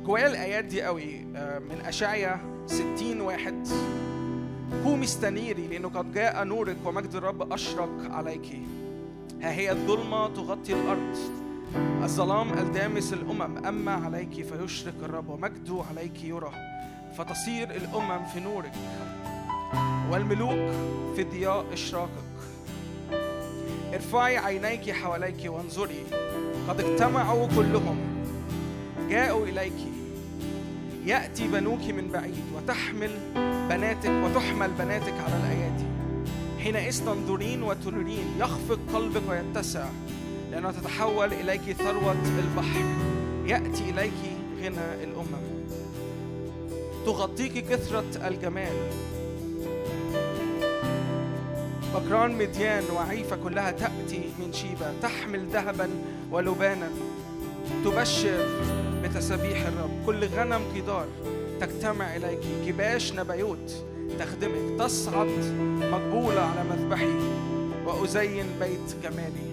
جوايا الآيات دي قوي من أشعيا 60:1. قومي استنيري لأنه قد جاء نورك ومجد الرب أشرق عليك. ها هي الظلمة تغطي الأرض، الظلام الدامس الأمم، أما عليك فيشرق الرب ومجده عليك يرى، فتصير الأمم في نورك والملوك في ضياء إشراقك. ارفعي عينيك حواليك وانظري، قد اجتمعوا كلهم، جاءوا إليك. يأتي بنوك من بعيد وتحمل بناتك على الأيادي. حينئذ تنظرين وترين، يخفق قلبك ويتسع، لأنها تتحول إليك ثروة البحر، يأتي إليك غنى الأمم. تغطيك كثرة الجمال، بكران مديان وعيفة كلها تأتي من شيبة، تحمل ذهبا ولبانا، تبشر بتسابيح الرب. كل غنم قدار تجتمع إليك، كباش نبيوت تخدمك، تصعد مقبولة على مذبحي وأزين بيت جمالي.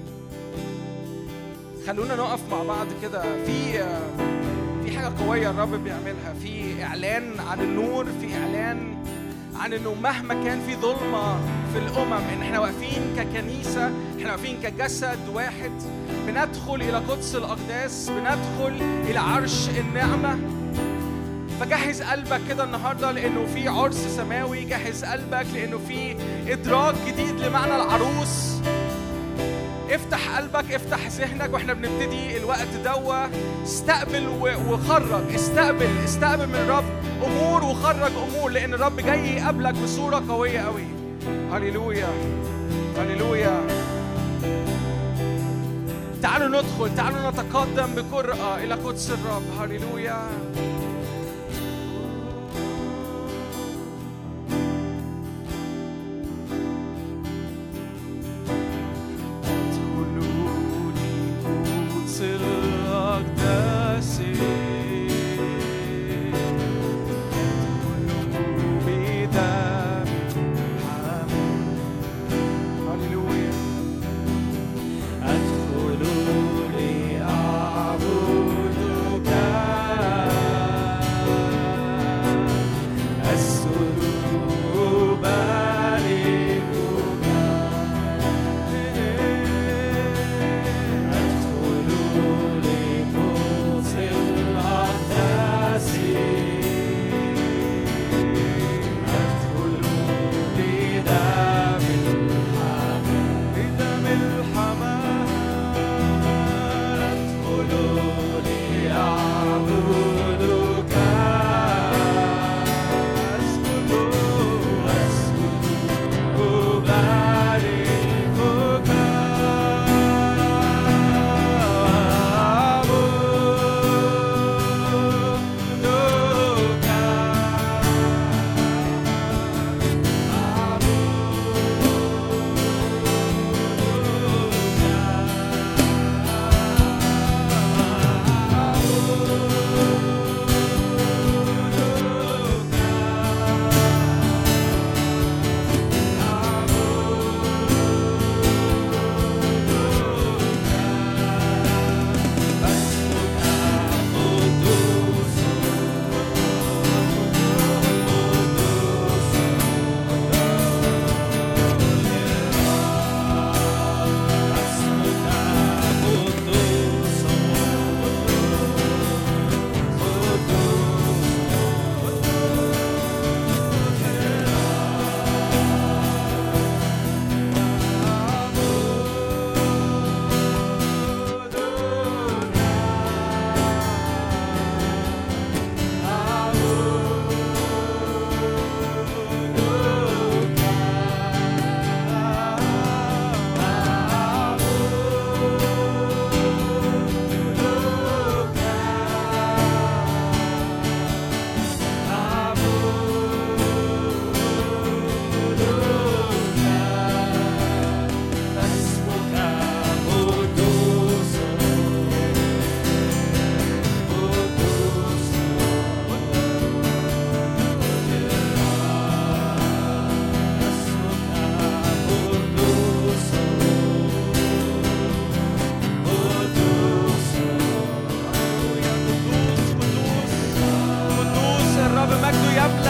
خلونا نقف مع بعض كده في حاجة قوية الرب بيعملها، في إعلان عن النور، في إعلان عن إنه مهما كان في ظلمة في الأمم، إن إحنا واقفين ككنيسة، إحنا واقفين كجسد واحد، بندخل إلى قدس الأقداس، بندخل إلى عرش النعمة. فجهز قلبك كده النهاردة لأنه في عرس سماوي، جهز قلبك لأنه في إدراك جديد لمعنى العروس. افتح قلبك، افتح ذهنك، واحنا بنبتدي الوقت دوا. استقبل وخرج، استقبل من الرب امور وخرج امور، لان الرب جاي يقابلك بصوره قويه قوي. هللويا هللويا. تعالوا ندخل، تعالوا نتقدم بجرأة الى قدس الرب. هللويا.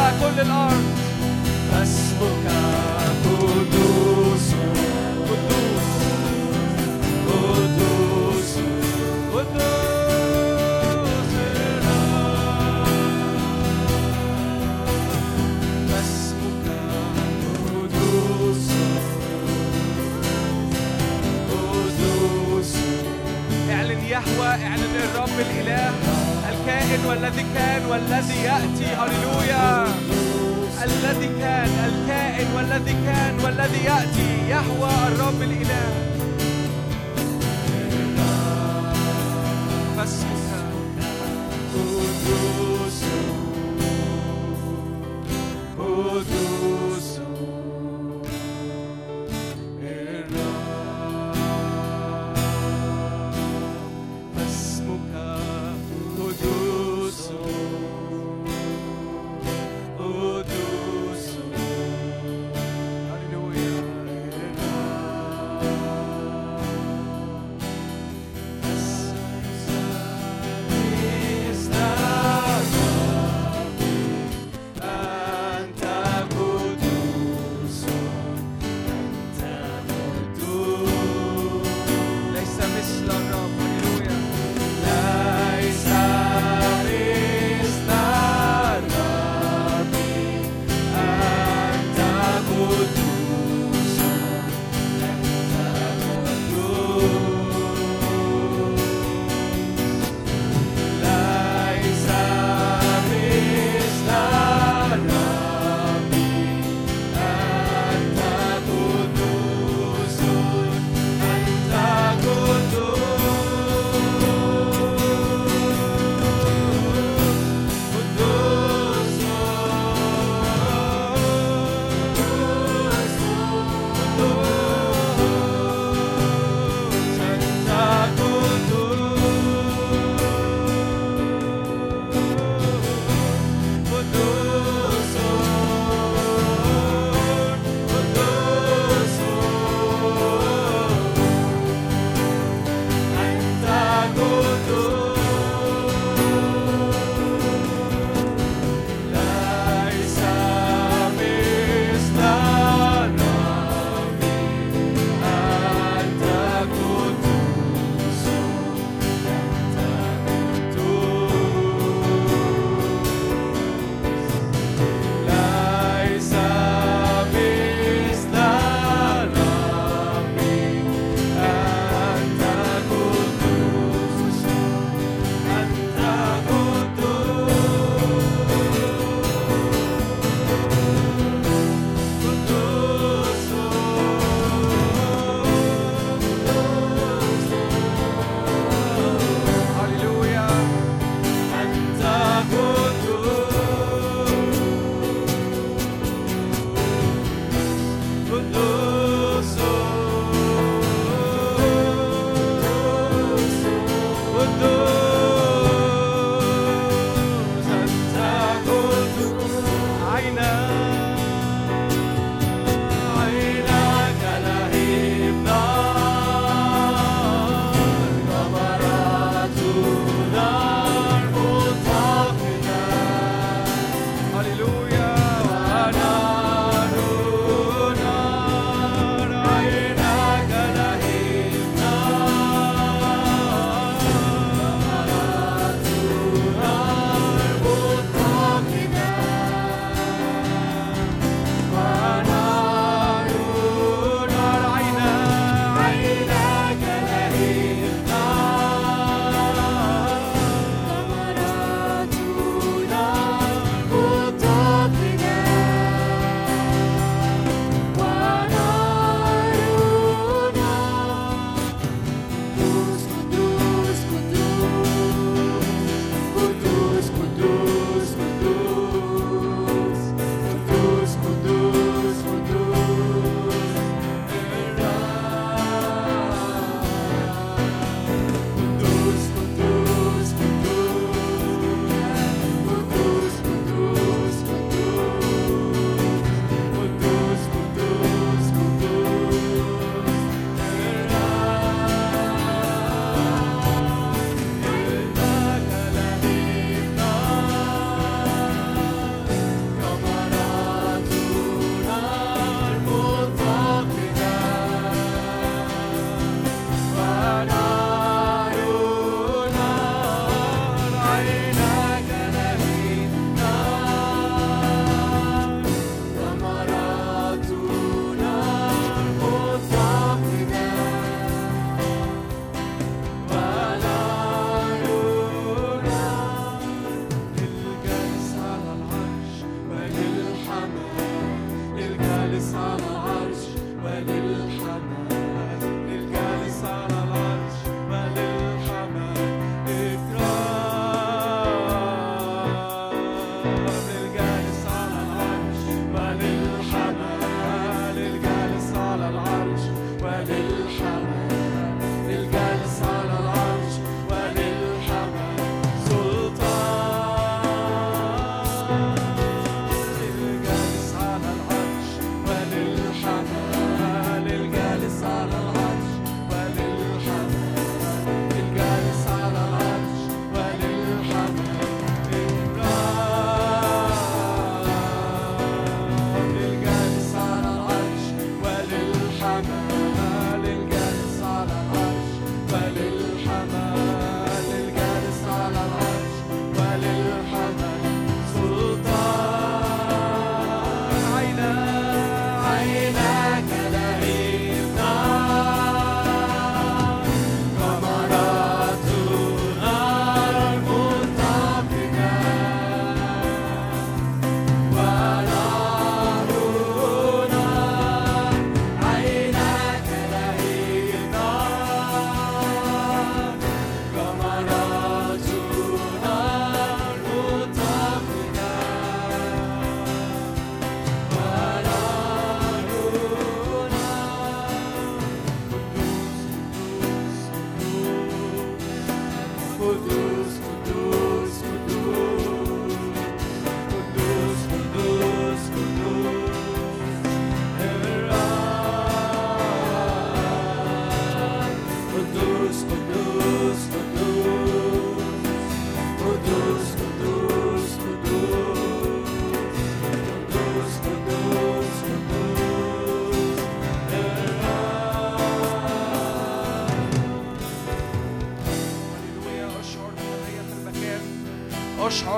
كل الأرض. اسمك قدوس قدوس قدوس قدوس اسمك قدوس قدوس. اعلن يهوه، اعلن الرب الإله الكائن والذي كان والذي يأتي. هللويا. الذي كان، الكائن والذي كان والذي يأتي، يهوه الرب الإله. فاسمك قدوس قدوس اسمك قدوس قدوس. هللويا.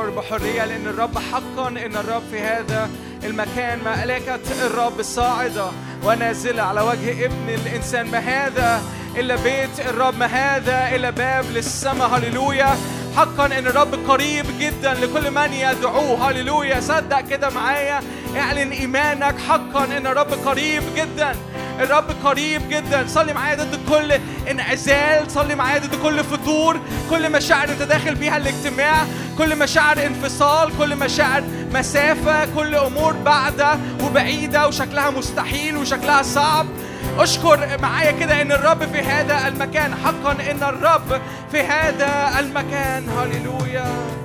اشعر بحرية لأن الرب حقا إن الرب في هذا المكان. ملائكة الرب صاعدة ونازلة على وجه ابن الإنسان. ما هذا إلا بيت الرب، ما هذا إلا باب للسماء. هللويا. حقا إن الرب قريب جدا لكل من يدعوه. هللويا. صدق كده معايا، اعلن إيمانك حقا إن الرب قريب جدا. الرب قريب جدا. صلي معايا ضد كل انعزال، صلي معايا ضد كل فتور، كل مشاعر انت داخل بيها الاجتماع، كل مشاعر انفصال، كل مشاعر مسافة، كل أمور بعدة وبعيدة وشكلها مستحيل وشكلها صعب. أشكر معايا كده إن الرب في هذا المكان. حقا إن الرب في هذا المكان. هللويا.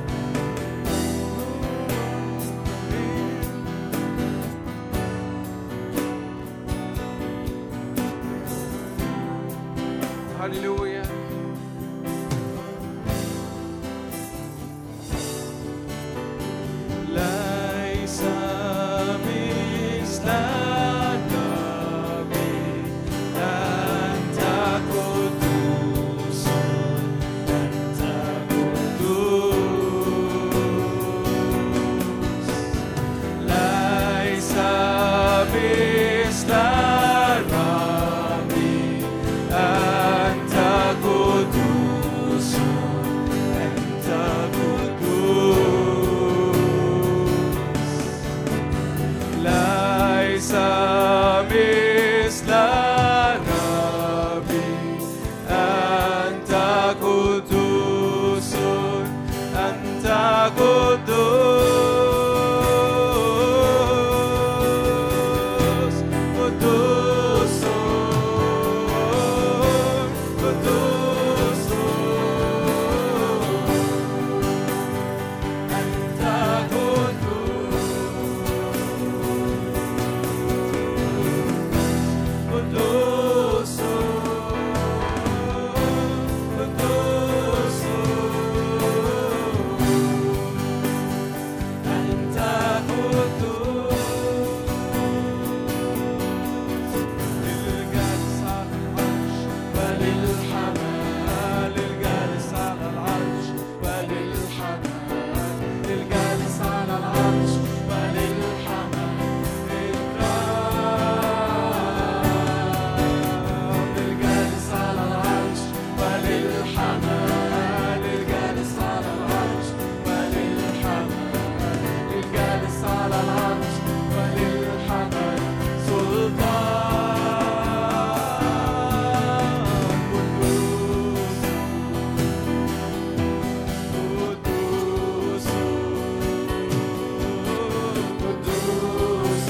هللويا. ليس مثلك أنت قدوس، أنت قدوس. ليس مثل الرب أنت قدوس، أنت قدوس. ليس مثل الرب أنت قدوس، أنت قدوس، قدوس، قدوس. أنت قدوس، قدوس، قدوس. أنت قدوس. للجالس على العرش وللحمام، للجالس على العرش وللحمام، للجالس على العرش وللحمام إكرام. للجالس على العرش وللحمام، للجالس على العرش وللحمام، للجالس على العرش وللحمام سلطان. قدوس، قدوس، قدوس.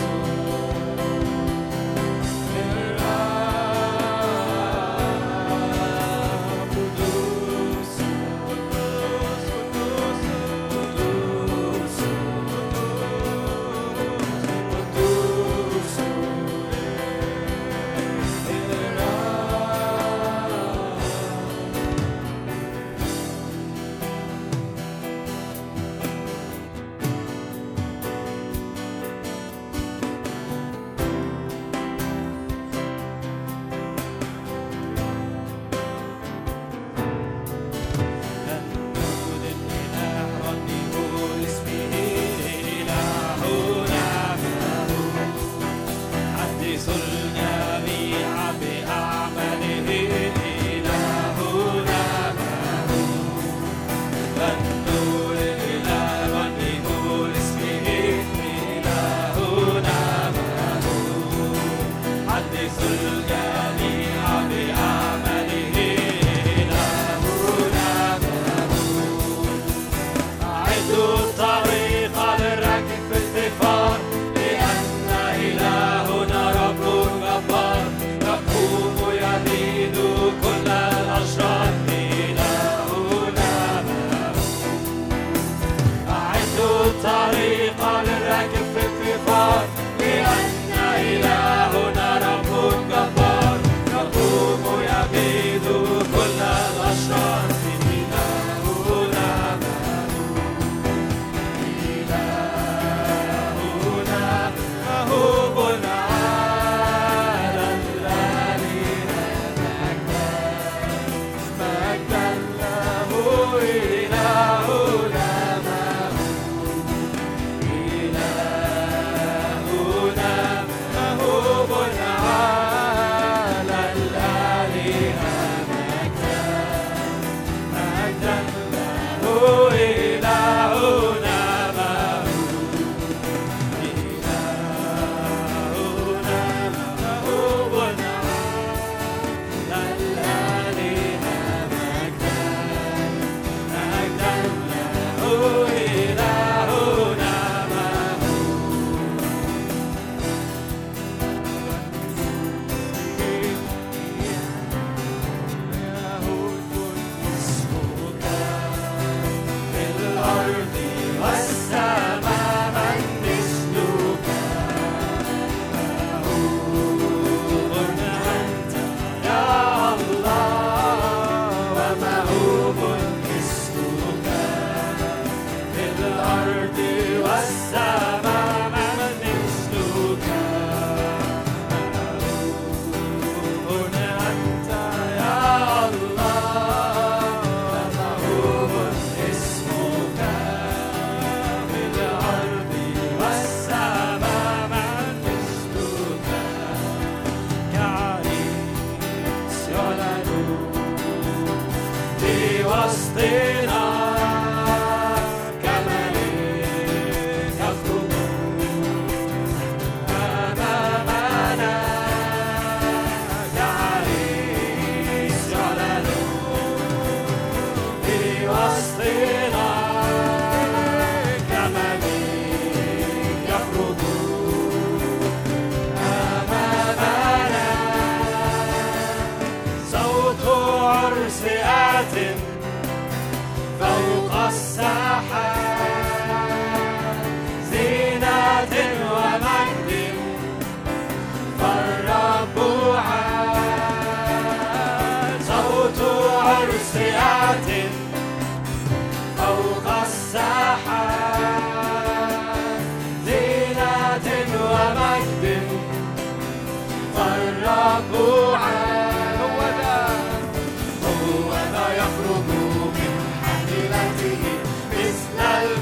والسماء من مثلك أنت يا الله محبوب اسمك في الأرض والسماء من مثلك كعريس يعلن في وسطنا كملك يخرج أمامنا كعريس يعلن في وسطنا كملك يخرج أمامنا صوت عرس آت فوق الساحات زينة ومجد فالرب عاد صوت عرس آت فوق الساحات زينة ومجد فالرب عاد هو ذا يخرج من حافلته مثل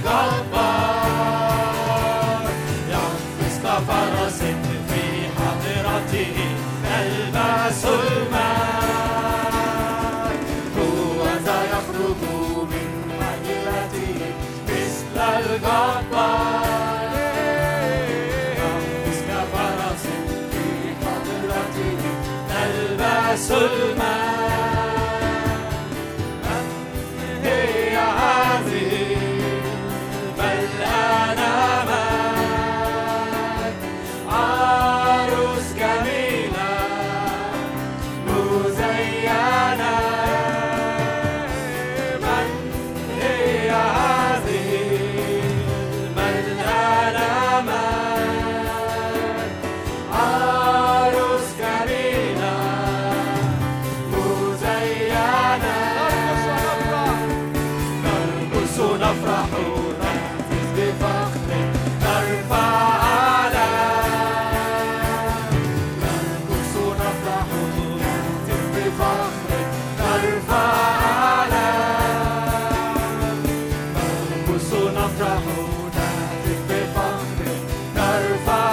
الجبار يقفز كفرس في حضرته يلبس الماء هو ذا يخرج من حافلته مثل الجبار يقفز كفرس في حضرته يلبس الماء هي هذه بل أنا معك عروس جميلة مزينة من هي هذه بل أنا معك عروس جميلة مزينة نرقص نفرح نهتف بفخر نرفع أعلام نرقص نفرح نهتف بفخر نرفع أعلام نرقص نفرح نهتف بفخر نرفع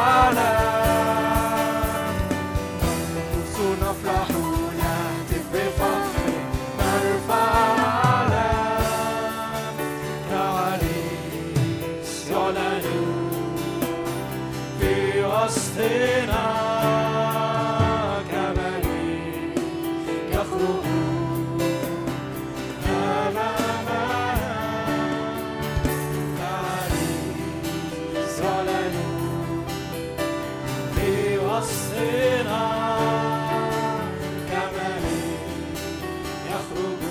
أعلام نرقص نفرح نهتف بفخر نرفع أعلام كعريس يعلن في وسطنا كملك يخرج أمامنا كعريس يعلن في وسطنا كملك يخرج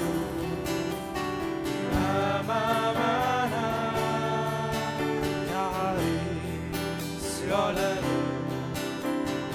أمامنا كعريس يعلن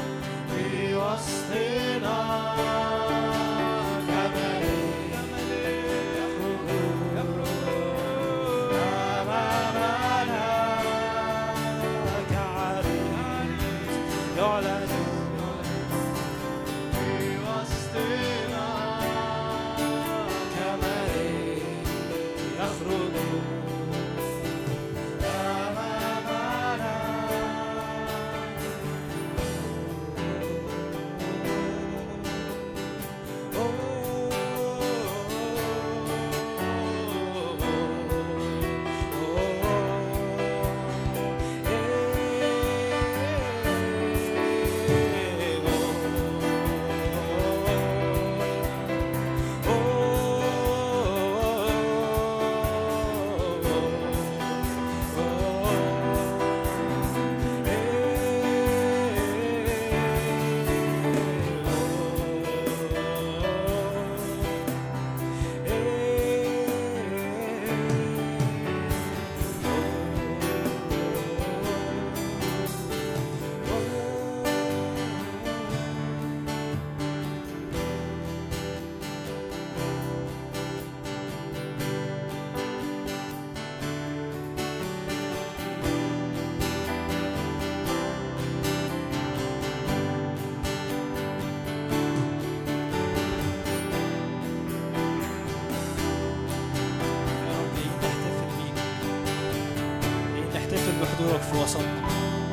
بحضورك في وسطنا.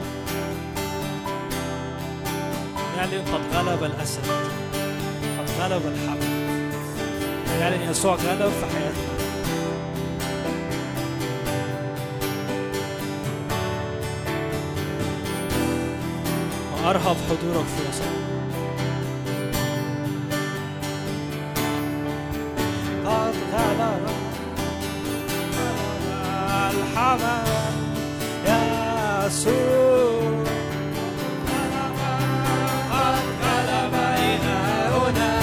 نعلن قد غلب الأسد، قد غلب الحمل. نعلن يسوع غلب في حياتنا. وأرهب حضورك في وسطنا. قد غلب الحمل يسوع، قد غلب إلهنا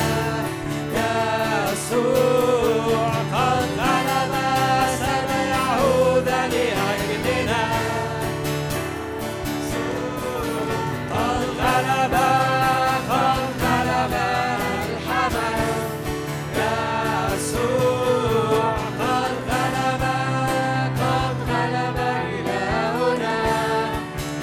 يسوع، قد غلب سيعود لأجلنا، قد غلب الحمل يسوع، قد غلب إلهنا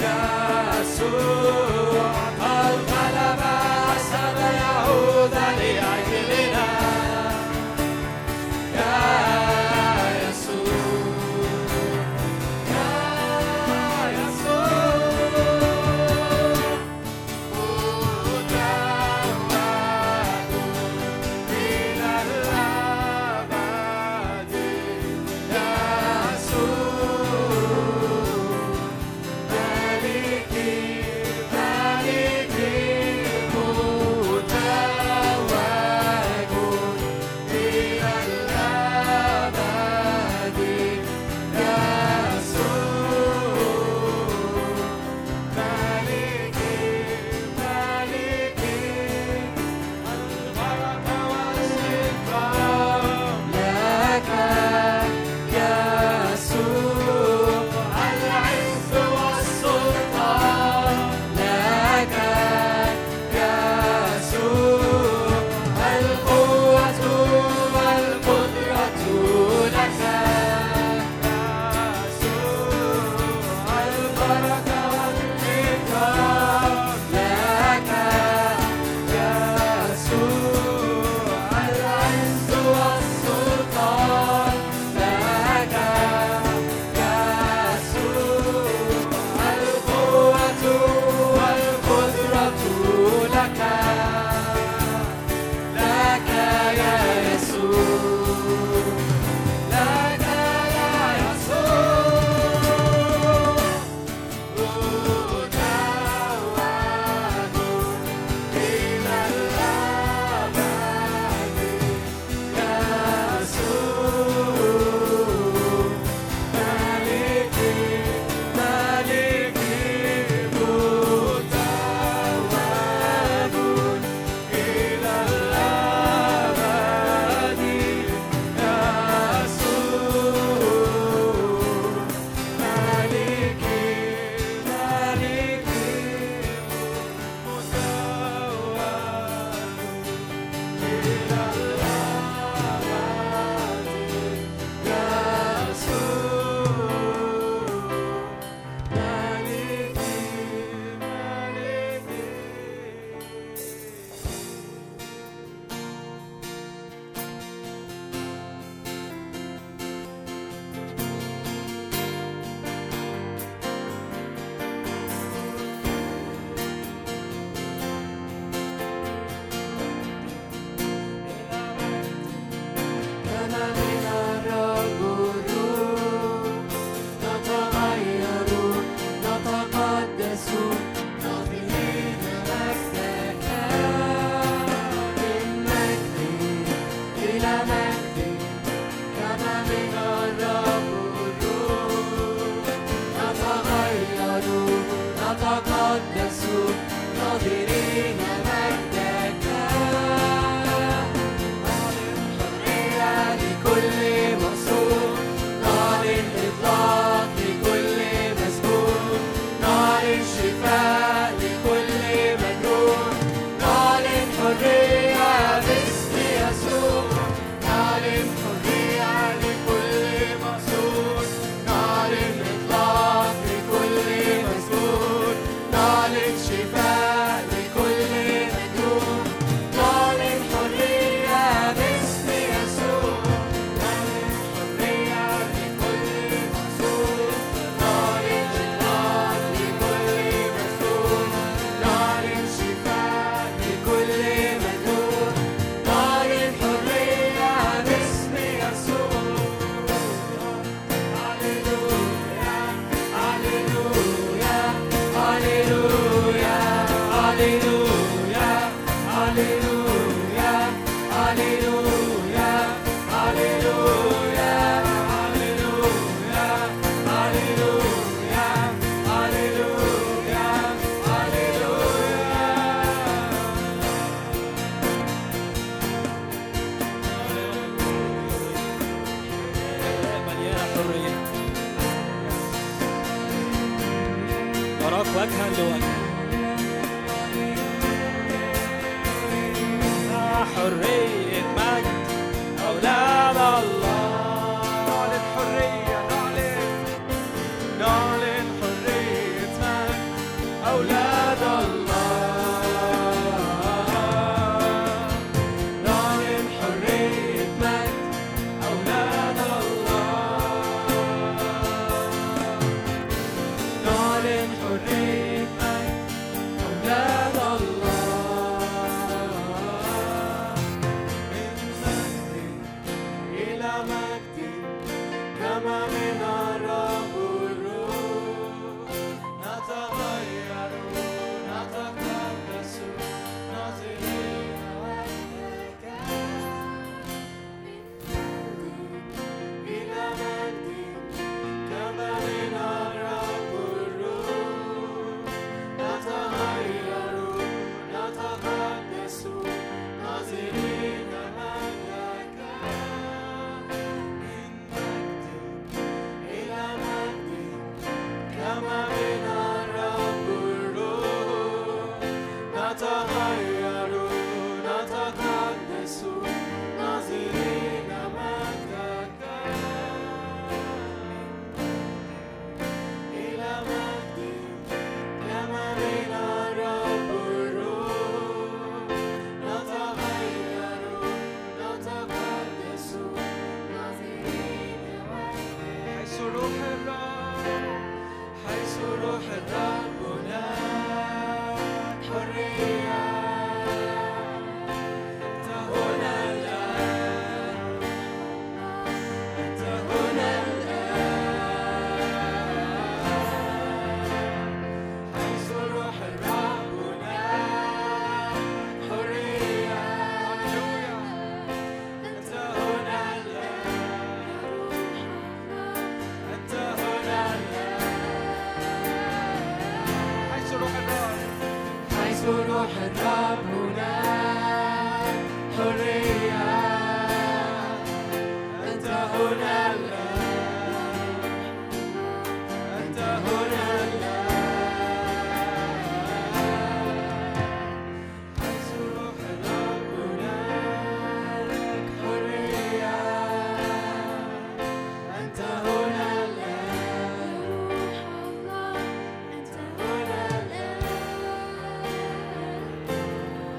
وجها لوجه حرية مجد أولاد الله نعلن حرية نعلن حرية مجد أولاد الله نعلن حرية مجد أولاد الله نعلن حرية مجد أولاد الله كما من الرب الروح نتغير نتقدس ناظرين وجهك إلى مجد كما من الرب الروح نتغير نتقدس ناظرين وجهك كما من الرب الروح نتغير نتقدس ناظرين مجدك إلى مجد كما من الرب الروح نتغير نتقدس ناظرين مجدك حيث روح الرب حيث روح الرب هناك حرية أنت هنا الآن أنت هنا الآن حيث روح الرب هناك حرية أنت هنا الآن أنت هنا الآن حيث روح الرب هناك حرية أنت هنا الآن أنت هنا الآن حيث روح الرب هناك حرية أنت هنا الآن أنت هنا الآن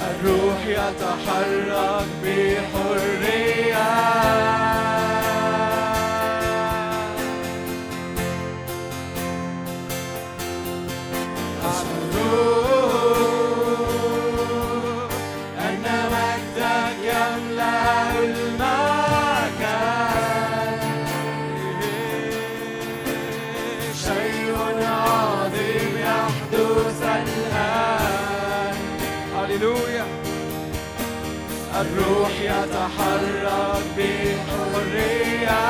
الروح يتحرك بحرية الروح يتحرك بحرية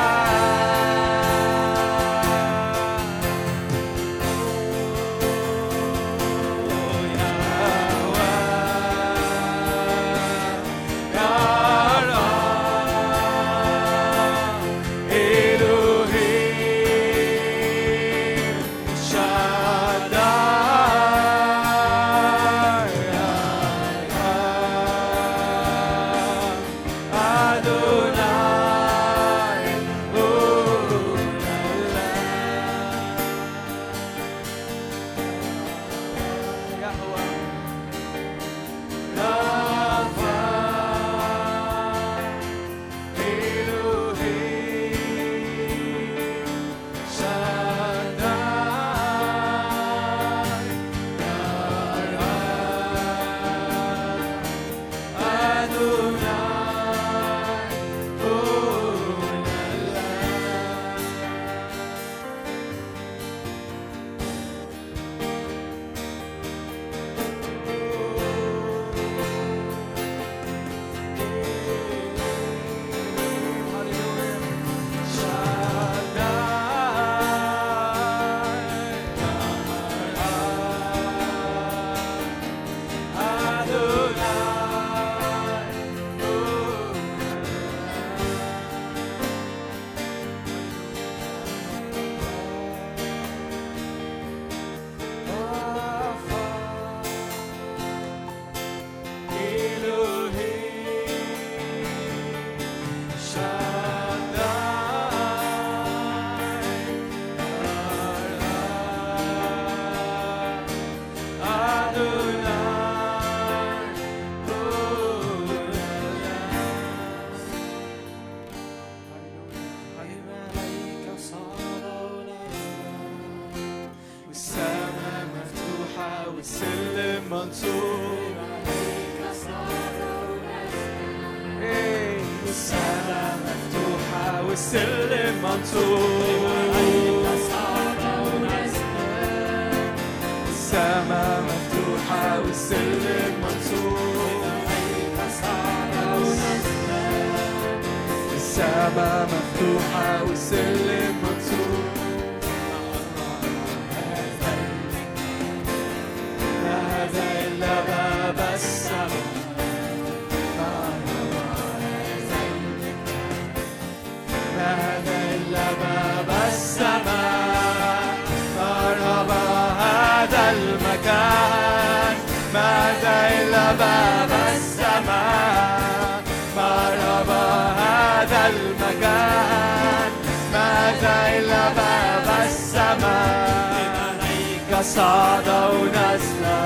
صعد ونزل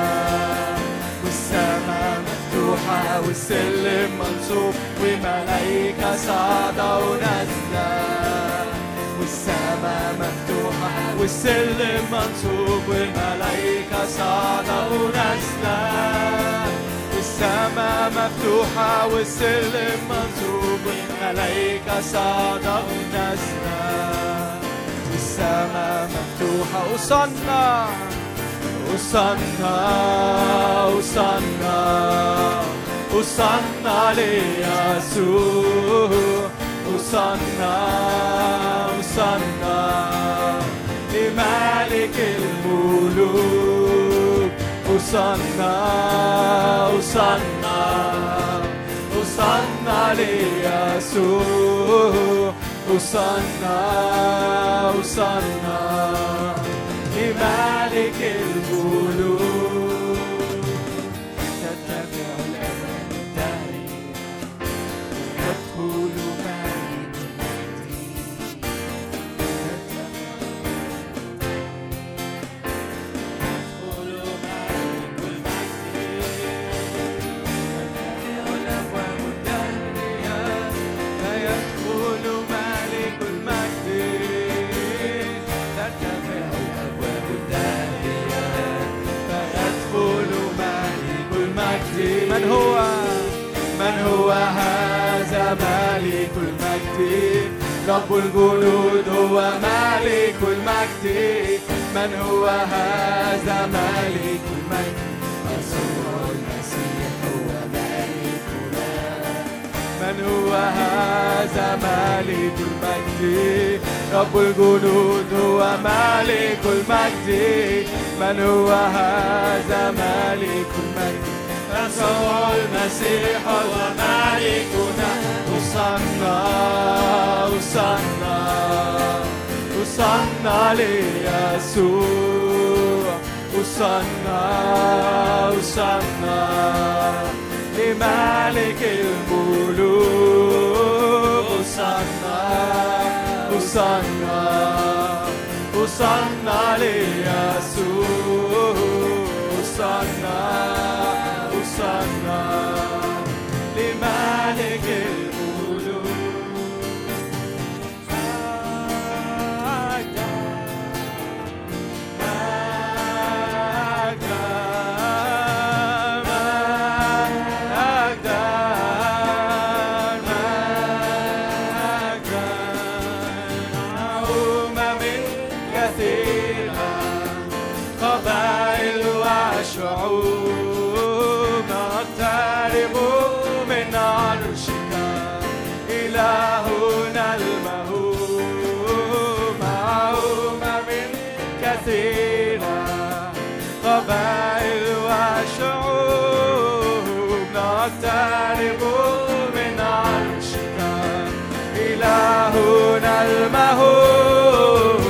والسماء مفتوحة والسلم منصوب وملايكة صعد ونزل والسماء مفتوحة والسلم منصوب وملايكة صعد ونزل والسماء مفتوحة والسلم منصوب وملايكة صعد ونزل السماء مفتوحة وصلنا وصلنا وصلنا وصلنا ليسوع وصلنا وصلنا لملك الملوك وصلنا وصلنا وصلنا ليسوع وصلنا وصلنا لملك الملوك تتبع الأمان الدهرية تدخل ملك المجد من هو هذا ملك المجد رب الجنود هو ملك المجد من هو هذا ملك المجد يسوع المسيح هو ملكنا من هو هذا ملك المجد رب الجنود هو ملك المجد من هو هذا ملك المجد يسوع المسيح هو ملكنا وصلنا ليسوع وصلنا لملك الملوك وصلنا ليسوع وصلنا لملك الملوك قبائل وشعوب نقترب من عرشك إلهنا المهوب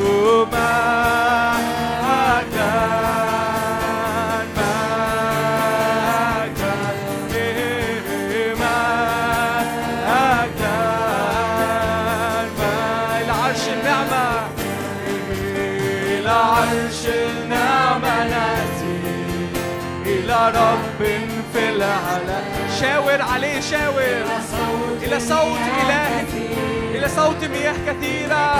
رب في العلا شاور عليه شاور إلى صوت إله إلى صوت مياه كثيرة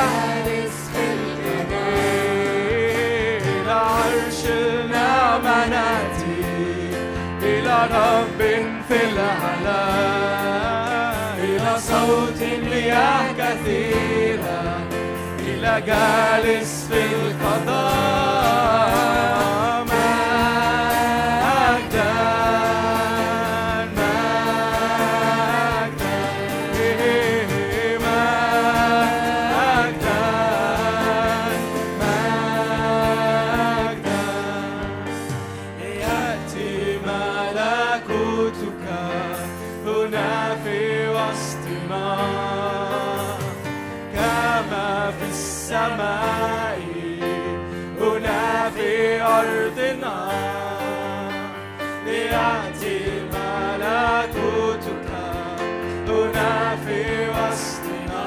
إلى عرشنا مناتي إلى رب في العلا إلى صوت مياه كثيرة إلى جالس في القضاء السماء هنا في أرضنا ليأتي ملكوتك هنا في وسطنا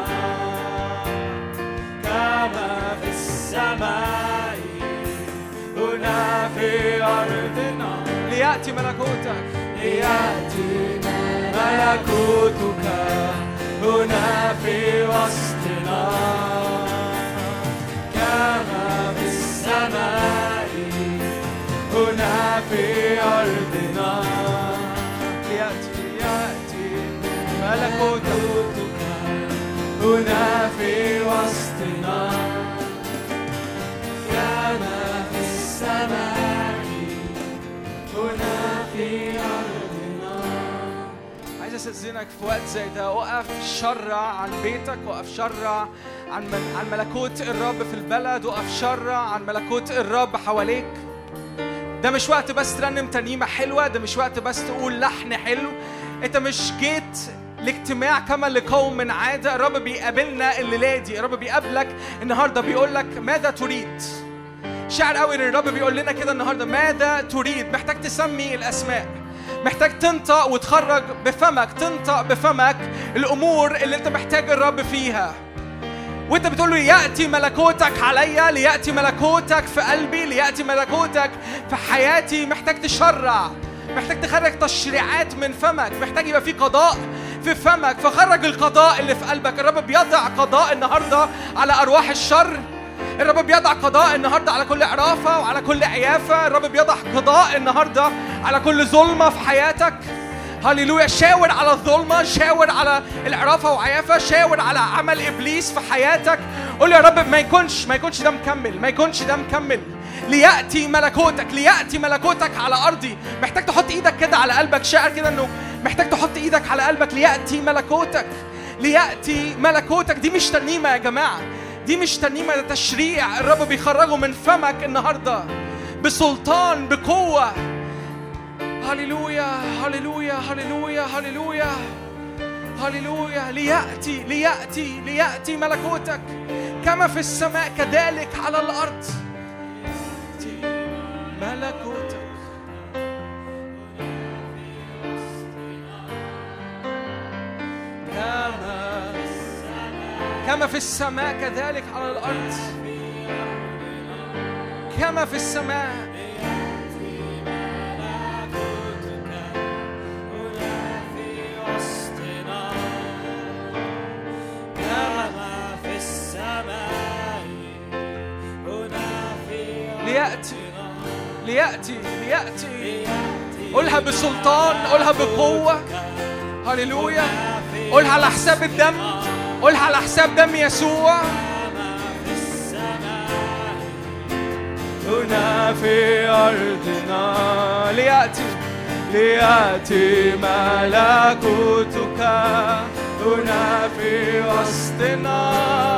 كما في السماء هنا في أرضنا ليأتي ملكوتك هنا في وسطنا كما في السماء هنا في أرضنا ليأتي ملكوتك هنا في وسطنا كما في السماء هنا في أرضنا. عايز أستأذنك في وقت زي ده وقف شرع عن بيتك، وقف شرع عن ملكوت الرب في البلد، وقف شرع عن ملكوت الرب حواليك. ده مش وقت بس ترنم ترنيمة حلوة، ده مش وقت بس تقول لحن حلو. انت مش جيت الاجتماع كما لقوم من عادة. الرب بيقابلنا الليلة دي، الرب بيقابلك النهاردة بيقول لك ماذا تريد. شعر قوي ان الرب بيقول لنا كده النهاردة ماذا تريد. محتاج تسمي الأسماء، محتاج تنطق وتخرج بفمك، تنطق بفمك الأمور اللي انت محتاج الرب فيها. وانت بتقول له يأتي ملكوتك عليا، ليأتي ملكوتك في قلبي، ليأتي ملكوتك في حياتي. محتاج تشرع، محتاج تخرج تشريعات من فمك، محتاج يبقى في قضاء في فمك، فخرج القضاء اللي في قلبك. الرب بيضع قضاء النهارده على أرواح الشر، الرب بيضع قضاء النهاردة على كل عرافة وعلى كل عيافة. الرب بيضع قضاء النهاردة على كل ظلمة في حياتك. هللويا. شاور على الظلمة، شاور على العرافة وعيافة، شاور على عمل إبليس في حياتك. قول يا رب ما يكونش ده مكمل، ما يكونش ده مكمل. ليأتي ملكوتك، ليأتي ملكوتك على أرضي. محتاج تحط إيدك كده على قلبك، شاعر كده إنه محتاج تحط إيدك على قلبك. ليأتي ملكوتك، ليأتي ملكوتك. دي مش ترنيمة يا جماعة، دي مش ترنيمة، ده تشريع الرب بيخرجه من فمك النهاردة بسلطان، بقوة. هللويا هللويا هللويا هللويا هللويا. ليأتي ليأتي ليأتي ملكوتك كما في السماء كذلك على الأرض. ملكوتك كما في السماء كذلك على الأرض. كما في السماء. ليأتي ليأتي. قولها بسلطان، قولها بقوة. هللويا. قولها على حساب الدم، قولها على حساب دم يسوع. هنا في أرضنا ليأتي ليأتي ملكوتك هنا في وسطنا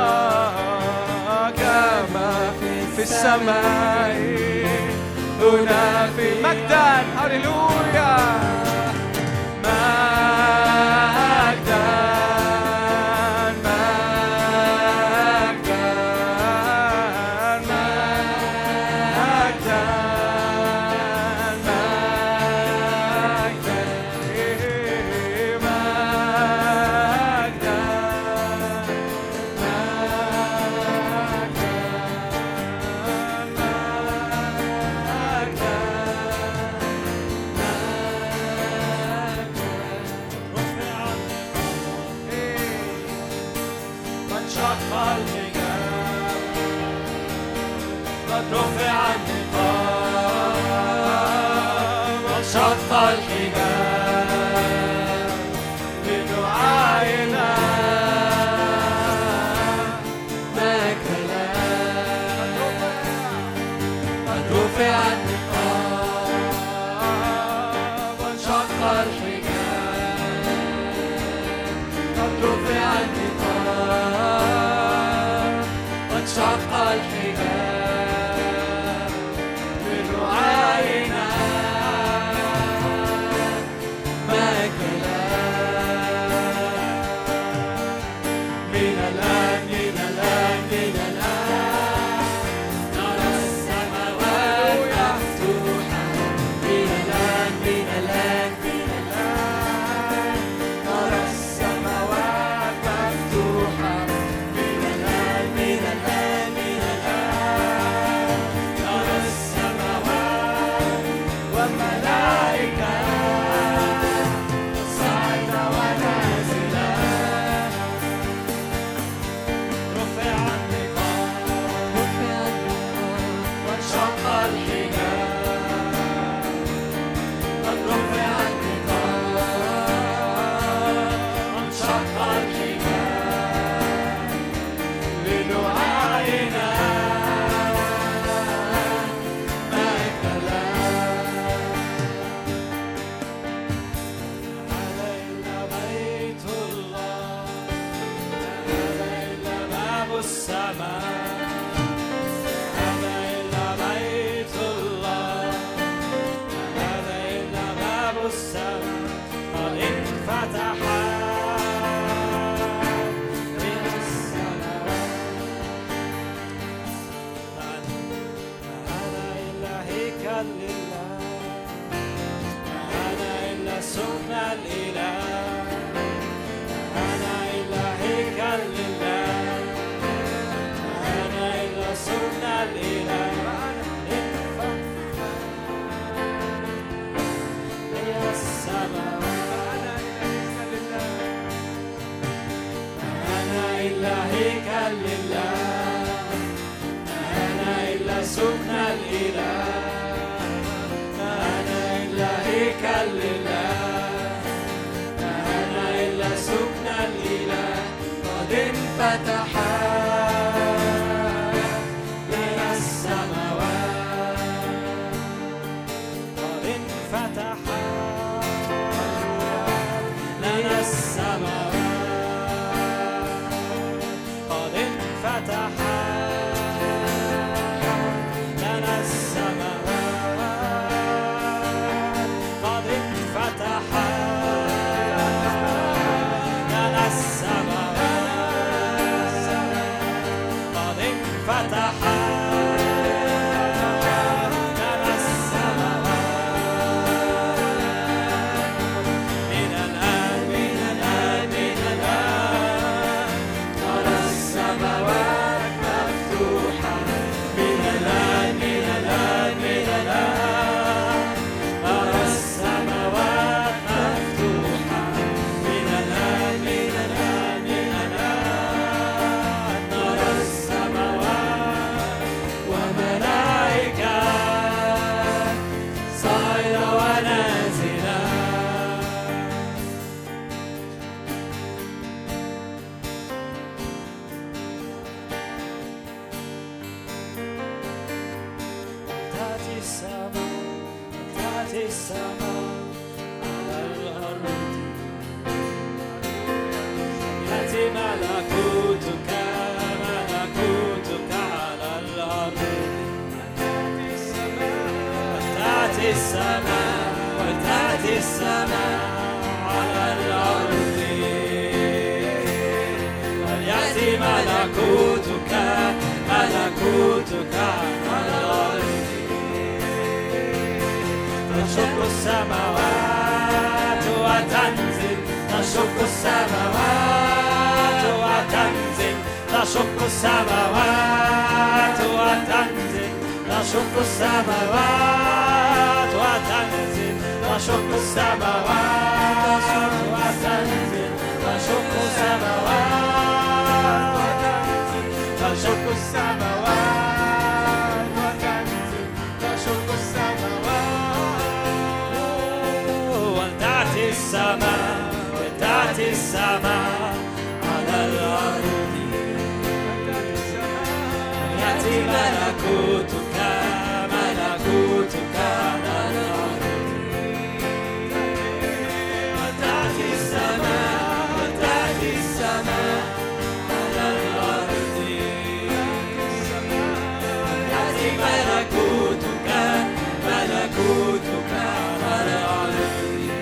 كما في السماء هنا في مجدا. هللويا. سكن الإله، ما أنا إلا هيكل لله، ما أنا إلا سكن الإله. قد انفتح لنا السماوات، قد انفتح لنا السماوات، قد انفتح لنا السماوات، قد انفتح لنا السماوات، قد انفتح لنا السماوات. من الآن من الآن من الآن نرى السماوات مفتوحة، من الآن من الآن من الآن نرى السماوات مفتوحة، من الآن من الآن من الآن نرى السماوات وملائكة صاعدة ونازلة. تأتي السماء، تأتي السماء على الأرض، يأتي ملكوتك ملكوتك على الأرض. تأتي السماء وتأتي السماء على الأرض، وليأتي ملكوتك ملكوتك على الأرض. تشق السماوات وتنزل، تشق السماوات وتنزل، تشق السماوات وتنزل، تشق السماوات وتنزل، تشق السماوات وتنزل، تشق السماوات وتنزل، تشق السماوات وتنزل، تشق السماوات. وتأتي السماء وتأتي السماء على الأرض، يأتي ملكوتك ملكوتك على الأرض. وتأتي السماء وتأتي السماء على الأرض، يأتي ملكوتك ملكوتك على الأرض.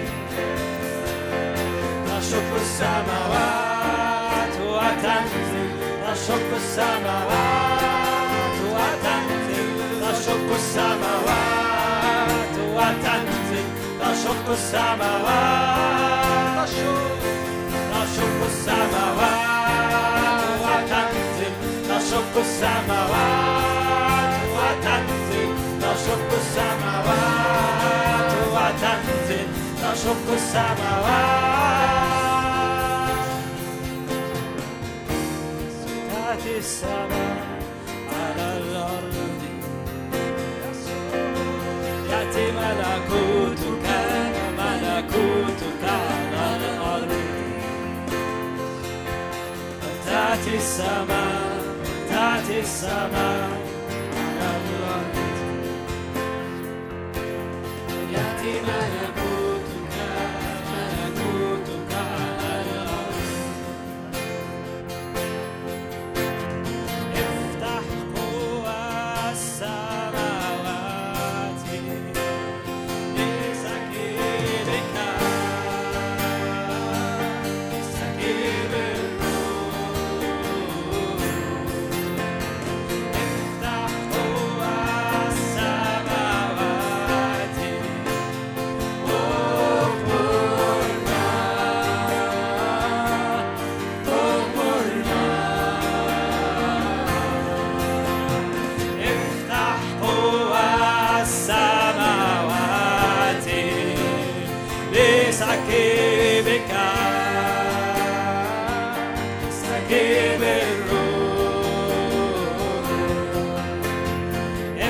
تشق السماوات وتنزل، تشق السماوات وتنزل، تشق السماوات وتنزل، تشق السماوات، تشق السماوات وتنزل، تشق السماوات وتنزل، تشق السماوات وتنزل، تشق السماوات. تأتي السماء على الأرض، يأتي ملكوتك ملكوتك على الأرض. تأتي السماء تأتي السماء على الأرض، يأتي ملكوتك ملكوتك على الأرض. افتح قوى السماوات لسكيبك، لسكيب الروح. افتح قوى السماوات، اغمرنا اغمرنا. افتح قوى السماوات لسكيبك، سكيب الروح.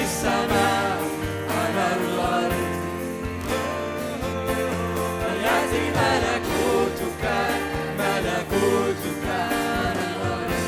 السماء على الأرض يأتي ملكوتك على الأرض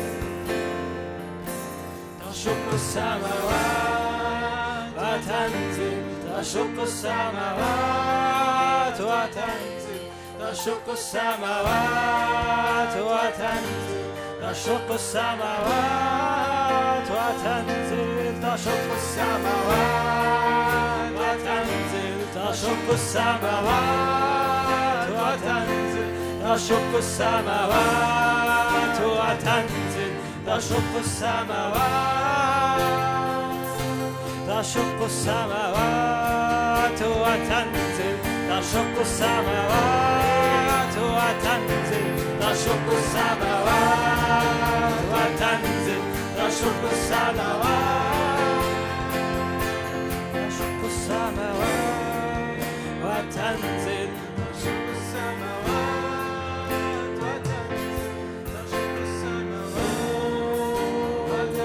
تشق السماوات وتنزل تشق السماوات وتنزل تشق السماوات وتنزل تشق السماوات وتنزل تشق السماوات وتنزل تشق السماوات وتنزل تشق السماوات وتنزل تشق السماوات تشق السماوات وتنزل تشق السماوات وتنزل تشق السماوات وتنزل تشق السماوات تشق السماوات وتنزل تشق السماوات وتنزل تشق السماوات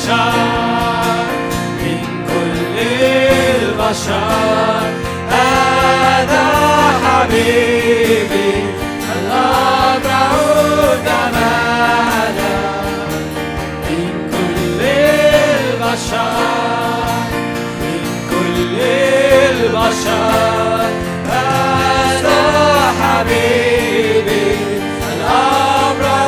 البشر من كل البشر هذا حبيبي الأبرع جمالا من كل البشر من كل البشر هذا حبيبي الأبرع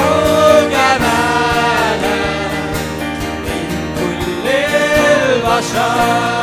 جمالا من كل البشر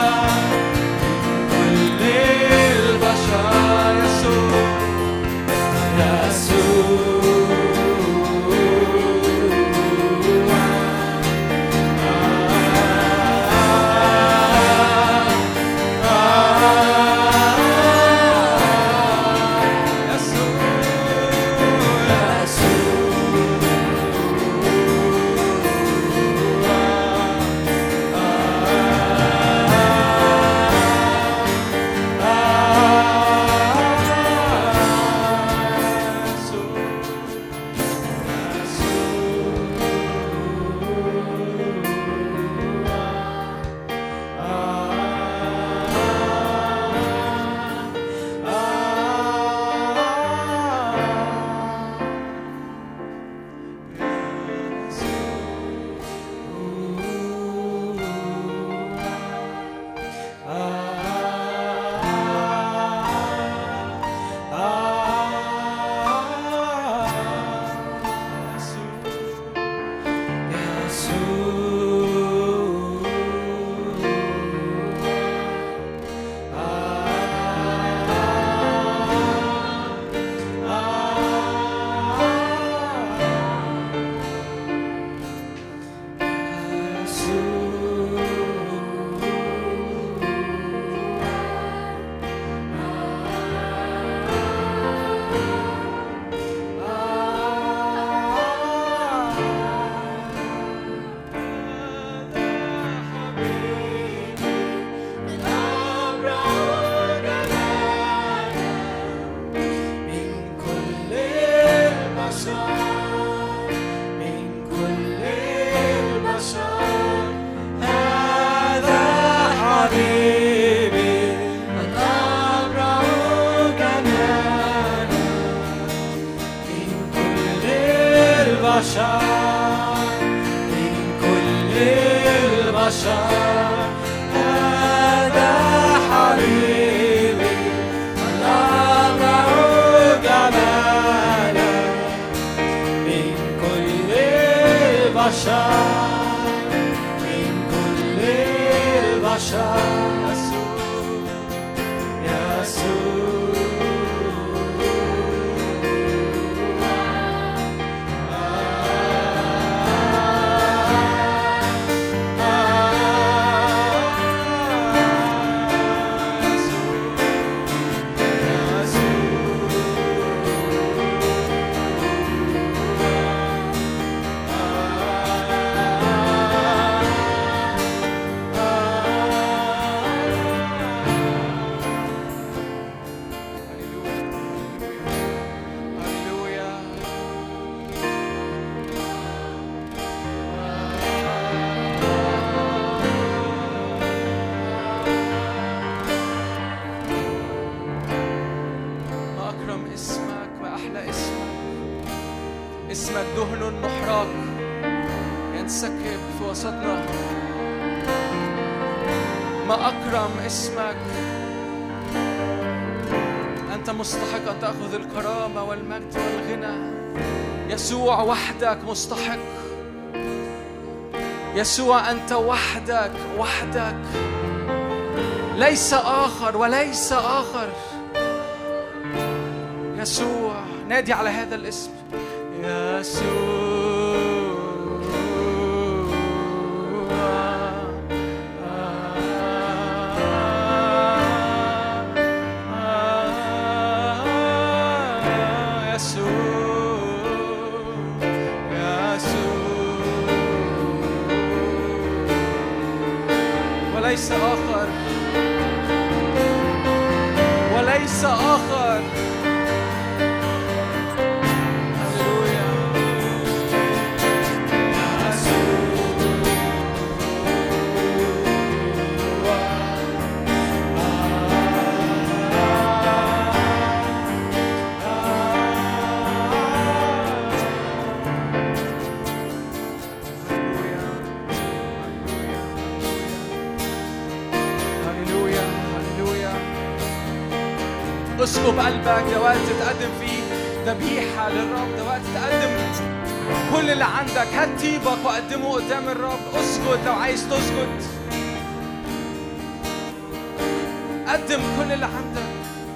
يسوع وحدك مستحق. يسوع أنت وحدك وحدك، ليس آخر وليس آخر. يسوع، نادي على هذا الاسم، يسوع. وليس آخر وليس آخر. هللويا. اسكب قلبك. ده وقت تقدم فيه ذبيحة للرب. ده وقت تقدم كل اللي عندك. هات طيبك وقدمه قدام الرب. اسجد لو عايز تسجد. قدم كل اللي عندك.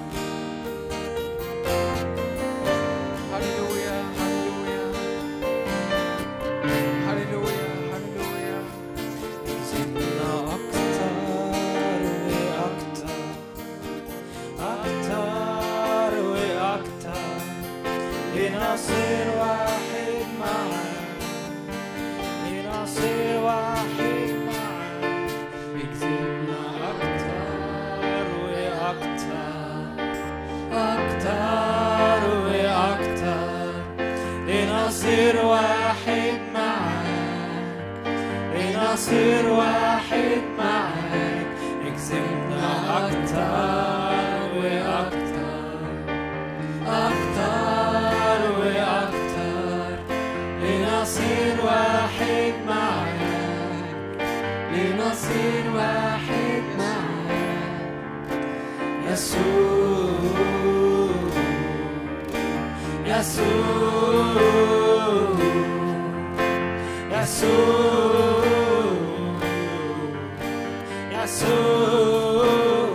هللويا هللويا هللويا هللويا. زدنا أكتر وأكتر أكتر وأكتر لنصير واحد معاك. لنصير واحد معاك. اكتبنا أكتر وأكتر أكتر وأكتر لنصير واحد معاك. لنصير واحد معاك. اكتبنا أكتر وأكتر أكتر وأكتر لنصير واحد معاك. لنصير واحد معاك. يسوع يسوع يسوع يسوع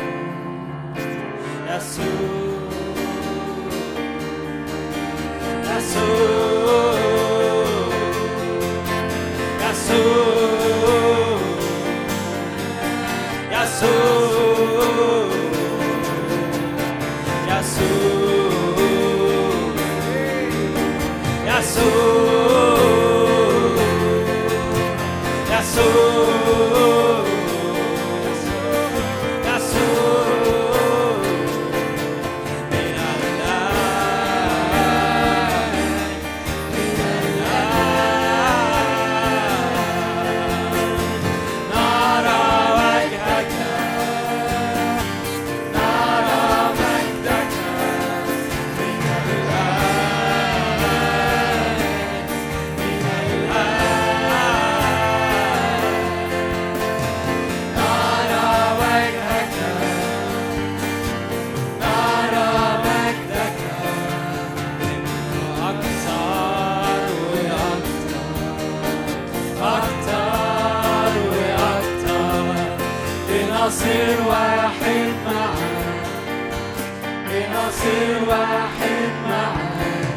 لنصير واحد معاك. لنصير واحد معاك.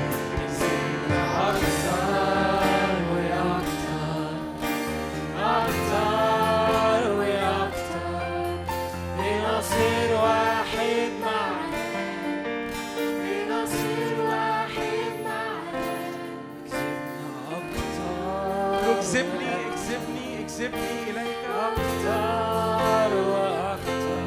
أكثر وأكثر أكثر وأكثر لنصير واحد معاك. لنصير واحد معاك. أكثر. اكذبني اكذبني اكذبني إليك. أكثر وأكثر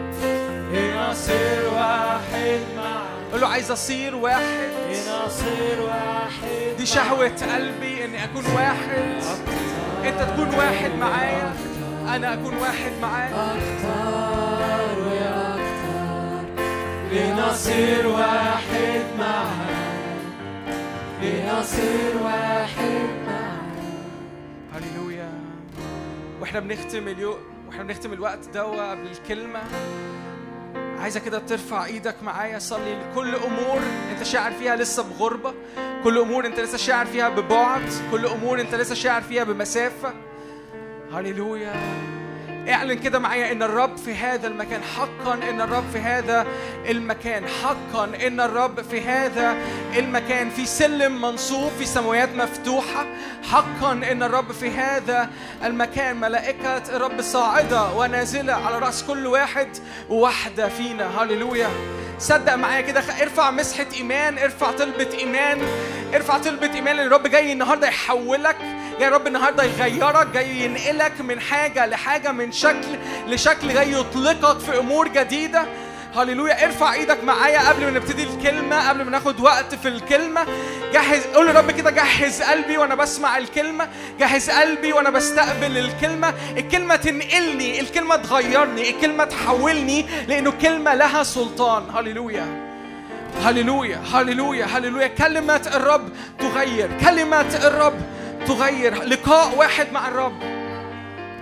لنصير واحد معاك. قل له عايز أصير واحد. لنصير واحد. دي شهوة قلبي إني أكون واحد. أنت تكون واحد معايا، أنا أكون واحد معاك. أكثر وأكثر لنصير واحد معاك. لنصير واحد معاك. هللويا. واحنا بنختم اليوم، واحنا بنختم الوقت ده قبل الكلمة، عايزة كده ترفع ايدك معايا. صلي لكل امور انت شاعر فيها لسه بغربة، كل امور انت لسه شاعر فيها ببعد، كل امور انت لسه شاعر فيها بمسافة. هللويا. اعلن كده معايا ان الرب في هذا المكان. حقا ان الرب في هذا المكان. حقا ان الرب في هذا المكان. في سلم منصوب، في سماوات مفتوحة. حقا ان الرب في هذا المكان. ملائكة الرب صاعدة ونازلة على رأس كل واحد وواحدة فينا. هللويا. صدق معايا كده. ارفع مسحة إيمان، ارفع طلبة إيمان، ارفع طلبة إيمان. الرب جاي النهاردة يحولك، جاي الرب النهاردة يغيرك، جاي ينقلك من حاجة لحاجة، من شكل لشكل، جاي يطلقك في أمور جديدة. هللويا. ارفع ايدك معايا قبل ما نبتدي الكلمة، قبل ما ناخد وقت في الكلمة. جهز، قول للرب كده جهز قلبي وانا بسمع الكلمة، جهز قلبي وانا بستقبل الكلمة. الكلمة تنقلني، الكلمة تغيرني، الكلمة تحولني، لأنه كلمة لها سلطان. هللويا هللويا هللويا هللويا. كلمة الرب تغير، كلمة الرب تغير. لقاء واحد مع الرب.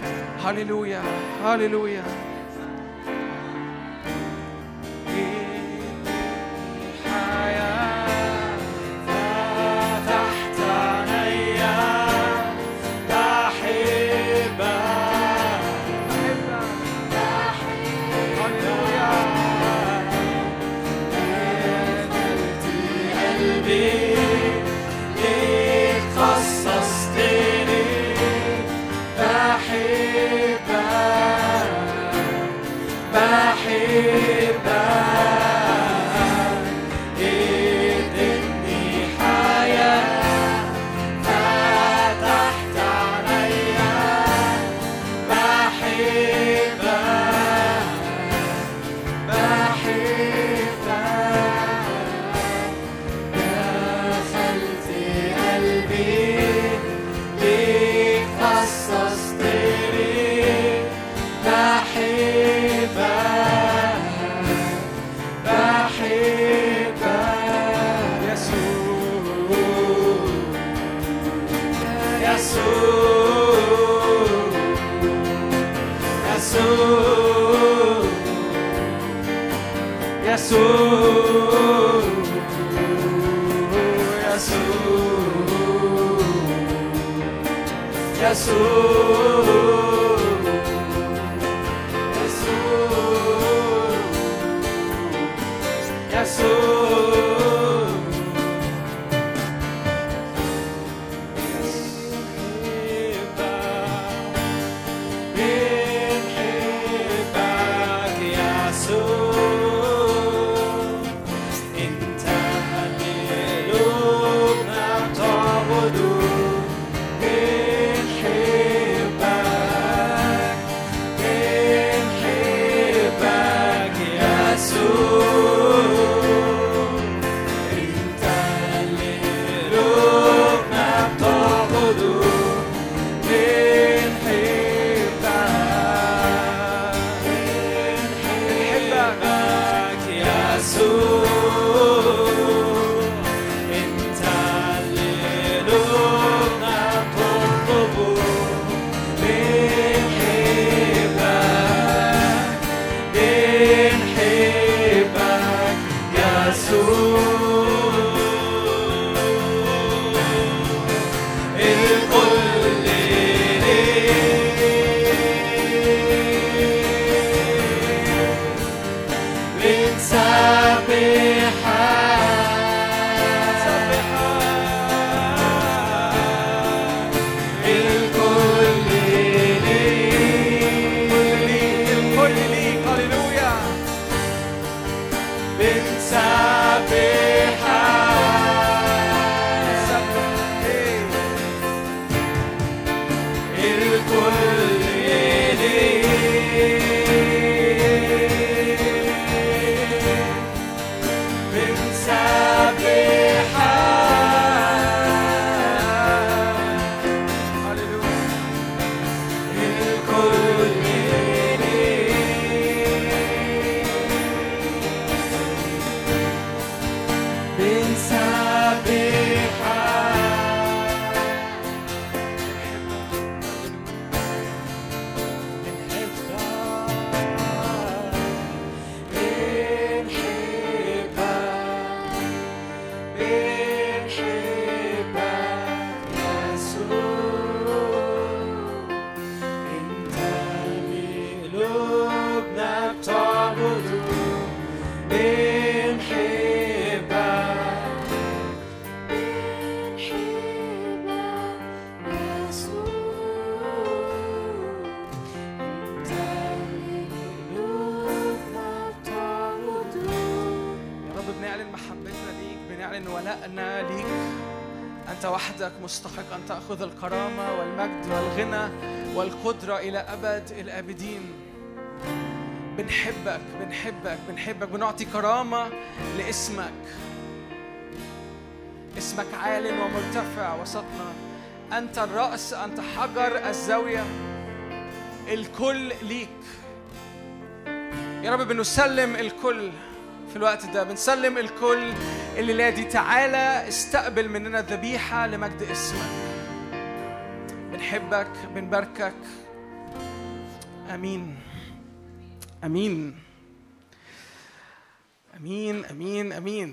هللويا هللويا. ليك خصصتني بحبك بحبك يسوع يسوع يسوع يسوع يسوع مستحق أن تأخذ الكرامة والمجد والغنى والقدرة إلى أبد الآبدين. بنحبك بنحبك بنحبك، بنعطي كرامة لاسمك. اسمك عال ومرتفع وسطنا، أنت الرأس، أنت حجر الزاوية، الكل ليك يا رب. بنسلم الكل في الوقت ده، بنسلم الكل الليلة دي. تعالى استقبل مننا ذبيحة لمجد اسمك. بنحبك بنباركك. أمين أمين أمين أمين أمين.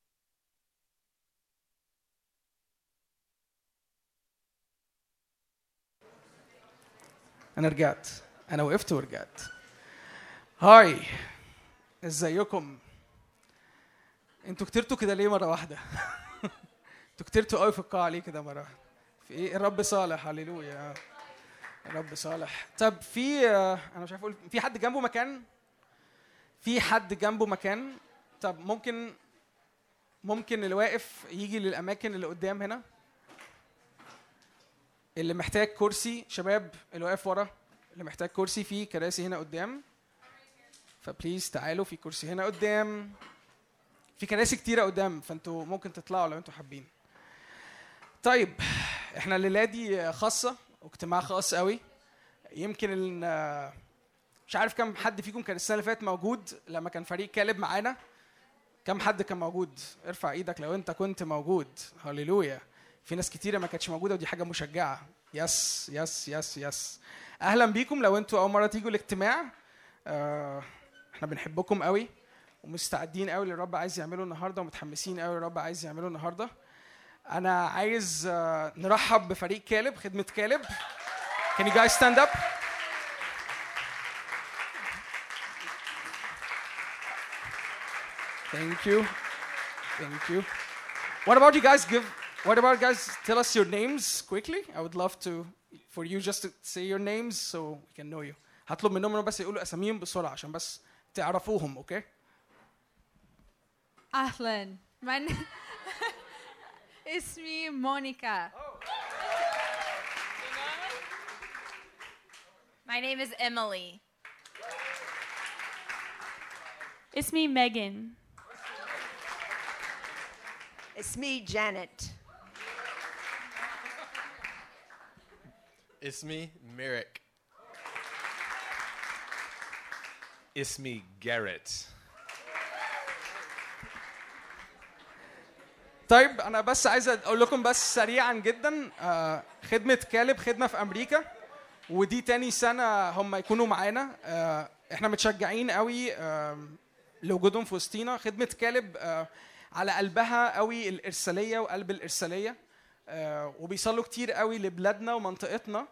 أنا رجعت، أنا وقفت ورجعت. هاي، ازيكم؟ انتوا كترتوا كده ليه مرة واحدة؟ انتوا كترتوا قوي في القاعة ليه كده مرة واحدة؟ في ايه؟ الرب صالح، هللويا، الرب صالح. طب انا مش عارف اقول، في حد جنبه مكان؟ في حد جنبه مكان؟ طب ممكن اللي واقف يجي للأماكن اللي قدام هنا. اللي محتاج كرسي، شباب اللي واقف ورا اللي محتاج كرسي، في كراسي هنا قدام، فبليز تعالوا. في كرسي هنا قدام، في كراسي كتيرة قدام، فانتوا ممكن تطلعوا لو انتوا حابين. طيب احنا الليله دي خاصه واجتماع خاص قوي. يمكن مش عارف كم حد فيكم كان السنه اللي فاتت موجود لما كان فريق كالب معانا. كم حد كان موجود؟ ارفع ايدك لو انت كنت موجود. هاليلويا. في ناس كتيره ما كانتش موجوده ودي حاجه مشجعه. يس يس يس يس. اهلا بيكم لو انتوا اول مره تيجوا الاجتماع. احنا بنحبكم قوي ومستعدين قوي للرب عايز يعمله النهارده ومتحمسين قوي للرب عايز يعمله النهارده. انا عايز نرحب بفريق كالب، خدمه كالب. Can you guys stand up? Thank you. Thank you. What about you guys tell us your names quickly? I would love for you just to say your names so we can know you. هطلب منهم انهم بس يقولوا اساميهم بسرعه عشان بس تعرفوهم. اوكي؟ أهلاً. اسمي مونيكا. My name is Emily. اسمي ميغان. اسمي جانيت. اسمي ميريك. اسمي جاريت. طيب انا بس عايز اقول لكم بس سريعا جدا خدمه كالب خدمه في امريكا ودي تاني سنه هم يكونوا معانا. احنا متشجعين قوي لوجودهم في وسطينا. خدمه كالب على قلبها قوي الارساليه وقلب الارساليه وبيصلوا كتير قوي لبلادنا ومنطقتنا.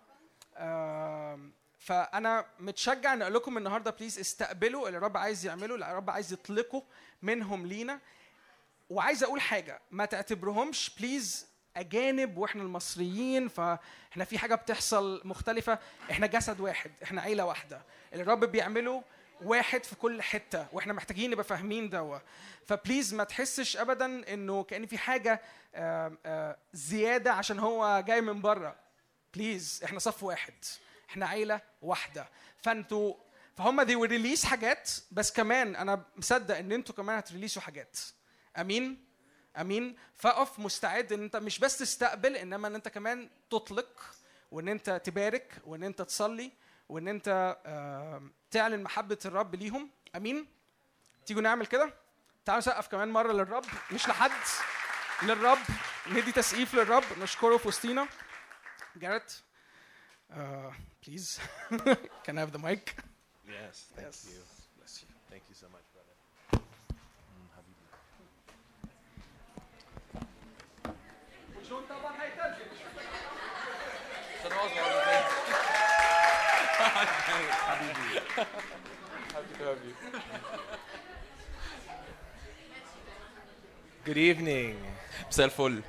فانا متشجع ان اقول لكم النهارده بليز استقبلوا اللي الرب عايز يعمله، اللي الرب عايز يطلقه منهم لينا. وعايز اقول حاجه، ما تعتبرهمش بليز اجانب واحنا المصريين فاحنا في حاجه بتحصل مختلفه. احنا جسد واحد، احنا عيله واحده. اللي الرب بيعمله واحد في كل حته واحنا محتاجين نبقى فاهمين ده. فبليز ما تحسش ابدا انه كأن في حاجه زياده عشان هو جاي من بره. بليز احنا صف واحد، احنا عيله واحده. فهم they will release حاجات، بس كمان انا مصدق ان انتوا كمان هتريليسوا حاجات. امين امين. فاقف مستعد ان انت مش بس تستقبل انما ان انت كمان تطلق وان انت تبارك وان انت تصلي وان انت تعلن محبه الرب ليهم. امين. تيجوا نعمل كده. تعالوا نسقف كمان مره للرب، مش لحد، للرب. ندي تسقيف للرب نشكره في وسطينا. جاريت please can I have the mic? Yes, thank Yes. you. Bless you. Thank you so much, brother. Good evening. مساء الفل.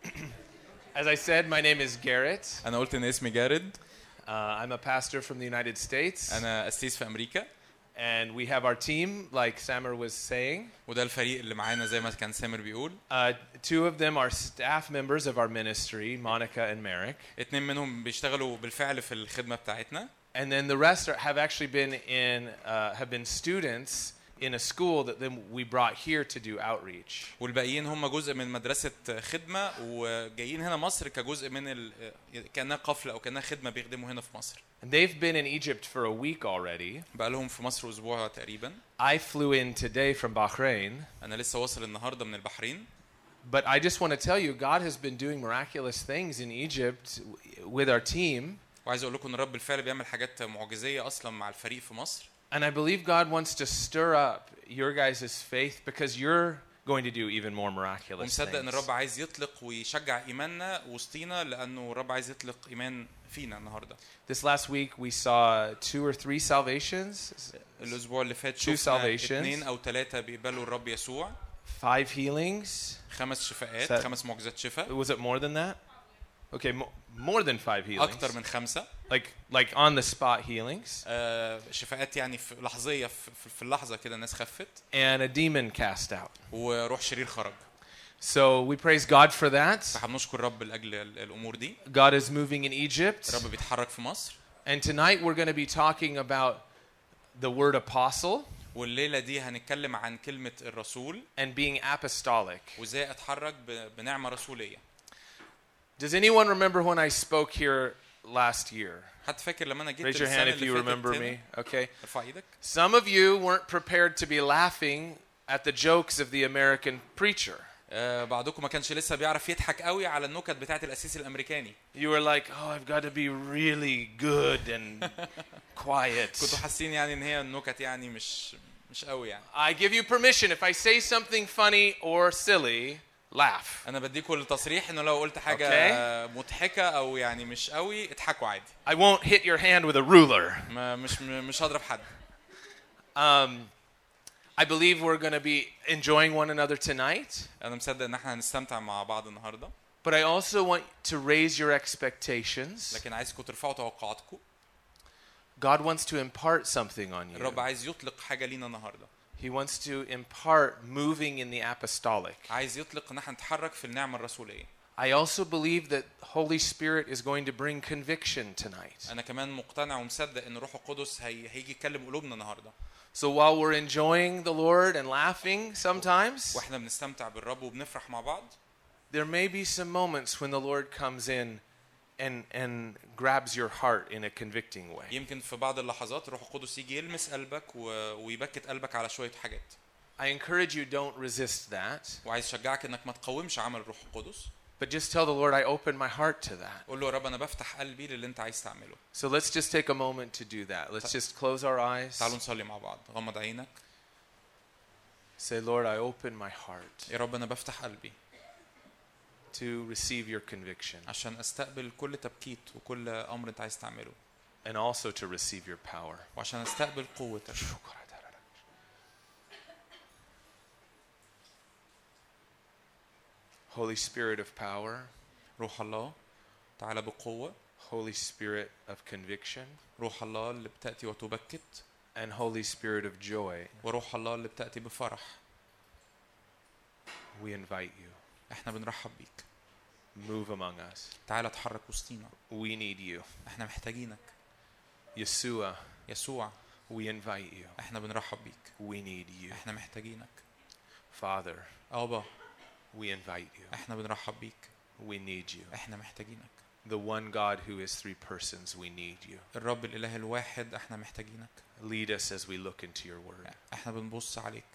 As I said, my name is Garrett. أنا قلت إن اسمي جارد. I'm a pastor from the United States. أنا أسيس في أمريكا. And we have our team, like Samar was saying. وده الفريق اللي معانا زي ما كان سامر بيقول. Two of them are staff members of our ministry, Monica and Merrick. 2 منهم بيشتغلوا بالفعل في الخدمة بتاعتنا. And then the rest have actually have been students in a school that then we brought here to do outreach. والباقيين هم جزء من مدرسة خدمة وجايين هنا مصر كجزء من كأنها قفلة أو كأنها خدمة بيخدموا هنا في مصر. And they've been in Egypt for a week already. بقى لهم في مصر أسبوع تقريبا. I flew in today from Bahrain. أنا لسه واصل النهاردة من البحرين. But I just want to tell you, God has been doing miraculous things in Egypt with our team. وعايز أقول لكم إن الرب بالفعل بيعمل حاجات معجزية أصلا مع الفريق في مصر. And I believe God wants to stir up your guys' faith because you're going to do even more miraculous ومصدق إن things. الرب عايز يطلق ويشجع إيماننا وسطينا لأنه الرب عايز يطلق إيمان فينا النهاردة. This last week we saw 2 or 3 salvations. الأسبوع اللي فات 2 شفنا salvations. 2 أو 3 بيقبلوا الرب يسوع. 5 healings. 5 شفاءات، 5 معجزات شفاء. Was it more than that? Okay, more than 5 healings. أكتر من 5. Like on the spot healings. شفاءات يعني في لحظية في اللحظة كده الناس خفت. And a demon cast out. وروح شرير خرج. So we praise God for that. فهنشكر الرب لأجل الأمور دي. God is moving in Egypt. الرب بيتحرك في مصر. And tonight we're going to be talking about the word apostle. والليلة دي هنتكلم عن كلمة الرسول. And being apostolic. وإزاي أتحرك بنعمة رسولية. Does anyone remember when I spoke here last year? حد فاكر لما انا جيت Raise your السنة hand if اللي you فاتت remember هنا؟ me. Okay. ارفع ايدك. Some of you weren't prepared to be laughing at the jokes of the American preacher. بعضكم ما كانش لسه بيعرف يضحك قوي على النكت بتاعت القسيس الامريكاني. You were like, oh, I've got to be really good and quiet. كنتوا حاسين يعني ان هي النكت يعني مش قوي يعني. I give you permission if I say something funny or silly, laugh. انا بديكم التصريح انه لو قلت حاجه مضحكه او يعني مش قوي اضحكوا عادي. I won't hit your hand with a ruler. مش هضرب حد. I believe we're going to be enjoying one another tonight. انا مصدق ان احنا هنستمتع مع بعض النهارده. But I also want to raise your expectations. لكن عايزكم ترفعوا توقعاتكم. God wants to impart something on you. الرب عايز يطلق حاجه لينا النهارده. He wants to impart moving in the apostolic. عايز يطلق ان احنا نتحرك في النعمه الرسوليه. I also believe that Holy Spirit is going to bring conviction tonight. انا كمان مقتنع ومصدق ان الروح القدس هيجي يكلم قلوبنا النهارده. So while we're enjoying the Lord and laughing sometimes, واحنا بنستمتع بالرب وبنفرح مع بعض, there may be some moments when the Lord comes in and grabs your heart in a convicting way. يمكن في بعض اللحظات الروح القدس يجي يلمس قلبك ويبكت قلبك على شويه حاجات. I encourage you, don't resist that. وعايز اشجعك انك ما تقاومش عمل الروح القدس. But just tell the Lord, I open my heart to that. قول له يا رب انا بفتح قلبي للي انت عايز تعمله. So let's just take a moment to do that. Let's just close our eyes. تعالوا نصلي مع بعض. غمض عينك. Say, Lord, I open my heart يا رب انا بفتح قلبي to receive your conviction عشان استقبل كل تبكيت وكل امر انت عايز تعمله. and also to receive your power. وعشان استقبل قوتك. Holy Spirit of power. روح الله تعالى بقوة. Holy Spirit of conviction. روح الله اللي بتأتي وتبكت. And Holy Spirit of joy. وروح الله اللي بتأتي بفرح. We invite you. احنا بنرحب بيك. Move among us. تعالى اتحرك وسطينا. We need you. احنا محتاجينك. Yeshua. يسوع. We invite you. احنا بنرحب بيك. We need you. احنا محتاجينك. Father. أبا. We invite you. احنا بنرحب بيك. We need you. احنا محتاجينك. The one God who is three persons, we need you. الرب الإله الواحد احنا محتاجينك. Lead us as we look into your word. احنا بنبص عليك.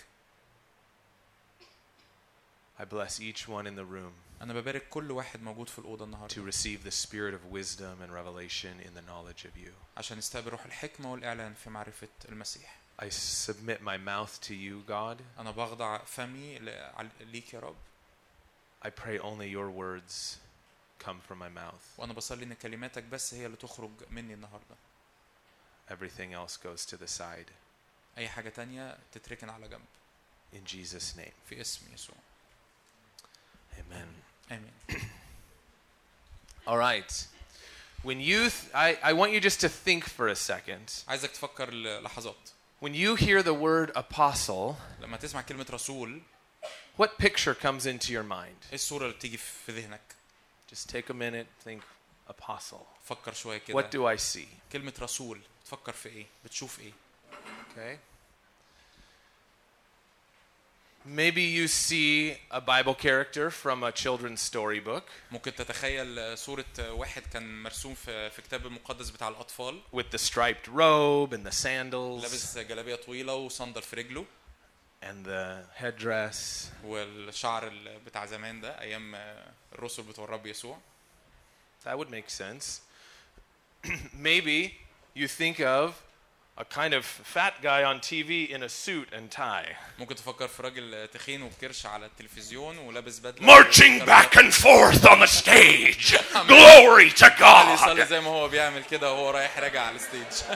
I bless each one in the room أنا ببارك كل واحد موجود في الأوضة النهاردة. to receive the spirit of wisdom and revelation in the knowledge of you. عشان يستقبل روح الحكمة والإعلان في معرفة المسيح. I submit my mouth to you, God. أنا بخضع فمي ليك يا رب. I pray only your words come from my mouth. وأنا بصلي إن كلماتك بس هي اللي تخرج مني النهاردة. Everything else goes to the side. أي حاجة تانية تتركن على جنب. In Jesus' name. في اسم يسوع. Amen. آمين. All right. When you, I want you just to think for a second. عايزك تفكر لحظات. When you hear the word apostle, لما تسمع كلمة رسول, what picture comes into your mind? إيه الصورة اللي بتيجي في ذهنك؟ Just take a minute, think apostle. فكر شوية كده. What do I see? كلمة رسول تفكر في إيه؟ بتشوف إيه؟ Okay. Maybe you see a Bible character from a children's storybook. ممكن تتخيل صورة واحد كان مرسوم في الكتاب المقدس بتاع الأطفال. With the striped robe and the sandals. لابس جلابية طويلة وصندل في رجله. And the headdress. والشعر بتاع زمان ده أيام الرسل بتوع الرب يسوع. That would make sense. Maybe you think of a kind of fat guy on TV in a suit and tie. ممكن تفكر في راجل تخين وبكرش على التلفزيون ولابس بدلة. Marching back and forth on the stage. Glory to God. يصلي زي ما هو بيعمل كده وهو رايح راجع على الستيج.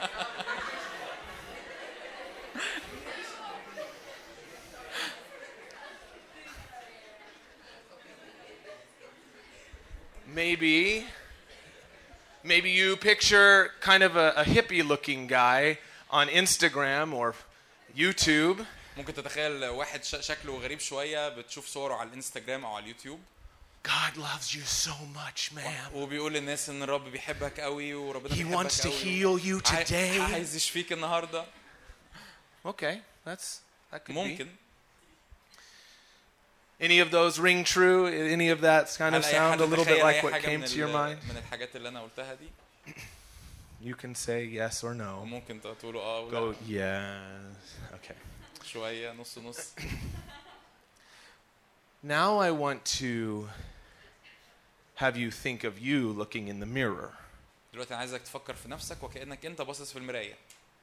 Maybe you picture kind of a hippie-looking guy on Instagram or YouTube. ممكن تتخيل واحد شكله غريب شوية بتشوف صوره على الانستغرام أو على اليوتيوب. God loves you so much, man. وبيقول للناس إن الرب بيحبك قوي وربنا He بيحبك wants to قوي. heal you today. عايز يشفيك النهاردة. Okay, that could ممكن. be. Any of those ring true? Any of that kind of هل أي sound حد a little bit تخيل like أي what حاجة came to your mind? من الحاجات اللي أنا قلتها دي؟ You can say yes or no. وممكن تقولوا Go ولا yes. Okay. شوية نص نص. Now I want to have you think of you looking in the mirror. دلوقتي أنا عايزك تفكر في نفسك وكأنك أنت باصص في المراية.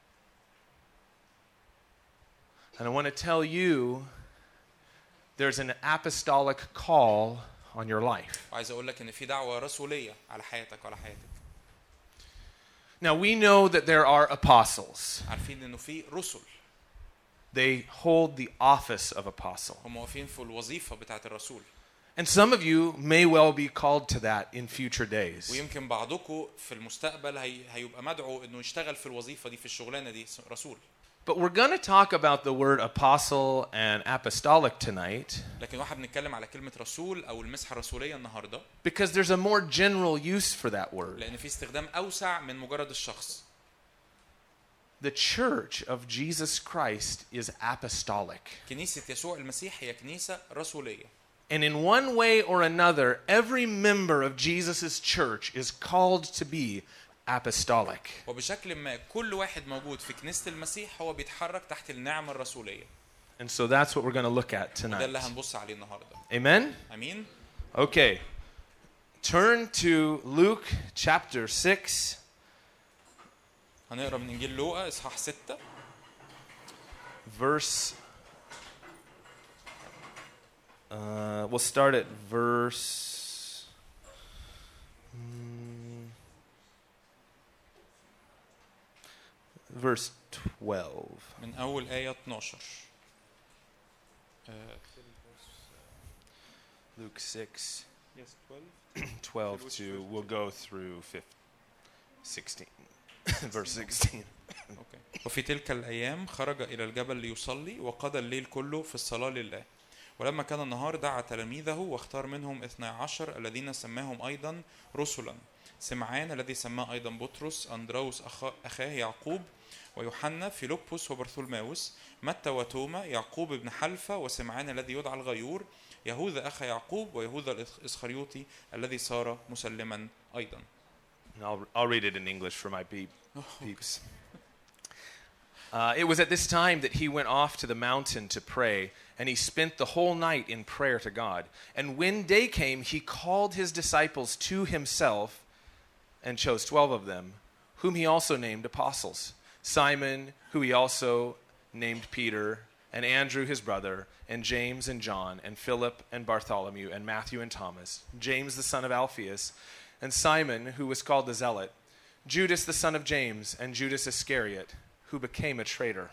And I want to tell you there's an apostolic call on your life. وعايز أقول لك إن في دعوة رسولية على حياتك وعلى حياتك. Now we know that there are apostles. عارفين إنه في رسل. They hold the office of apostle. هم واقفين في الوظيفة بتاعة الرسول. And some of you may well be called to that in future days. ويمكن بعضكم في المستقبل هيبقى مدعو إنه يشتغل في الوظيفة دي في الشغلانة دي رسول. But we're going to talk about the word apostle and apostolic tonight لكن واحد بنتكلم على كلمة رسول أو المسحة الرسولية النهاردة. because there's a more general use for that word. لأن في استخدام أوسع من مجرد الشخص. The church of Jesus Christ is apostolic. كنيسة يسوع المسيح هي كنيسة رسولية. And in one way or another, every member of Jesus' church is called to be apostolic. وبشكل ما كل واحد موجود في كنيسة المسيح هو بيتحرك تحت النعمة الرسولية. And so that's what we're going to look at وده tonight. اللي هنبص عليه النهاردة. Amen? أمين. Okay. Turn to Luke chapter 6. هنقرأ من إنجيل لوقا إصحاح 6. Verse we'll start at verse 12. من أول آية 12. Luke 6. Yes, 12 to we'll go through 16. Verse 16. أوكي. وفي تلك الأيام خرج إلى الجبل ليصلي وقضى الليل كله في الصلاة لله. ولما كان النهار دعا تلاميذه واختار منهم 12 الذين سماهم أيضا رسلا. سمعان الذي سماه أيضا بطرس، أندراوس أخاه يعقوب، ويوحنا، فيلبس وبرثولماوس، متى وتوما، يعقوب بن حلفة، وسمعان الذي يدعى الغيور، يهوذا أخا يعقوب، ويهوذا الإسخريوطي الذي صار مسلما أيضا. I'll read it in English for my peeps. It was at this time that he went off to the mountain to pray, and he spent the whole night in prayer to God. And when day came, he called his disciples to himself and chose 12 of them, whom he also named apostles. Simon, who he also named Peter, and Andrew his brother, and James and John, and Philip and Bartholomew, and Matthew and Thomas, James the son of Alphaeus, and Simon, who was called the Zealot, Judas the son of James, and Judas Iscariot, who became a traitor.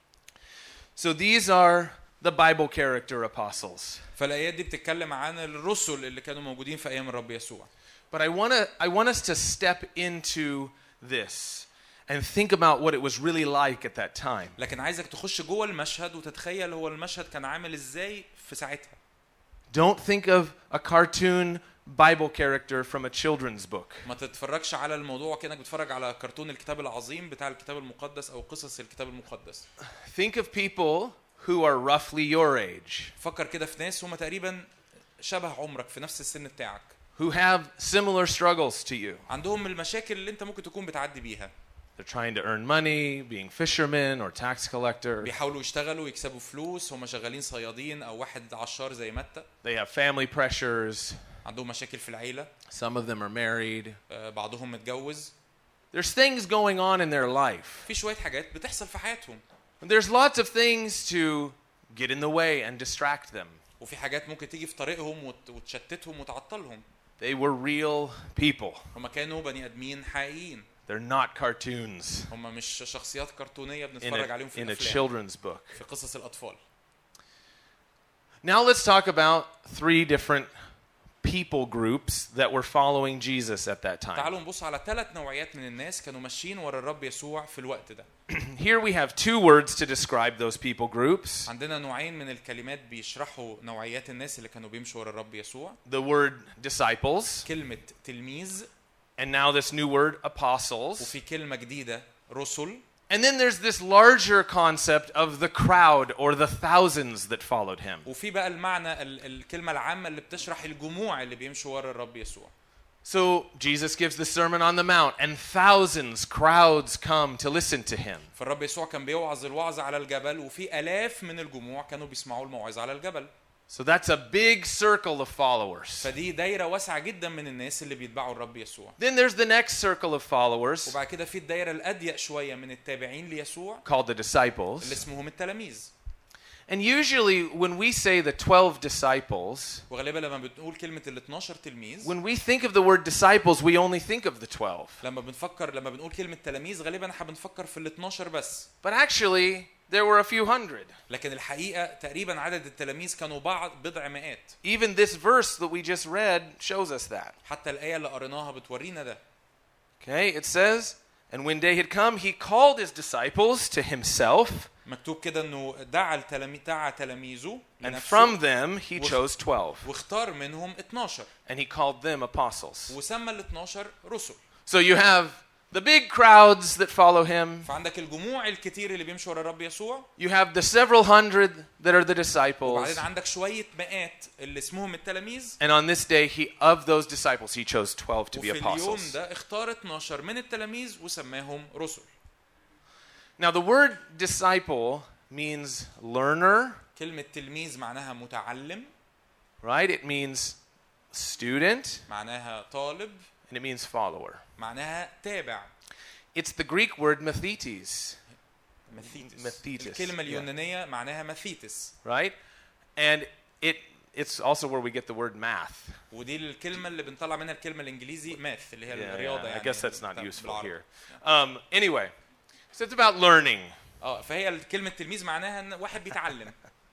So these are the Bible character apostles. فالآيات دي بتتكلم عن الرسل اللي كانوا موجودين في أيام الرب يسوع. But I want us to step into this and think about what it was really like at that time. لكن عايزك تخش جوه المشهد وتتخيل هو المشهد كان عامل ازاي في ساعتها. Don't think of a cartoon Bible character from a children's book. ما تتفرجش على الموضوع كأنك بتتفرج على كرتون الكتاب العظيم بتاع الكتاب المقدس أو قصص الكتاب المقدس. Think of people who are roughly your age. فكر كده في ناس هم تقريبا شبه عمرك في نفس السن بتاعك. Who have similar struggles to you. عندهم المشاكل اللي انت ممكن تكون بتعدي بيها. They're trying to earn money, being fishermen or tax collector. بيحاولوا يشتغلوا يكسبوا فلوس، هم شغالين صيادين أو واحد عشار زي متى. They have family pressures. عندهم مشاكل في العيلة. Some of them are married. بعضهم متجوز. There's things going on in their life. في شوية حاجات بتحصل في حياتهم. There's lots of things to get in the way and distract them. وفي حاجات ممكن تيجي في طريقهم وتشتتهم وتعطلهم. They were real people. هم كانوا بني آدمين حقيقيين. They're not cartoons هم مش شخصيات كرتونية بنتفرج عليهم في in a الأفلام. children's book. في قصص الأطفال. Now let's talk about 3 different people groups that were following Jesus at that time. تعالوا نبص على 3 نوعيات من الناس كانوا ماشيين ورا الرب يسوع في الوقت ده. Here we have 2 words to describe those people groups. عندنا نوعين من الكلمات بيشرحوا نوعيات الناس اللي كانوا بيمشوا ورا الرب يسوع. The word disciples. كلمة تلميذ. And now this new word apostles. وفي كلمة جديدة رسل. And then there's this larger concept of the crowd or the thousands that followed him. وفي بقى المعنى الكلمة العامة اللي بتشرح الجموع اللي بيمشوا ورا الرب يسوع. So Jesus gives the Sermon on the Mount, and thousands, crowds come to listen to him. فالرب يسوع كان بيوعظ الوعظ على الجبل وفي آلاف من الجموع كانوا بيسمعوا الموعظة على الجبل. So that's a big circle of followers. فدي دايرة واسعة جدا من الناس اللي بيتبعوا الرب يسوع. Then there's the next circle of followers وبعد كده في الدايرة الأضيق شوية من التابعين ليسوع called the disciples. اللي اسمهم التلاميذ. And usually when we say the 12 disciples, وغالبا لما بنقول كلمة ال 12 تلميذ when we think of the word disciples, we only think of the 12. لما بنقول كلمة تلاميذ غالبا احنا بنفكر في ال 12 بس. But actually, there were a few hundred. لكن الحقيقة تقريبا عدد التلاميذ كانوا بضع مئات. Even this verse that we just read shows us that. حتى الآية اللي قريناها بتورينا ده. Okay, it says, and when day had come, he called his disciples to himself. مكتوب كده انه دعا تلاميذه And from them he chose 12. واختار منهم 12. And he called them apostles. وسمى ال 12 رسل. So you have the big crowds that follow him. فعندك الجموع الكتير اللي بيمشوا ورا الرب يسوع. You have the several hundred that are the disciples. وبعدين عندك شوية مئات اللي اسمهم التلاميذ. And on this day, of those disciples, he chose 12 to be وفي اليوم apostles. ده اختار 12 من التلاميذ وسماهم رسل. Now the word disciple means learner, كلمة تلميذ معناها متعلم. right? It means student, معناها طالب. and it means follower. معناها تابع. It's the Greek word mathetes. ماثيتس. الكلمة اليونانية معناها ماثيتس. Right? And it's also where we get the word math. ودي الكلمة اللي بنطلع منها الكلمة الإنجليزي math اللي هي الرياضة يعني. I guess that's not useful here. Anyway, so it's about learning. فهي كلمة تلميذ معناها إن واحد بيتعلم.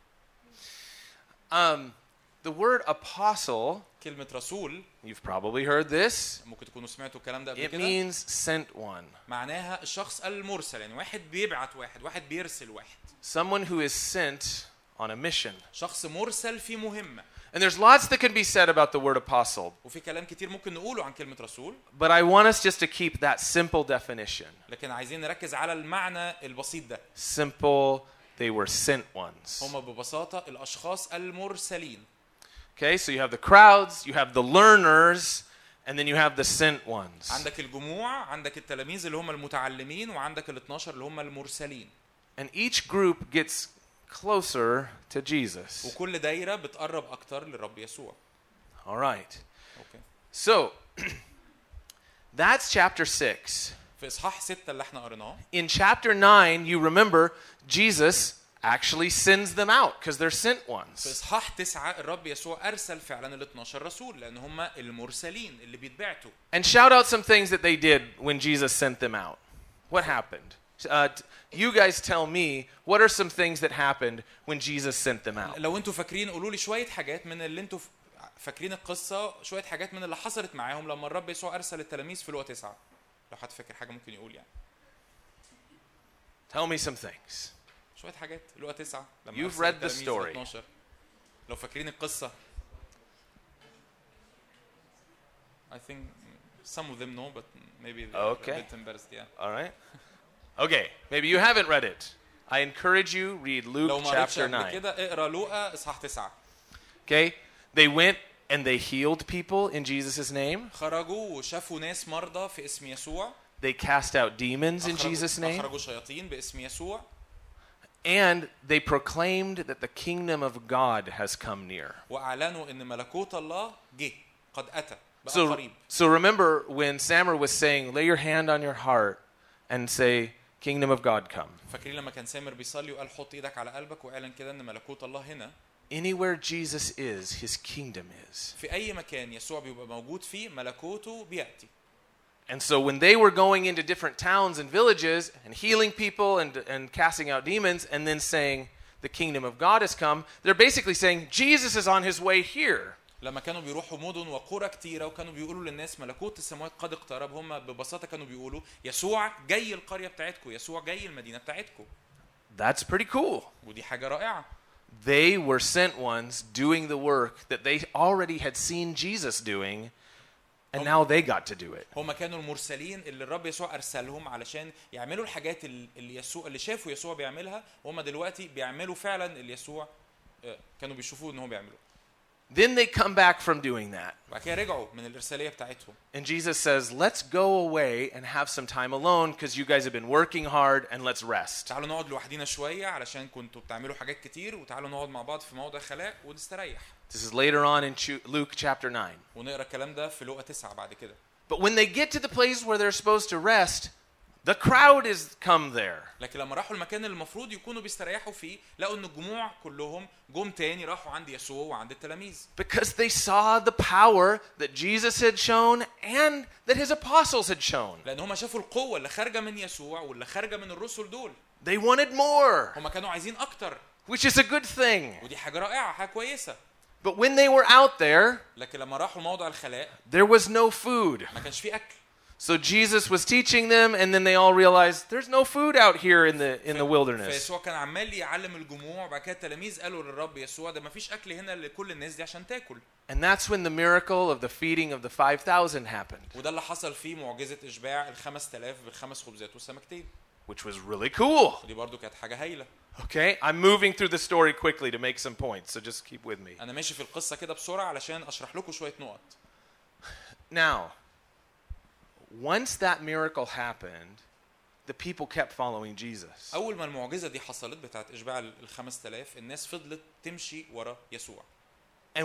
The word apostle, كلمة رسول, you've probably heard this. ممكن تكونوا سمعتوا الكلام ده قبل It كده. means sent one. معناها الشخص المرسل، يعني واحد بيبعت واحد بيرسل واحد. Someone who is sent on a mission. شخص مرسل في مهمة. And there's lots that can be said about the word apostle. وفي كلام كتير ممكن نقوله عن كلمة رسول. But I want us just to keep that simple definition. لكن عايزين نركز على المعنى البسيط ده. Simple, they were sent ones. هم ببساطة الأشخاص المرسلين. Okay, so you have the crowds, you have the learners, and then you have the sent ones. عندك الجموع، عندك التلاميذ اللي هم المتعلمين، وعندك ال 12 اللي هم المرسلين. And each group gets closer to Jesus. وكل دايرة بتقرب أكتر للرب يسوع. All right. Okay. So, that's chapter 6. في إصحاح 6 اللي احنا قريناه. In chapter 9, you remember Jesus actually sends them out because they're sent في ones. إصحاح 9 الرب يسوع أرسل فعلا ال 12 رسول لأن هم المرسلين اللي بيتبعتوا. And shout out some things that they did when Jesus sent them out. What happened? You guys tell me, what are some things that happened when Jesus sent them out? لو انتوا فاكرين قولوا لي شوية حاجات من اللي انتوا فاكرين القصة، شوية حاجات من اللي حصلت معاهم لما الرب يسوع أرسل التلاميذ في لوقا 9. لو حد فاكر حاجة ممكن يقول يعني. Tell me some things. شوية حاجات لوقا 9 لما You've أرسل read the التلاميذ story. 12. لو فاكرين القصة. I think some of them know, but maybe they're Okay. a bit embarrassed. Yeah. All right. Okay, maybe you haven't read it. I encourage you, read لو Luke ما قريتش chapter قبل 9. كده اقرا لوقا إصحاح 9. Okay? They went and they healed people in Jesus' name. خرجوا وشافوا ناس مرضى في اسم يسوع. They cast out demons in Jesus' name. أخرجوا شياطين باسم يسوع. And they proclaimed that the kingdom of God has come near. وأعلنوا إن ملكوت الله جه قد أتى بقى So, قريب. so remember when Samuel was saying, lay your hand on your heart and say, kingdom of God come. فاكرين لما كان سامر بيصلي وقال حط ايدك على قلبك واعلن كده ان ملكوت الله هنا. Anywhere Jesus is, his kingdom is. في أي مكان يسوع بيبقى موجود فيه ملكوته بيأتي. And so when they were going into different towns and villages and healing people and casting out demons and then saying, the kingdom of God has come, they're basically saying, Jesus is on his way here. لما كانوا بيروحوا مدن وقرى كتيرة وكانوا بيقولوا للناس ملكوت السماوات قد اقترب، هم ببساطة كانوا بيقولوا يسوع جاي القرية بتاعتكم، يسوع جاي المدينة بتاعتكم. That's pretty cool. ودي حاجة رائعة. They were sent ones doing the work that they already had seen Jesus doing And now they got to do it. هم كانوا المرسلين اللي الرب يسوع ارسلهم علشان يعملوا الحاجات اللي شافوا يسوع بيعملها، وهم دلوقتي بيعملوا فعلا اللي يسوع كانوا بيشوفوه ان هو بيعملوه. Then they come back from doing that. بعد كده رجعوا من الارساليه بتاعتهم. And Jesus says, let's go away and have some time alone because you guys have been working hard and let's rest. تعالوا نقعد لوحدينا شويه علشان كنتوا بتعملوا حاجات كتير، وتعالوا نقعد مع بعض في موضع خلاء ونستريح. This is later on in Luke chapter 9. ونقرا الكلام ده في لوقا 9 بعد كده. But when they get to the place where they're supposed to rest, the crowd is come there. لكن لما راحوا المكان اللي المفروض يكونوا بيستريحوا فيه، لقوا ان الجموع كلهم جم تاني راحوا عند يسوع وعند التلاميذ. Because they saw the power that Jesus had shown and that his apostles had shown. لان هم شافوا القوه اللي خارجه من يسوع واللي خارجه من الرسل دول. They wanted more, هم كانوا عايزين اكتر. which is a good thing. ودي حاجه رائعه، حاجه كويسه. But when they were out there, لكن لما راحوا موضع الخلاء there was no food. ما كانش فيه اكل. So Jesus was teaching them, and then they all realized there's no food out here in the wilderness. فيسوع كان عمال يعلم الجموع، وبعد كده التلاميذ قالوا للرب يسوع ده ما فيش اكل هنا لكل الناس دي عشان تاكل. And that's when the miracle of the feeding of the 5,000 happened. وده اللي حصل فيه معجزه اشباع ال5000 بالخمس خبزات والسمكتين. Which was really cool. دي برضو كانت حاجه هايله. Okay, I'm moving through the story quickly to make some points, so just keep with me. انا ماشي في القصه كده بسرعه علشان اشرح لكم شويه نقط. Now, once that miracle happened, the people kept following Jesus. اول ما المعجزه دي حصلت بتاعت اشباع ال5000، الناس فضلت تمشي ورا يسوع. And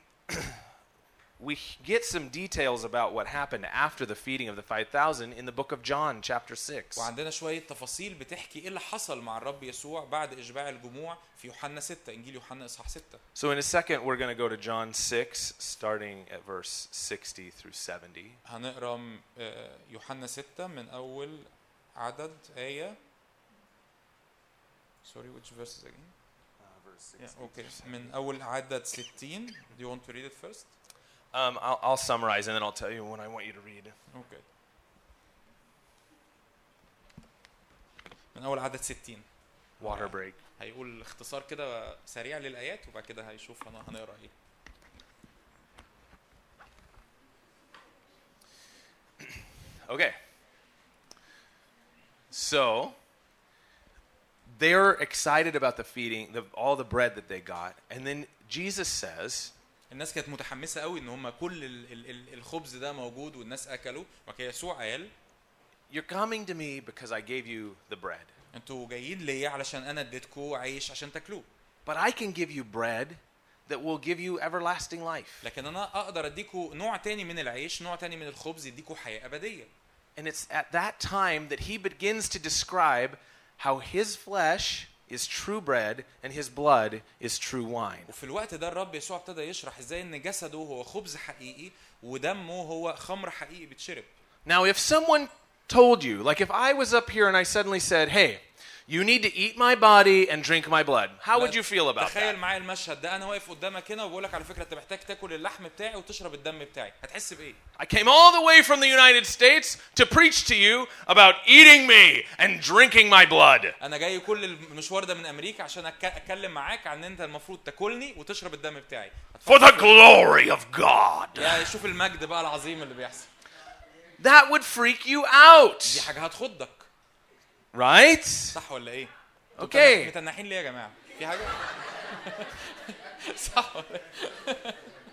we get some details about what happened after the feeding of the 5,000 in the book of John chapter 6. وعندنا شويه تفاصيل بتحكي ايه اللي حصل مع الرب يسوع بعد اشباع الجموع في يوحنا 6، انجيل يوحنا اصحاح 6. So in a second we're going to go to John 6 starting at verse 60 through 70. هنقرا يوحنا 6 من اول عدد ايه. Sorry, which verses again? Verse 60. Yeah, okay. من اول عدد 60. Do you want to read it first? I'll summarize and then I'll tell you when I want you to read. Okay. من اول عدد 60. Water break. هيقول اختصار كده سريع للايات وبعد كده هيشوف هنقرا ايه. Okay. So they're excited about the feeding, all the bread that they got, and then Jesus says, الناس كانت متحمسه قوي ان هم كل الخبز ده موجود والناس اكلوا، وكان يسوع قال You're coming to me because I gave you the bread. انتوا جايين ليا علشان انا اديتكم عيش عشان تاكلوه. But I can give you bread that will give you everlasting life. لكن انا اقدر اديكم نوع تاني من العيش، نوع تاني من الخبز يديكم حياه ابديه. And it's at that time that he begins to describe how his flesh is true bread and his blood is true wine. وفي الوقت ده الرب يسوع ابتدى يشرح ازاي ان جسده هو خبز حقيقي ودمه هو خمر حقيقي بيتشرب. Now if someone told you, like if I was up here and I suddenly said, hey, you need to eat my body and drink my blood, how would you feel about تخيل that? معايا المشهد ده، انا واقف قدامك هنا وبقول لك على فكره انت محتاج تاكل اللحم بتاعي وتشرب الدم بتاعي، هتحس بايه؟ I came all the way from the United States to preach to you about eating me and drinking my blood. انا جاي كل المشوار ده من امريكا عشان اتكلم معاك عن ان انت المفروض تاكلني وتشرب الدم بتاعي. For the glory of God. يعني شوف المجد بقى العظيم اللي بيحصل. That would freak you out. دي حاجه هتخضك. Right? صح ولا ايه؟ Okay. متنحين ليه يا جماعه؟ في حاجه؟ صح ولا ايه؟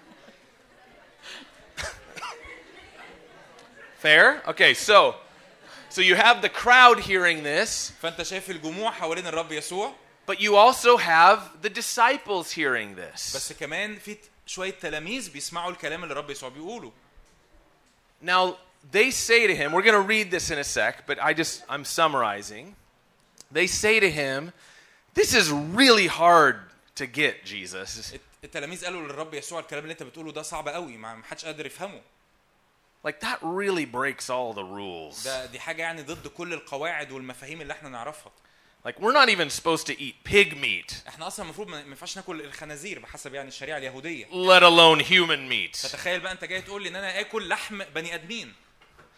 Fair? Okay, so you have the crowd hearing this. فانت شايف الجموع حوالين الرب يسوع. But you also have the disciples hearing this. بس كمان في شويه تلاميذ بيسمعوا الكلام اللي الرب يسوع بيقوله. Now they say to him, we're going to read this in a sec, but I'm summarizing. They say to him, this is really hard to get, Jesus. التلاميذ قالوا للرب يسوع الكلام اللي انت بتقوله ده صعب قوي، ما حدش قادر يفهمه. Like that really breaks all the rules. دي حاجه يعني ضد كل القواعد والمفاهيم اللي احنا نعرفها. Like we're not even supposed to eat pig meat. احنا اصلا المفروض ما ينفعش ناكل الخنازير بحسب يعني الشريعه اليهوديه. Let alone human meat. فتخيل بقى انت جاي تقول لي ان انا اكل لحم بني ادمين.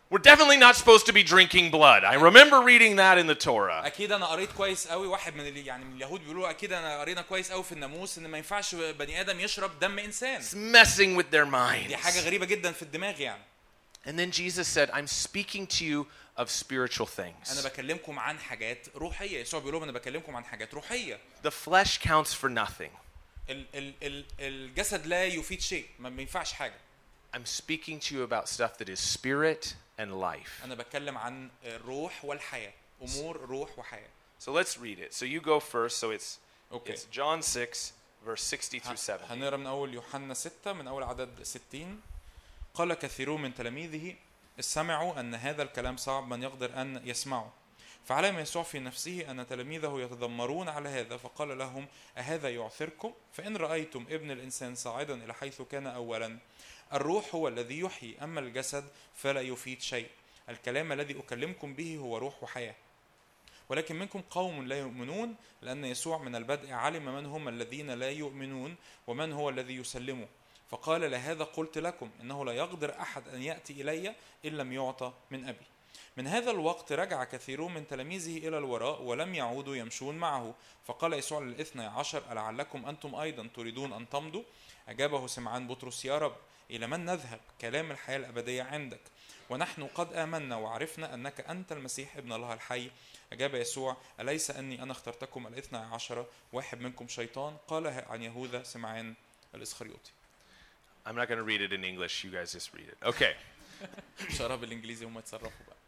We're definitely not supposed to be drinking blood. I remember reading that in the Torah. اكيد انا قريت كويس قوي، واحد من يعني من اليهود بيقولوا اكيد انا قرينا كويس قوي في الناموس ان ما ينفعش بني ادم يشرب دم انسان. It's messing with their minds. دي حاجه غريبه جدا في الدماغ يعني. And then Jesus said, I'm speaking to you of spiritual things. انا بكلمكم عن حاجات روحيه. يسوع بيقول لهم انا بكلمكم عن حاجات روحيه. The flesh counts for nothing. الجسد لا يفيد شيء، ما بينفعش حاجه. I'm speaking to you about stuff that is spirit and life. انا بتكلم عن الروح والحياه، امور روح وحياه. So let's read it. So you go first. So it's Okay. it's John 6 verse 60 through 70. هنقرا من اول يوحنا 6 من اول عدد 60. قال كثيرون من تلاميذه سمعوا ان هذا الكلام صعب من يقدر ان يسمعه، فعلم يسوع في نفسه ان تلاميذه يتذمرون على هذا، فقال لهم أهذا يعثركم؟ فإن رأيتم ابن الإنسان صاعدا إلى حيث كان أولا. الروح هو الذي يحيي، أما الجسد فلا يفيد شيء. الكلام الذي أكلمكم به هو روح وحياة. ولكن منكم قوم لا يؤمنون، لأن يسوع من البدء علم من هم الذين لا يؤمنون ومن هو الذي يسلمه، فقال لهذا قلت لكم إنه لا يقدر أحد أن يأتي إلي إن لم يعطى من أبي. من هذا الوقت رجع كثيرون من تلاميذه إلى الوراء ولم يعودوا يمشون معه، فقال يسوع للاثني عشر ألعلكم أنتم أيضا تريدون أن تمضوا؟ أجابه سمعان بطرس يا رب إلى من نذهب؟ كلام الحياة الأبدية عندك، ونحن قد آمنا وعرفنا أنك أنت المسيح ابن الله الحي. أجاب يسوع أليس أني أنا اخترتكم الاثني عشر واحد منكم شيطان؟ قال عن يهوذا سمعان الإسخريوطي. I'm not going to read it in English. You guys just read it. Okay. شرح بالإنجليزي هم يتصرفوا بقى.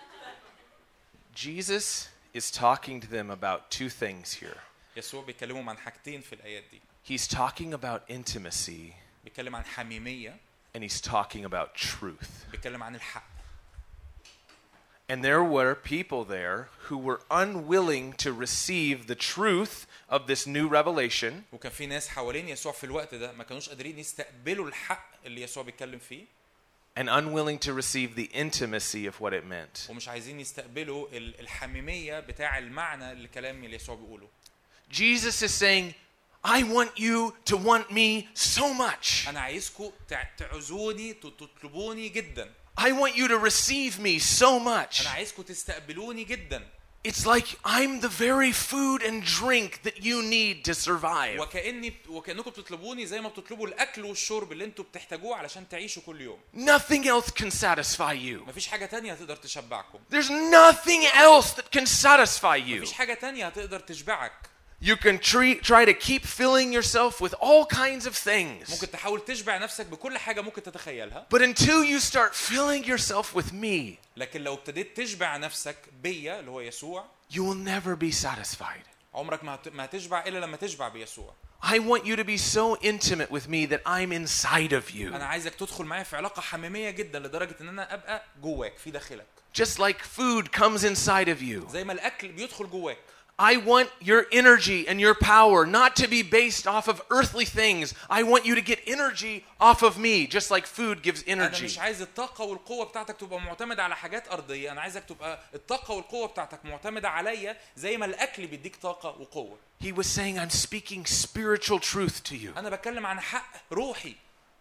Jesus is talking to them about two things here. يسوع بيكلمهم عن حاجتين في الآيات دي. He's talking about intimacy بيتكلم عن حميمية. and he's talking about truth. بيتكلم عن الحق. And there were people there who were unwilling to receive the truth of this new revelation. وكان في ناس حوالين يسوع في الوقت ده ما كانوش قادرين يستقبلوا الحق اللي يسوع بيتكلم فيه. And unwilling to receive the intimacy of what it meant. ومش عايزين يستقبلوا الحميمية بتاع المعنى اللي كلام اللي يسوع بيقوله. Jesus is saying, I want you to want me so much. أنا عايزكم تعزوني تطلبوني جدا. I want you to receive me so much. أنا عايزكم تستقبلوني جدا. It's like I'm the very food and drink that you need to survive. وكأنكم بتطلبوني زي ما بتطلبوا الأكل والشرب اللي أنتوا بتحتاجوه علشان تعيشوا كل يوم. Nothing else can satisfy you. مفيش حاجة تانية هتقدر تشبعكم. There's nothing else that can satisfy you. مفيش حاجة تانية هتقدر تشبعك. You can try to keep filling yourself with all kinds of things. ممكن تحاول تشبع نفسك بكل حاجة ممكن تتخيلها. But until you start filling yourself with me, لكن لو ابتديت تشبع نفسك بيا اللي هو يسوع, you will never be satisfied. عمرك ما هتشبع إلا لما تشبع بيسوع. I want you to be so intimate with me that I'm inside of you. أنا عايزك تدخل معايا في علاقة حميمية جدا لدرجة إن أنا أبقى جواك في داخلك. Just like food comes inside of you. زي ما الأكل بيدخل جواك. I want your energy and your power not to be based off of earthly things. I want you to get energy off of me, just like food gives أنا energy. مش عايز الطاقة والقوة بتاعتك تبقى معتمدة على حاجات أرضية. أنا عايزك تبقى الطاقة والقوة بتاعتك معتمدة عليا زي ما الأكل بيديك طاقة وقوة. He was saying, I'm speaking spiritual truth to you. أنا بتكلم عن حق روحي.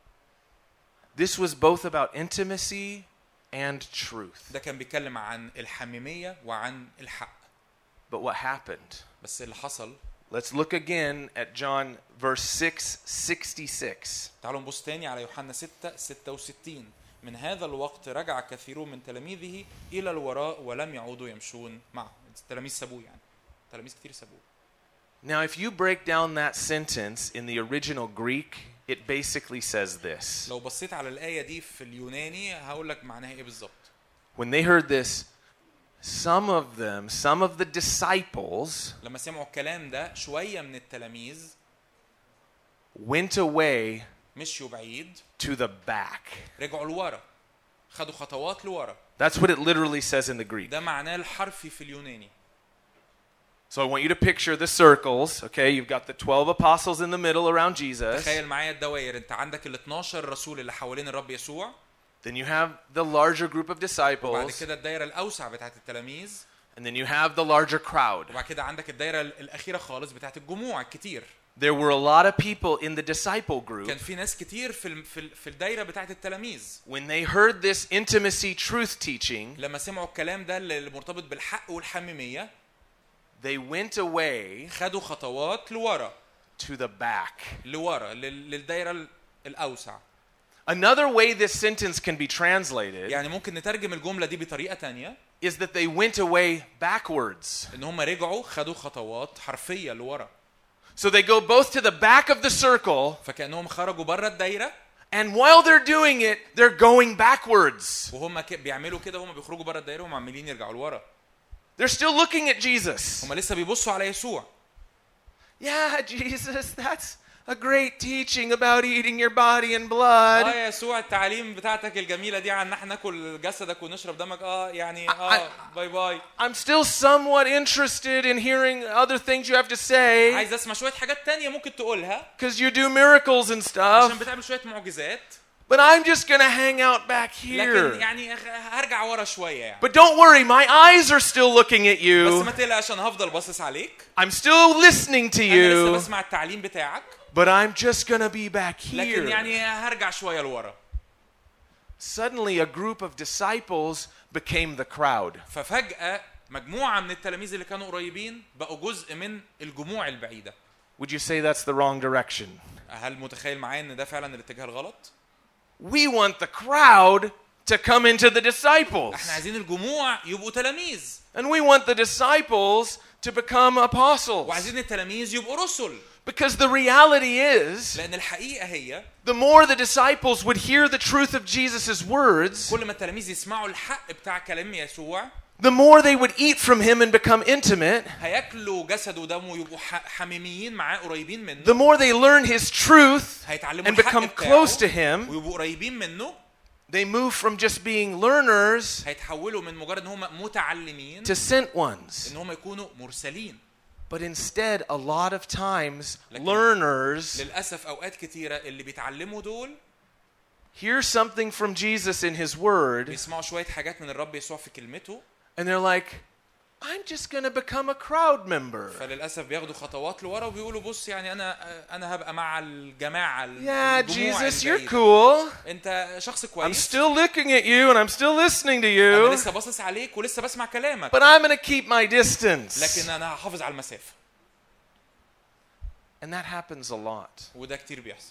This was both about intimacy and truth. ده كان بيتكلم عن الحميمية وعن الحق. But what happened? بس اللي حصل. Let's look again at John verse 6:66. تعالوا نبص تاني على يوحنا 6:66. من هذا الوقت رجع كثيرون من تلاميذه إلى الوراء ولم يعودوا يمشون معه. التلاميذ سابوه يعني. تلاميذ كتير سابوه. Now if you break down that sentence in the original Greek, it basically says this. لو بصيت على الآية دي في اليوناني هقول لك معناها إيه بالظبط. When they heard this, some of the disciples لما سمعوا الكلام ده شوية من التلاميذ went away مشيوا بعيد to the back. رجعوا لورا خدوا خطوات لورا. That's what it literally says in the Greek. ده معناه الحرفي في اليوناني. So I want you to picture the circles, okay? You've got the 12 apostles in the middle around Jesus. تخيل معايا الدوائر. انت عندك ال 12 رسول اللي حوالين الرب يسوع. Then you have the larger group of وبعد disciples. كده الدائرة الأوسع بتاعت التلاميذ. And then you have the larger crowd. وبعد كده عندك الدائرة الأخيرة خالص بتاعت الجموع الكتير. There were a lot of people in the disciple group. كان في ناس كتير في الدايره بتاعه التلاميذ. When they heard this intimacy truth teaching, لما سمعوا الكلام ده اللي مرتبط بالحق والحميميه they went away خدوا خطوات لورا to the back. لورا للدايره الاوسع. Another way this sentence can be translated يعني ممكن نترجم الجمله دي بطريقه تانية is that they went away backwards. ان هم رجعوا خدوا خطوات حرفيه لورا. So they go both to the back of the circle, فكانهم خرجوا بره الدايره and while they're doing it, they're going backwards. وهم بيعملوا كده وهم بيخرجوا بره الدايره وهم عمالين يرجعوا لورا. They're still looking at Jesus. هم لسه بيبصوا على يسوع. Yeah, Jesus, that's a great teaching about eating your body and blood. يا يسوع التعليم بتاعتك الجميله دي عن احنا ناكل جسدك ونشرب دمك يعني باي باي. I'm still somewhat interested in hearing other things you have to say. عايز اسمع شويه حاجات تانية ممكن تقولها. Because you do miracles and عشان stuff. بتعمل شويه معجزات. But I'm just going to hang out back لكن here. يعني هرجع ورا شويه يعني. But don't worry, my eyes are still looking at بس you. ما تقلقش انا هفضل باصص عليك. I'm still listening to انا لسه you. بسمع التعليم بتاعك. But I'm just going to be back لكن here. يعني هرجع شويه لورا. Suddenly a group of disciples became the crowd. ففجأة مجموعة من التلاميذ اللي كانوا قريبين بقوا جزء من الجموع البعيدة. Would you say that's the wrong direction? هل متخيل معايا ان ده فعلا الاتجاه الغلط؟ We want the crowd to come into the disciples. احنا عايزين الجموع يبقوا تلاميذ. And we want the disciples to become apostles. وعايزين التلاميذ يبقوا رسل. Because the reality is, لأن الحقيقة هي the more the disciples would hear the truth of Jesus' words, كل ما التلاميذ يسمعوا الحق بتاع كلام يسوع the more they would eat from him and become intimate, هياكلوا جسد ودمه ويبقوا حميميين معاه قريبين منه. the more they learn his truth هيتعلموا and الحق become close to بتاعه him, ويبقوا قريبين منه. they move from just being learners هيتحولوا من مجرد ان هم متعلمين to sent ones. ان هم يكونوا مرسلين. But instead, a lot of times, learners للأسف أوقات كتيرة اللي بيتعلموا دول hear something from Jesus in his word, بيسمعوا شوية حاجات من الرب يسوع في كلمته. and they're like, I'm just going to become a crowd member. فللأسف بياخدوا خطوات لورا وبيقولوا بص يعني أنا هبقى مع الجماعة. Yeah, الجموع Jesus, you're البعيدة. cool. أنت شخص I'm كويس. still looking at you and I'm still listening to أنا you, لسه باصص عليك ولسه بسمع كلامك. but I'm going to keep my distance. لكن أنا هحافظ على المسافة. And that happens a lot. وده كتير بيحصل.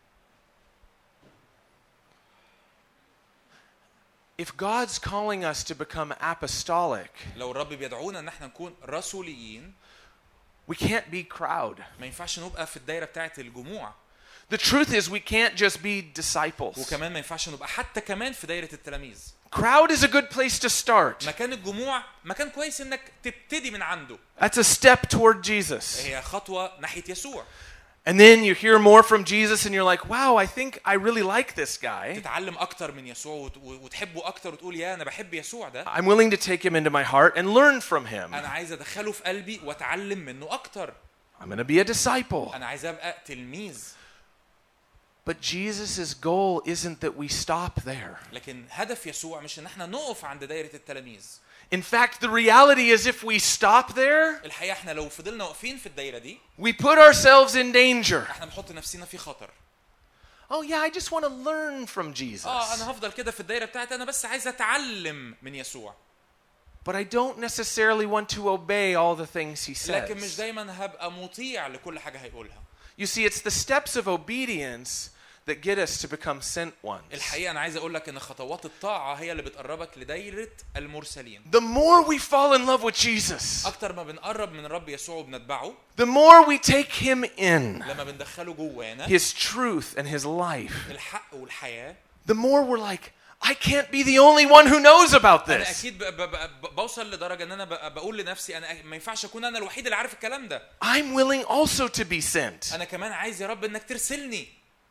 If God's calling us to become apostolic, لو الرب بيدعونا إن احنا نكون رسوليين we can't be crowd. ما ينفعش نبقى في الدايرة بتاعة الجموع. The truth is we can't just be disciples. وكمان ما ينفعش نبقى حتى كمان في دايرة التلاميذ. Crowd is a good place to start. مكان الجموع مكان كويس انك تبتدي من عنده. That's a step toward Jesus. هي خطوة ناحية يسوع. And then you hear more from Jesus and you're like, wow, I think I really like this guy. تتعلم أكتر من يسوع وتحبه أكتر وتقول يا أنا بحب يسوع ده. I'm willing to take him into my heart and learn from him. أنا عايز أدخله في قلبي وأتعلم منه أكتر. I'm going to be a disciple. أنا عايز أبقى تلميذ. But Jesus' goal isn't that we stop there. لكن هدف يسوع مش إن احنا نقف عند دايرة التلاميذ. In fact, the reality is if we stop there, الحقيقة احنا لو فضلنا واقفين في الدايرة دي we put ourselves in danger. احنا بنحط نفسنا في خطر. Oh yeah, I just want to learn from Jesus. أنا هفضل كده في الدايرة بتاعتي أنا بس عايز أتعلم من يسوع. But I don't necessarily want to obey all the things he لكن مش says. دايما هبقى مطيع لكل حاجة هيقولها. You see, it's the steps of obedience that get us to become sent ones. الحقيقة أنا عايز أقول لك إن خطوات الطاعة هي اللي بتقربك لدايرة المرسلين. The more we fall in love with Jesus, أكتر ما بنقرب من الرب يسوع وبنتبعه. the more we take him in, لما بندخله جوانا. his truth and his life, الحق والحياة. the more we're like, I can't be the only one who knows about أنا this. أكيد بوصل لدرجة إن أنا بقول لنفسي أنا ما ينفعش أكون أنا الوحيد اللي عارف الكلام ده. I'm willing also to be sent. أنا كمان عايز يا رب إنك ترسلني.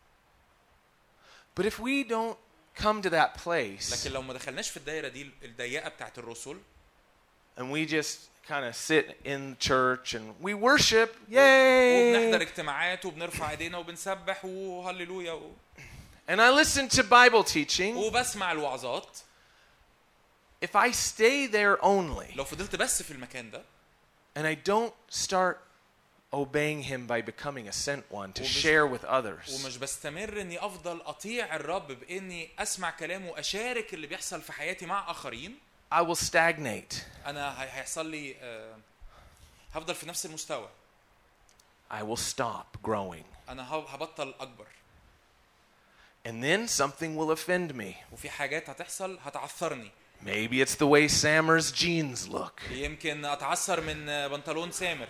But if we don't come to that place, لكن لو ما دخلناش في الدايرة دي الضيقة بتاعت الرسل. and we just kind of sit in church and we worship, وبنحضر yay, اجتماعات وبنرفع ايدينا وبنسبح وهللويا and I listen to Bible teaching, وبسمع الوعظات. if I stay there only لو فضلت بس في المكان ده and I don't start obeying him by becoming a sent one to ومش- share with others. ومش بستمر اني افضل اطيع الرب باني اسمع كلامه واشارك اللي بيحصل في حياتي مع اخرين. I will stagnate. انا هيحصل لي هفضل في نفس المستوى. I will stop growing. انا هبطل اكبر. And then something will offend me. وفي حاجات هتحصل هتعثرني. Maybe it's the way Samer's jeans look. يمكن اتعثر من بنطلون سامر.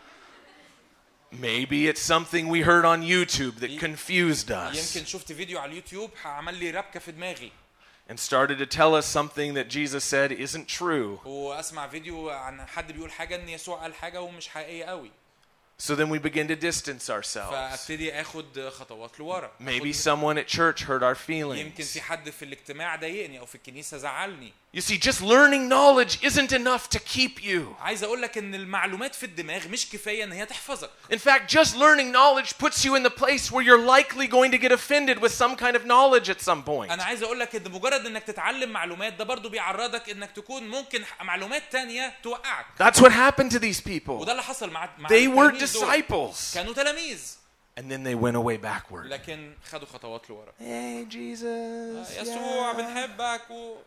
Maybe it's something we heard on YouTube that confused us يمكن شفت فيديو على اليوتيوب عمل لي ربكه في دماغي. and started to tell us something that Jesus said isn't true. واسمع فيديو عن حد بيقول حاجه ان يسوع قال حاجه ومش حقيقيه قوي. So then we begin to distance ourselves. فابتدي اخد خطوات لورا. Maybe someone at church hurt our يمكن feelings. في حد في الاجتماع ضايقني او في الكنيسه زعلني. You see, just learning knowledge isn't enough to keep you. عايز اقول لك ان المعلومات في الدماغ مش كفايه ان هي تحفظك. In fact, just learning knowledge puts you in the place where you're likely going to get offended with some kind of knowledge at some point. انا عايز اقول لك ان مجرد انك تتعلم معلومات ده برضو بيعرضك انك تكون ممكن معلومات تانية توقعك. That's what happened to these people. وده اللي حصل مع They were التلاميذ دول. disciples. كانوا تلاميذ And then they went away backward. لكن خدوا خطوات لورا. Hey, Jesus. يسوع بنحبك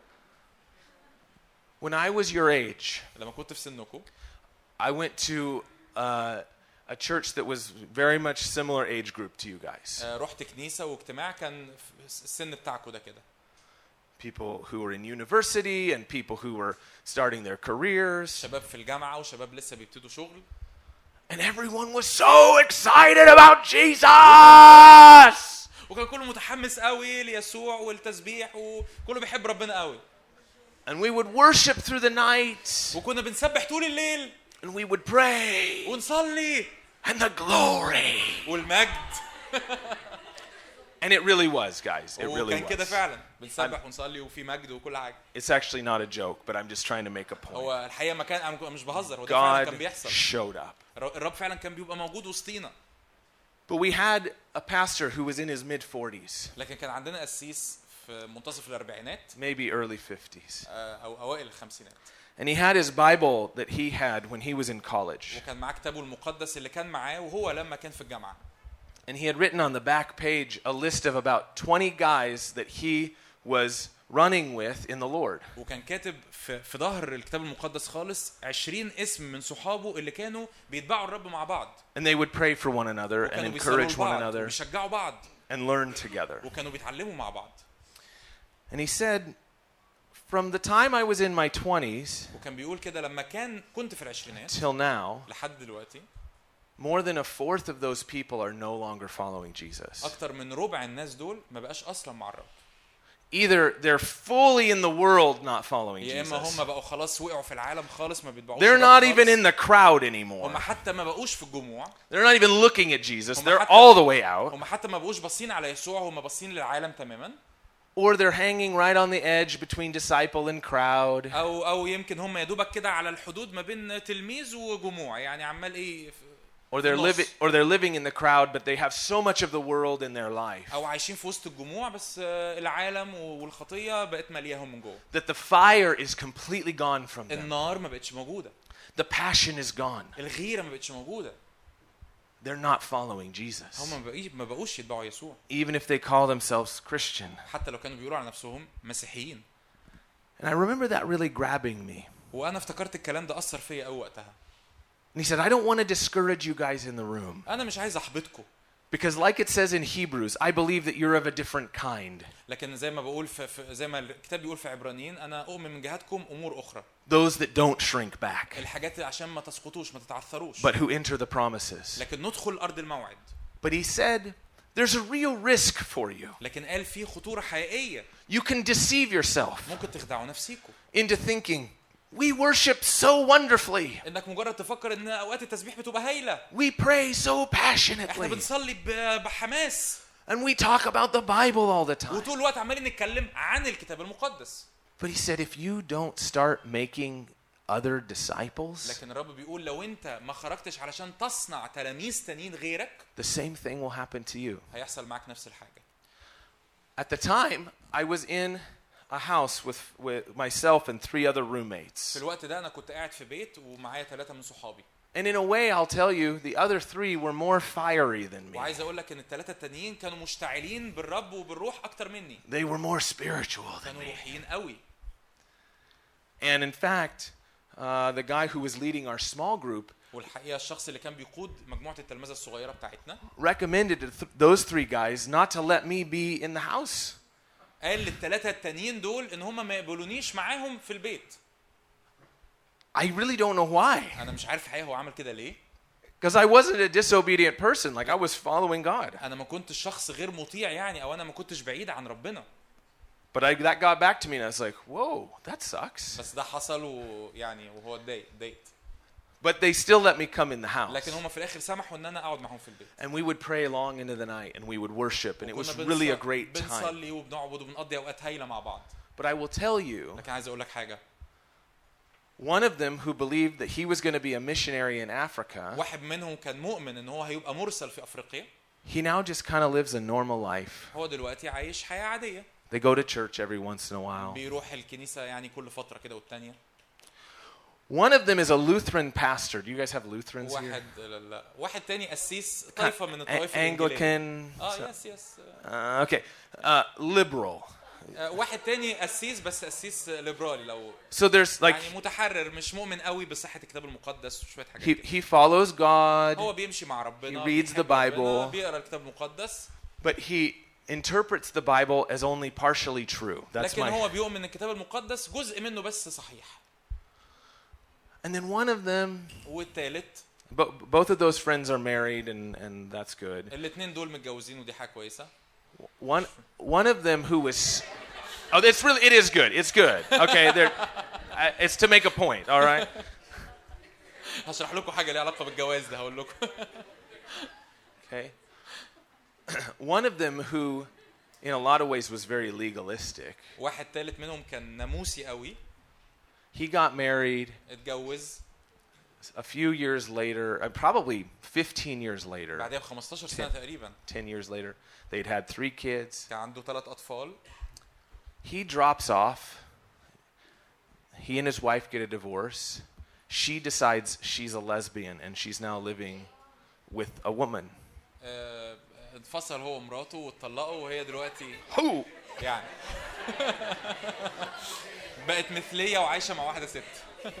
When I was your age, لما كنت في سنكم I went to a church that was very much similar age group to you guys. رحت كنيسه واجتماع كان في السن بتاعكم ده كده. People who were in university and people who were starting their careers. شباب في الجامعه وشباب لسه بيبتدوا شغل. And everyone was so excited about Jesus. وكان كله متحمس قوي ليسوع والتسبيح وكله بيحب ربنا قوي. And we would worship through the night. وكنا بنسبح طول الليل. And we would pray. ونصلي. And the glory. والمجد. And it really was, guys. It really وكان كده was. فعلا بنسبح ونصلي وفي مجد وكل حاجه. It's actually not a joke, but I'm just trying to make a point. هو الحقيقه ما كان انا مش بهزر، هو ده فعلا كان God بيحصل. showed up. الرب فعلا كان بيبقى موجود وسطينا. But we had a pastor who was in his mid-40s, لكن كان عندنا قسيس في منتصف الاربعينات maybe early 50s. او اوائل الخمسينات. And he had his Bible that he had when he was in college. وكان معاه كتابه المقدس اللي كان معاه وهو لما كان في الجامعه. And he had written on the back page a list of about 20 guys that he was running with in the Lord. وكان كاتب في ظهر الكتاب المقدس خالص 20 اسم من صحابه اللي كانوا بيتبعوا الرب مع بعض. And they would pray for one another and وكانوا بيصلوا encourage one لبعض another وبيشجعوا بعض and learn together. وكانوا بيتعلموا مع بعض. And he said, from the time I was in my 20s وكان بيقول كده لما كنت في العشرينات till now, لحد دلوقتي more than a fourth of those people are no longer following Jesus. اكتر من ربع الناس دول ما بقاش اصلا مع الرب. Either they're fully in the world not following يا اما Jesus. هم بقوا خلاص وقعوا في العالم خالص ما بيتبعوش They're الرب not even خالص. in the crowd anymore. هم حتى ما بقوش في الجموع. They're not even looking at Jesus. هم They're حتى- all the way out. هم حتى ما بقوش باصين على يسوع، هم باصين للعالم تماما. Or they're hanging right on the edge between disciple and crowd. او يمكن هم يا دوبك كده على الحدود ما بين تلميذ وجموع، يعني عمال ايه Or they're living in the crowd, but they have so much of the world in their life او عايشين في وسط الجموع بس العالم والخطيه بقت ملياهم من جوه. that the fire is completely gone from them. النار ما بقتش موجوده. The passion is gone. الغيره ما بقتش موجوده. They're not following Jesus. هم ما بقوش يتبعوا يسوع. Even if they call themselves Christian. حتى لو كانوا بيقولوا على نفسهم مسيحيين. And I remember that really grabbing me. وانا افتكرت الكلام ده اثر فيا قوي وقتها. And he said, I don't want to discourage you guys in the room. انا مش عايز احبطكم. Because like it says in Hebrews, I believe that you're of a different kind. لكن زي ما بقول زي ما الكتاب بيقول في عبرانيين انا اؤمن من جهتكم امور اخرى. Those that don't shrink back, الحاجات عشان ما تسقطوش ما تتعثروش. but who enter the promises. لكن ندخل ارض الموعد. But he said, there's a real risk for you. لكن قال في خطوره حقيقيه. You can deceive yourself ممكن تخدعوا نفسيكم. into thinking, we worship so wonderfully. انك مجرد تفكر ان اوقات التسبيح بتبقى هايله. We pray so احنا passionately. بنصلي بحماس. And we talk about the Bible all the time. وطول الوقت عمالين نتكلم عن الكتاب المقدس. But he said, if you don't start making other disciples, لكن الرب بيقول لو انت ما خرجتش علشان تصنع تلاميذ تانيين غيرك the same thing will happen to you. هيحصل معاك نفس الحاجه. At the time, I was in a house with myself and 3 other roommates. في الوقت ده انا كنت قاعد في بيت ومعايا 3 من صحابي. And in a way, I'll tell you, the other three were more fiery than me. وعايز اقول لك ان الثلاثه التانيين كانوا مشتعلين بالرب وبالروح اكتر مني. They were more spiritual than كانوا me. روحيين قوي. And in fact, the guy who was leading our small group والحقيقه الشخص اللي كان بيقود مجموعه التلمذه الصغيره بتاعتنا recommended to those three guys not to let me be in the house. قال للثلاثه التانيين دول ان هم ما يقبلونيش معاهم في البيت. I really don't know why. انا مش عارف الحقيقه هو عمل كده ليه. Because I wasn't a disobedient person, like I was following God. انا ما كنتش شخص غير مطيع يعني او انا ما كنتش بعيد عن ربنا. But that got back to me and I was like, whoa, that sucks. بس ده حصل ويعني وهو اتضايقت. But they still let me come in the house. لكن هم في الاخر سمحوا ان انا اقعد معاهم في البيت. And we would pray long into the night and we would worship and it was really a great time. بنصلي وبنعبد وبنقضي اوقات هايله مع بعض. But I will tell you, لكن عايز اقول لك حاجه. one of them who believed that he was going to be a missionary in Africa, واحد منهم كان مؤمن ان هو هيبقى مرسل في افريقيا. he now just kind of lives a normal life. هو دلوقتي عايش حياه عاديه. They go to church every once in a while. بيروح الكنيسه يعني كل فتره كده والتانيه. One of them is a Lutheran pastor. Do you guys have Lutherans here? واحد تاني قسيس طائفه من الطوائف Anglican. يس. Okay. Liberal. واحد تاني قسيس بس قسيس ليبرالي لو So there's like يعني متحرر مش مؤمن قوي بصحة الكتاب المقدس وشوية حاجات he follows God. هو بيمشي مع ربنا. He reads the Bible. بيقرا الكتاب المقدس. But he interprets the Bible as only partially true. That's لكن هو my. بيؤمن ان الكتاب المقدس جزء منه بس صحيح. And then one of them. والثالث. Both of those friends are married and that's good. الاثنين دول متجوزين ودي حاجة كويسة. One of them who was. Oh, it is good. It's good. Okay, it's to make a point. All right. هشرح لكم حاجة ليها علاقة بالجواز ده هقول لكم. Okay. One of them who, in a lot of ways, was very legalistic. واحد ثالث منهم كان ناموسي قوي. He got married. اتجوز. A few years later, probably 15 years later. بعدها ب 15 سنة تقريبا. 10 years later, they'd had 3 kids. كان عنده 3 أطفال. He drops off. He and his wife get a divorce. She decides she's a lesbian and she's now living with a woman. انفصل هو ومراته واتطلقوا وهي دلوقتي Who? يعني بقت مثلية وعايشة مع واحدة ست.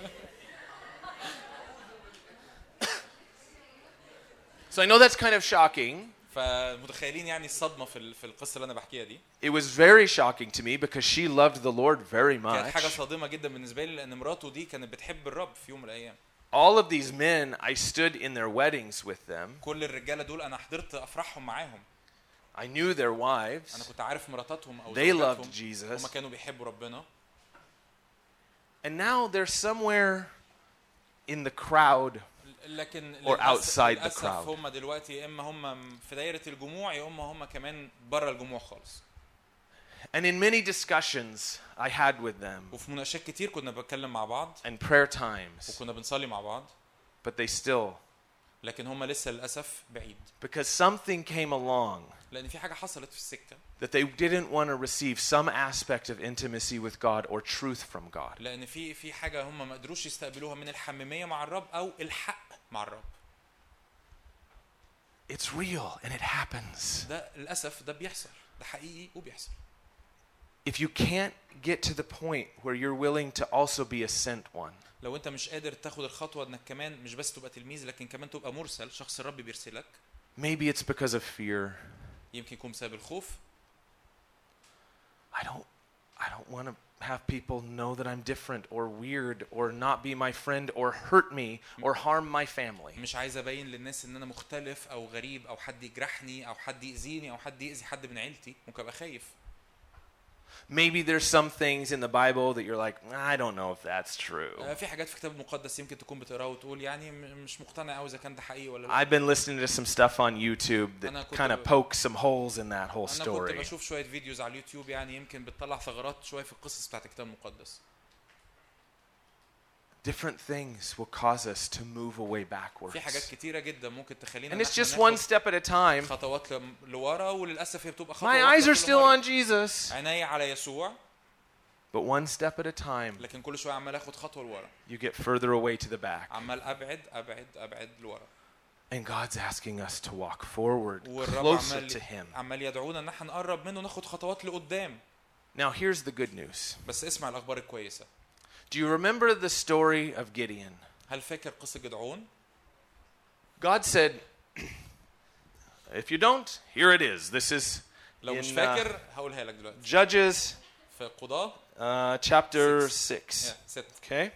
So I know that's kind of shocking. فمتخيلين يعني الصدمة في القصة اللي أنا بحكيها دي. It was very shocking to me because she loved the Lord very كانت حاجة much. صادمة جدا بالنسبة لي لأن مراته دي كانت بتحب الرب في يوم من الأيام. All of these men, I stood in their weddings with them. كل الرجالة دول أنا حضرت أفراحهم معاهم. I knew their wives. أنا كنت عارف مراتاتهم أو They زوجاتهم. loved Jesus. هما كانوا بيحبوا ربنا. And now they're somewhere in the crowd لكن or outside the للأسف crowd. هم دلوقتي يا إما هم في دايرة الجموع يا إما هم كمان برا الجموع خالص. And in many discussions I had with them وفي مناقشات كتير كنا بنتكلم مع بعض. and prayer times, وكنا بنصلي مع بعض. but they still, لكن هم لسه للأسف بعيد. because something came along لأن في حاجة حصلت في السكة. that they didn't want to receive some aspect of intimacy with God or truth from God. لأن في حاجة هم ما قدروش يستقبلوها من الحميمية مع الرب أو الحق مع الرب. It's real and it happens. ده للأسف ده بيحصل. ده حقيقي وبيحصل. If you can't get to the point where you're willing to also be a sent one, لو أنت مش قادر تاخد الخطوة إنك كمان مش بس تبقى تلميذ لكن كمان تبقى مرسل شخص الرب بيرسلك. maybe it's because of fear. يمكن يكون بسبب الخوف. I don't want to have people know that I'm different or weird or not be my friend or hurt me or harm my family. مش عايز أبين للناس إن أنا مختلف أو غريب أو حد يجرحني أو حد يأذيني أو حد يأذي حد من عيلتي. ممكن أبقى خايف. Maybe there's some things in the Bible that you're like, I don't know if that's true. في حاجات في الكتاب المقدس يمكن تكون بتقراها وتقول يعني مش مقتنع قوي إذا كان ده حقيقي ولا لا. I've been listening to some stuff on YouTube that kind of pokes some holes in that whole أنا كنت story. بشوف شوية فيديوز على اليوتيوب يعني يمكن بتطلع ثغرات شوية في القصص بتاعت الكتاب المقدس. Different things will cause us to move away backwards. في حاجات كتيرة جدا ممكن تخلينا And it's just one step at a time. خطوات لورا وللأسف هي بتبقى خطوة My eyes are still on Jesus. عيني على يسوع. But one step at a time, لكن كل شويه عمال اخد خطوه لورا، you get further away to the back. عمال ابعد لورا. And God's asking us to walk forward, والرب closer to Him. عمال يدعونا ان احنا نقرب منه ناخد خطوات لقدام. Now here's the good news. بس اسمع الاخبار الكويسه. Do you remember the story of Gideon? هل فاكر قصه جدعون؟ God said, if you don't, here it is. This is لو مش in فاكر هقولها لك دلوقتي. Judges في قضاة chapter 6. 6. Okay?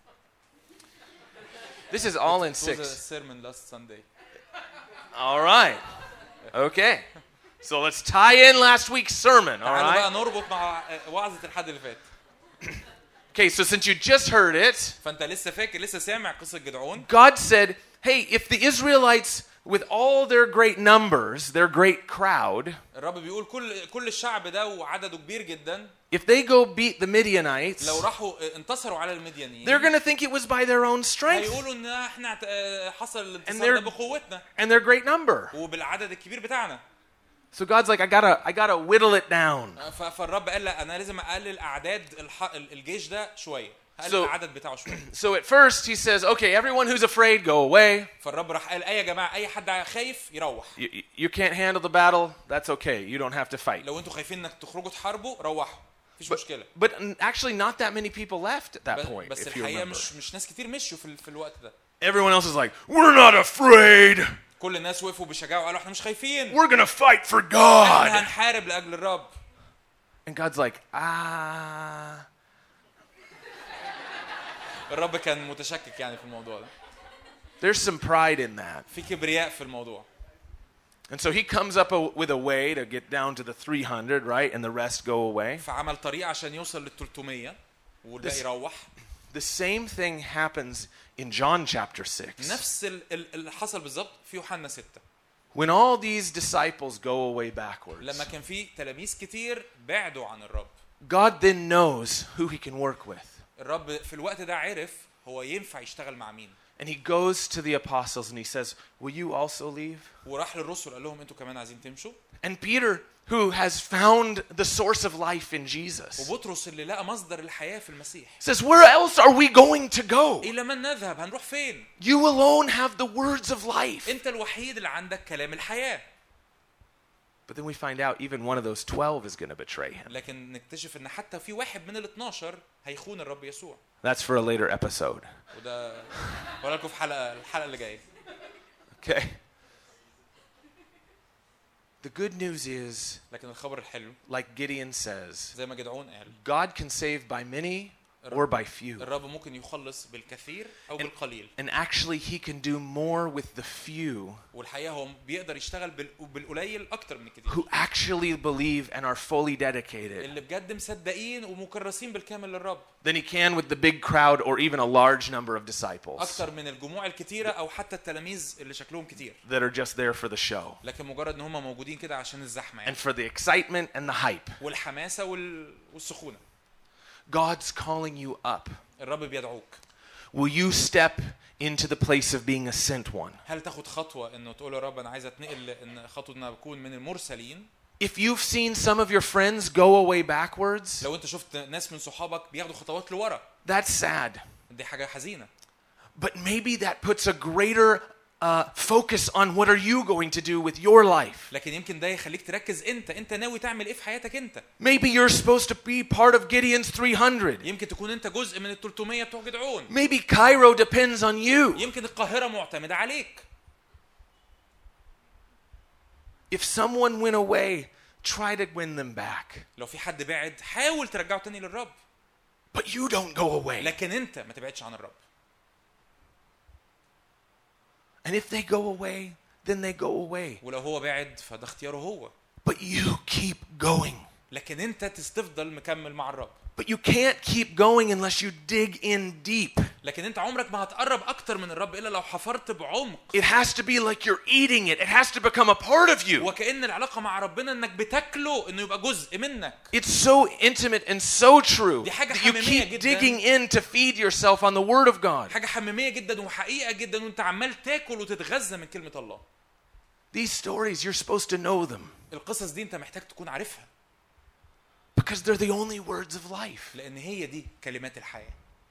This is all in It was a 6. sermon last Sunday. All right. Okay. So let's tie in last week's sermon, all تعالوا بقى right? نربط مع وعظة الحد اللي فات. Okay, so since you just heard it, فانت لسه فاكر لسه سامع قصة جدعون. God said, hey, if the Israelites, with all their great numbers, their great crowd, الرب بيقول كل الشعب ده وعدده كبير جدا if they go beat the Midianites, لو راحوا انتصروا على المديانيين they're going to think it was by their own strength هيقولوا ان احنا حصل And الانتصار they're- ده بقوتنا and their great number. وبالعدد الكبير بتاعنا. So God's like, I gotta whittle it down. فالرب قال لا انا لازم اقلل اعداد الجيش ده شويه. قلل So- العدد بتاعه شويه. So at first he says, okay, everyone who's afraid, go away. فالرب راح قال اي يا جماعه اي حد خايف يروح. You can't handle the battle. That's okay. You don't have to fight. لو انتوا خايفين انك تخرجوا تحاربوا روحوا. مفيش مشكله. But actually not that many people left at that point, بس if you الحقيقه remember. مش ناس كتير مشوا في الوقت ده. Everyone else is like, we're not afraid. كل الناس وقفوا بشجاعه وقالوا احنا مش خايفين. We're gonna fight for احنا God. هنحارب لاجل الرب. And God's like, الرب كان متشكك يعني في الموضوع ده. there's some pride in that. في كبرياء في الموضوع. And so he comes up with a way to get down to the 300, right? And the rest go away. فعمل طريقه عشان يوصل لل 300 والباقي يروح. The same thing happens in John chapter 6. نفس اللي حصل بالظبط في يوحنا 6. When all these disciples go away backwards, لما كان في تلاميذ كتير بعدوا عن الرب. God then knows who he can work with. الرب في الوقت ده عرف هو ينفع يشتغل مع مين. And he goes to the apostles and he says, will you also leave? وراح للرسل قال لهم انتوا كمان عايزين تمشوا. And Peter, who has found the source of life in Jesus, وبطرس اللي لقى مصدر الحياة في المسيح. says, where else are we going to go? إلى من نذهب؟ هنروح فين؟ You alone have the words of life. أنت الوحيد اللي عندك كلام الحياة. But then we find out even one of those 12 is going to betray him. لكن نكتشف إن حتى في واحد من ال 12 هيخون الرب يسوع. That's for a later episode. وده هقول لكم في الحلقة اللي جاية. Okay. The good news is, لكن الخبر الحلو like Gideon says, زي ما جدعون قال God can save by many or by few. الرب ممكن يخلص بالكثير أو بالقليل. And actually he can do more with the few والحقيقة هو بيقدر يشتغل بالقليل أكتر من الكثير. who actually believe and are fully dedicated اللي بجد مصدقين ومكرسين بالكامل للرب. than he can with the big crowd or even a large number of disciples أكتر من الجموع الكتيرة أو حتى التلاميذ اللي شكلهم كتير. that are just there for the show لكن مجرد إن هم موجودين كده عشان الزحمة يعني. and for the excitement and the hype. والحماسة والسخونة. God's calling you up. الرب بيدعوك. Will you step into the place of being a sent one? هل تاخد خطوة إنه تقول يا رب أنا عايز أتنقل إن خطوة إن أكون من المرسلين؟ If you've seen some of your friends go away backwards, لو أنت شفت ناس من صحابك بياخدوا خطوات لورا. that's sad. دي حاجة حزينة. But maybe that puts a greater focus on what are you going to do with your life. لكن يمكن ده يخليك تركز أنت ناوي تعمل إيه في حياتك أنت. Maybe you're supposed to be part of Gideon's 300. يمكن تكون أنت جزء من ال 300 بتوع جدعون. Maybe Cairo depends on you. يمكن القاهرة معتمدة عليك. If someone went away, try to win them back. لو في حد بعد حاول ترجعه تاني للرب. But you don't go away. لكن أنت ما تبعدش عن الرب. And if they go away, then they go away. ولو هو بعد فده اختياره هو. But you keep going. لكن أنت تفضل مكمل مع الرب. But you can't keep going unless you dig in deep. لكن أنت عمرك ما هتقرب أكتر من الرب إلا لو حفرت بعمق. It has to be like you're eating it. It has to become a part of you. وكأن العلاقة مع ربنا إنك بتاكله إنه يبقى جزء منك. It's so intimate and so true دي حاجة that you حميمية keep جداً. digging in to feed yourself on the Word of God. حاجة حميمية جدا وحقيقة جدا وأنت عمال تاكل وتتغذى من كلمة الله. These stories, you're supposed to know them. القصص دي أنت محتاج تكون عارفها. Because they're the only words of life. لأن هي دي كلمات الحياة.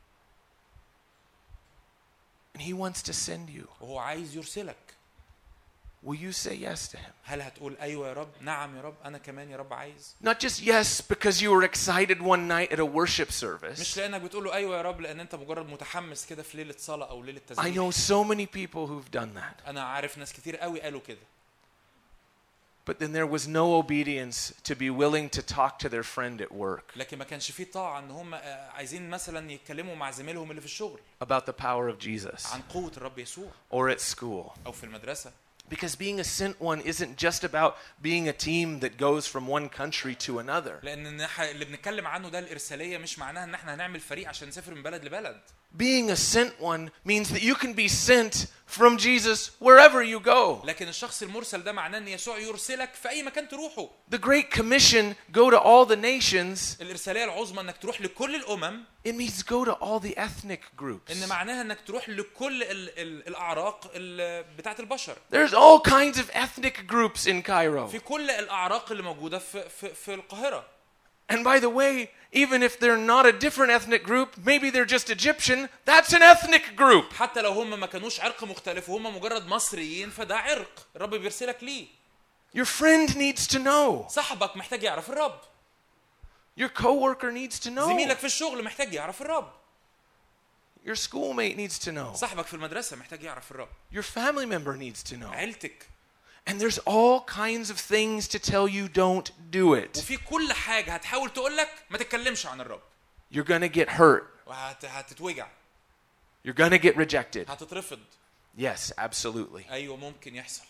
And he wants to send you. وهو عايز يرسلك. Will you say yes to him? هل هتقول أيوة يا رب؟ نعم يا رب، أنا كمان يا رب عايز. Not just yes because you were excited one night at a worship مش service. لأنك بتقول له أيوة يا رب لأن أنت مجرد متحمس كده في ليلة صلاة أو ليلة I تسبيح. know so many people who've done that. أنا عارف ناس كتير قوي قالوا كده. But then there was no obedience to be willing to talk to their friend at work لكن ما كانش فيه طاعة إن هم عايزين مثلا يتكلموا مع زميلهم اللي في الشغل about the power of Jesus عن قوة الرب يسوع or at school. أو في المدرسة. Because being a sent one isn't just about being a team that goes from one country to another. لأن اللي بنتكلم عنه ده الإرسالية مش معناها إن إحنا هنعمل فريق عشان نسافر من بلد لبلد. Being a sent one means that you can be sent from Jesus wherever you go. لكن الشخص المرسل ده معناه إن يسوع يرسلك في أي مكان تروحه. The Great Commission, go to all the nations, الإرسالية العظمى إنك تروح لكل الأمم. it means go to all the ethnic groups. إن معناها إنك تروح لكل الأعراق بتاعت البشر. There's all kinds of ethnic groups in Cairo. في كل الأعراق اللي موجودة في القاهرة. And by the way, even if they're not a different ethnic group, maybe they're just Egyptian, that's an ethnic group. حتى لو هم ما كانوش عرق مختلف وهم مجرد مصريين فده عرق الرب بيرسلك ليه. Your friend needs to know. صاحبك محتاج يعرف الرب. Your coworker needs to know. زميلك في الشغل محتاج يعرف الرب. Your schoolmate needs to know. صاحبك في المدرسة محتاج يعرف الرب. Your family member needs to know. عيلتك. And there's all kinds of things to tell you don't do it. وفي كل حاجة هتحاول تقول لك ما تتكلمش عن الرب. You're going to get hurt. وهتتوجع. You're going to get rejected. هتترفض. Yes, absolutely. أيوة ممكن يحصل.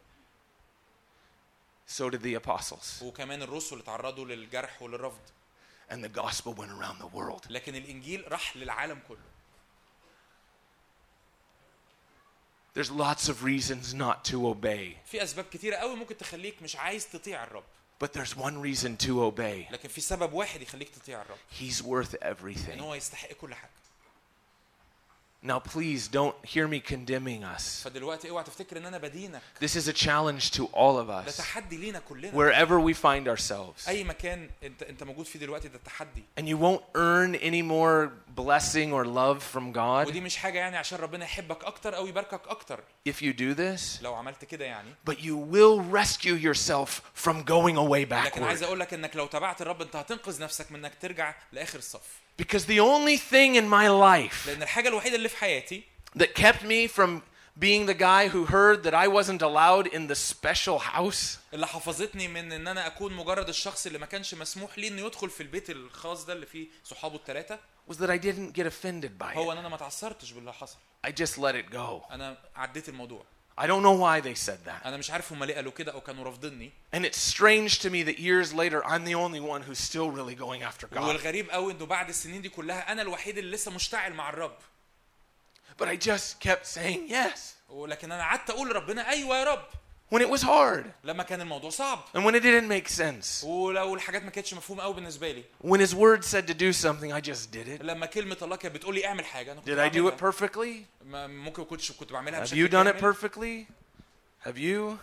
So did the apostles. وكمان الرسل اتعرضوا للجرح وللرفض. And the gospel went around the world. لكن الإنجيل راح للعالم كله. There's lots of reasons not to obey. في أسباب كتيرة قوي ممكن تخليك مش عايز تطيع الرب. But there's one reason to obey. لكن في سبب واحد يخليك تطيع الرب. He's worth إن everything. هو يستحق كل حاجة. Now please don't hear me condemning us. فدلوقتي اوعى تفتكر ان انا بدينك. This is a challenge to all of ده us. تحدي لينا كلنا. Wherever we find ourselves. أي مكان أنت موجود فيه دلوقتي ده تحدي. And you won't earn any more blessing or love from God. ودي مش حاجة يعني عشان ربنا يحبك أكتر أو يباركك أكتر. If you do this. لو عملت كده يعني. But you will rescue yourself from going away لكن عايز backward. أقول لك إنك لو تبعت الرب أنت هتنقذ نفسك من إنك ترجع لآخر الصف. Because the only thing in my life لأن الحاجة الوحيدة اللي في حياتي that kept me from being the guy who heard that I wasn't allowed in the special house اللي حفظتني من ان انا اكون مجرد الشخص اللي ما كانش مسموح لي انه يدخل في البيت الخاص ده اللي فيه صحابه الثلاثه was that I didn't get offended by هو it. ان انا ما اتعثرتش باللي حصل. I just let it go. انا عديت الموضوع. I don't know why they said that. انا مش عارف هم ليه قالوا كده او كانوا رافضيني. And it's strange to me that years later I'm the only one who's still really going after God. والغريب قوي انه بعد السنين دي كلها انا الوحيد اللي لسه مشتعل مع الرب. But I just kept saying yes. ولكن انا قعدت اقول لربنا ايوه يا رب. When it was hard. لما كان الموضوع صعب. And when it didn't make sense. ولو الحاجات ما كانتش مفهومه قوي بالنسبه لي. When his word said to do something I just did it. لما كلمه الله كانت بتقول لي اعمل حاجه انا كنت Did I do it بعملها. perfectly? ممكن كنت بعملها Have بشكل you done it كامل. perfectly? Have you?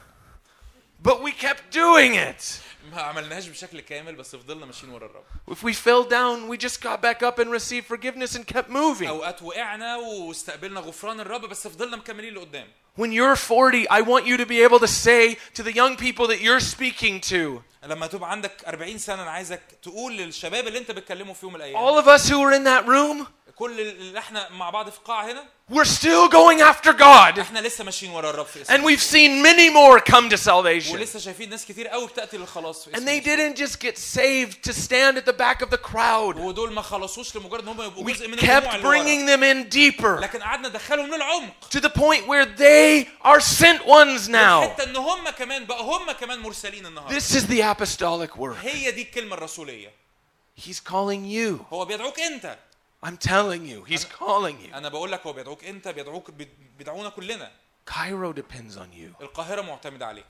But we kept doing it. ما عملناهاش بشكل كامل بس فضلنا ماشيين ورا الرب. If we fell down, we just got back up and received forgiveness and kept moving. اوقات وقعنا واستقبلنا غفران الرب بس فضلنا مكملين لقدام. When you're 40, I want you to be able to say to the young people that you're speaking to, لما تبقى عندك 40 سنه انا عايزك تقول للشباب اللي انت بتكلموا فيهم الايام. all of us who are in that room, كل اللي احنا مع بعض في القاعه هنا we're still going after God. احنا لسه ماشيين ورا الرب في And اسمه. we've seen many more come to salvation. ولسه شايفين ناس كتير قوي بتاتي للخلاص في And اسمه. they didn't just get saved to stand at the back of the crowd. ودول ما خلصوش لمجرد ان هم يبقوا We جزء من الجموع kept اللي ورا. bringing them in deeper لكن قعدنا ندخلهم للعمق. to the point where they are sent ones now. حتى ان هم كمان بقى هم كمان مرسلين النهارده. This is the apostolic work. هي دي الكلمه الرسوليه. He's calling you. هو بيدعوك انت. I'm telling you, he's calling you. انا بقول لك هو بيدعوك انت بيدعونا كلنا. Cairo depends on you. القاهره معتمده عليك.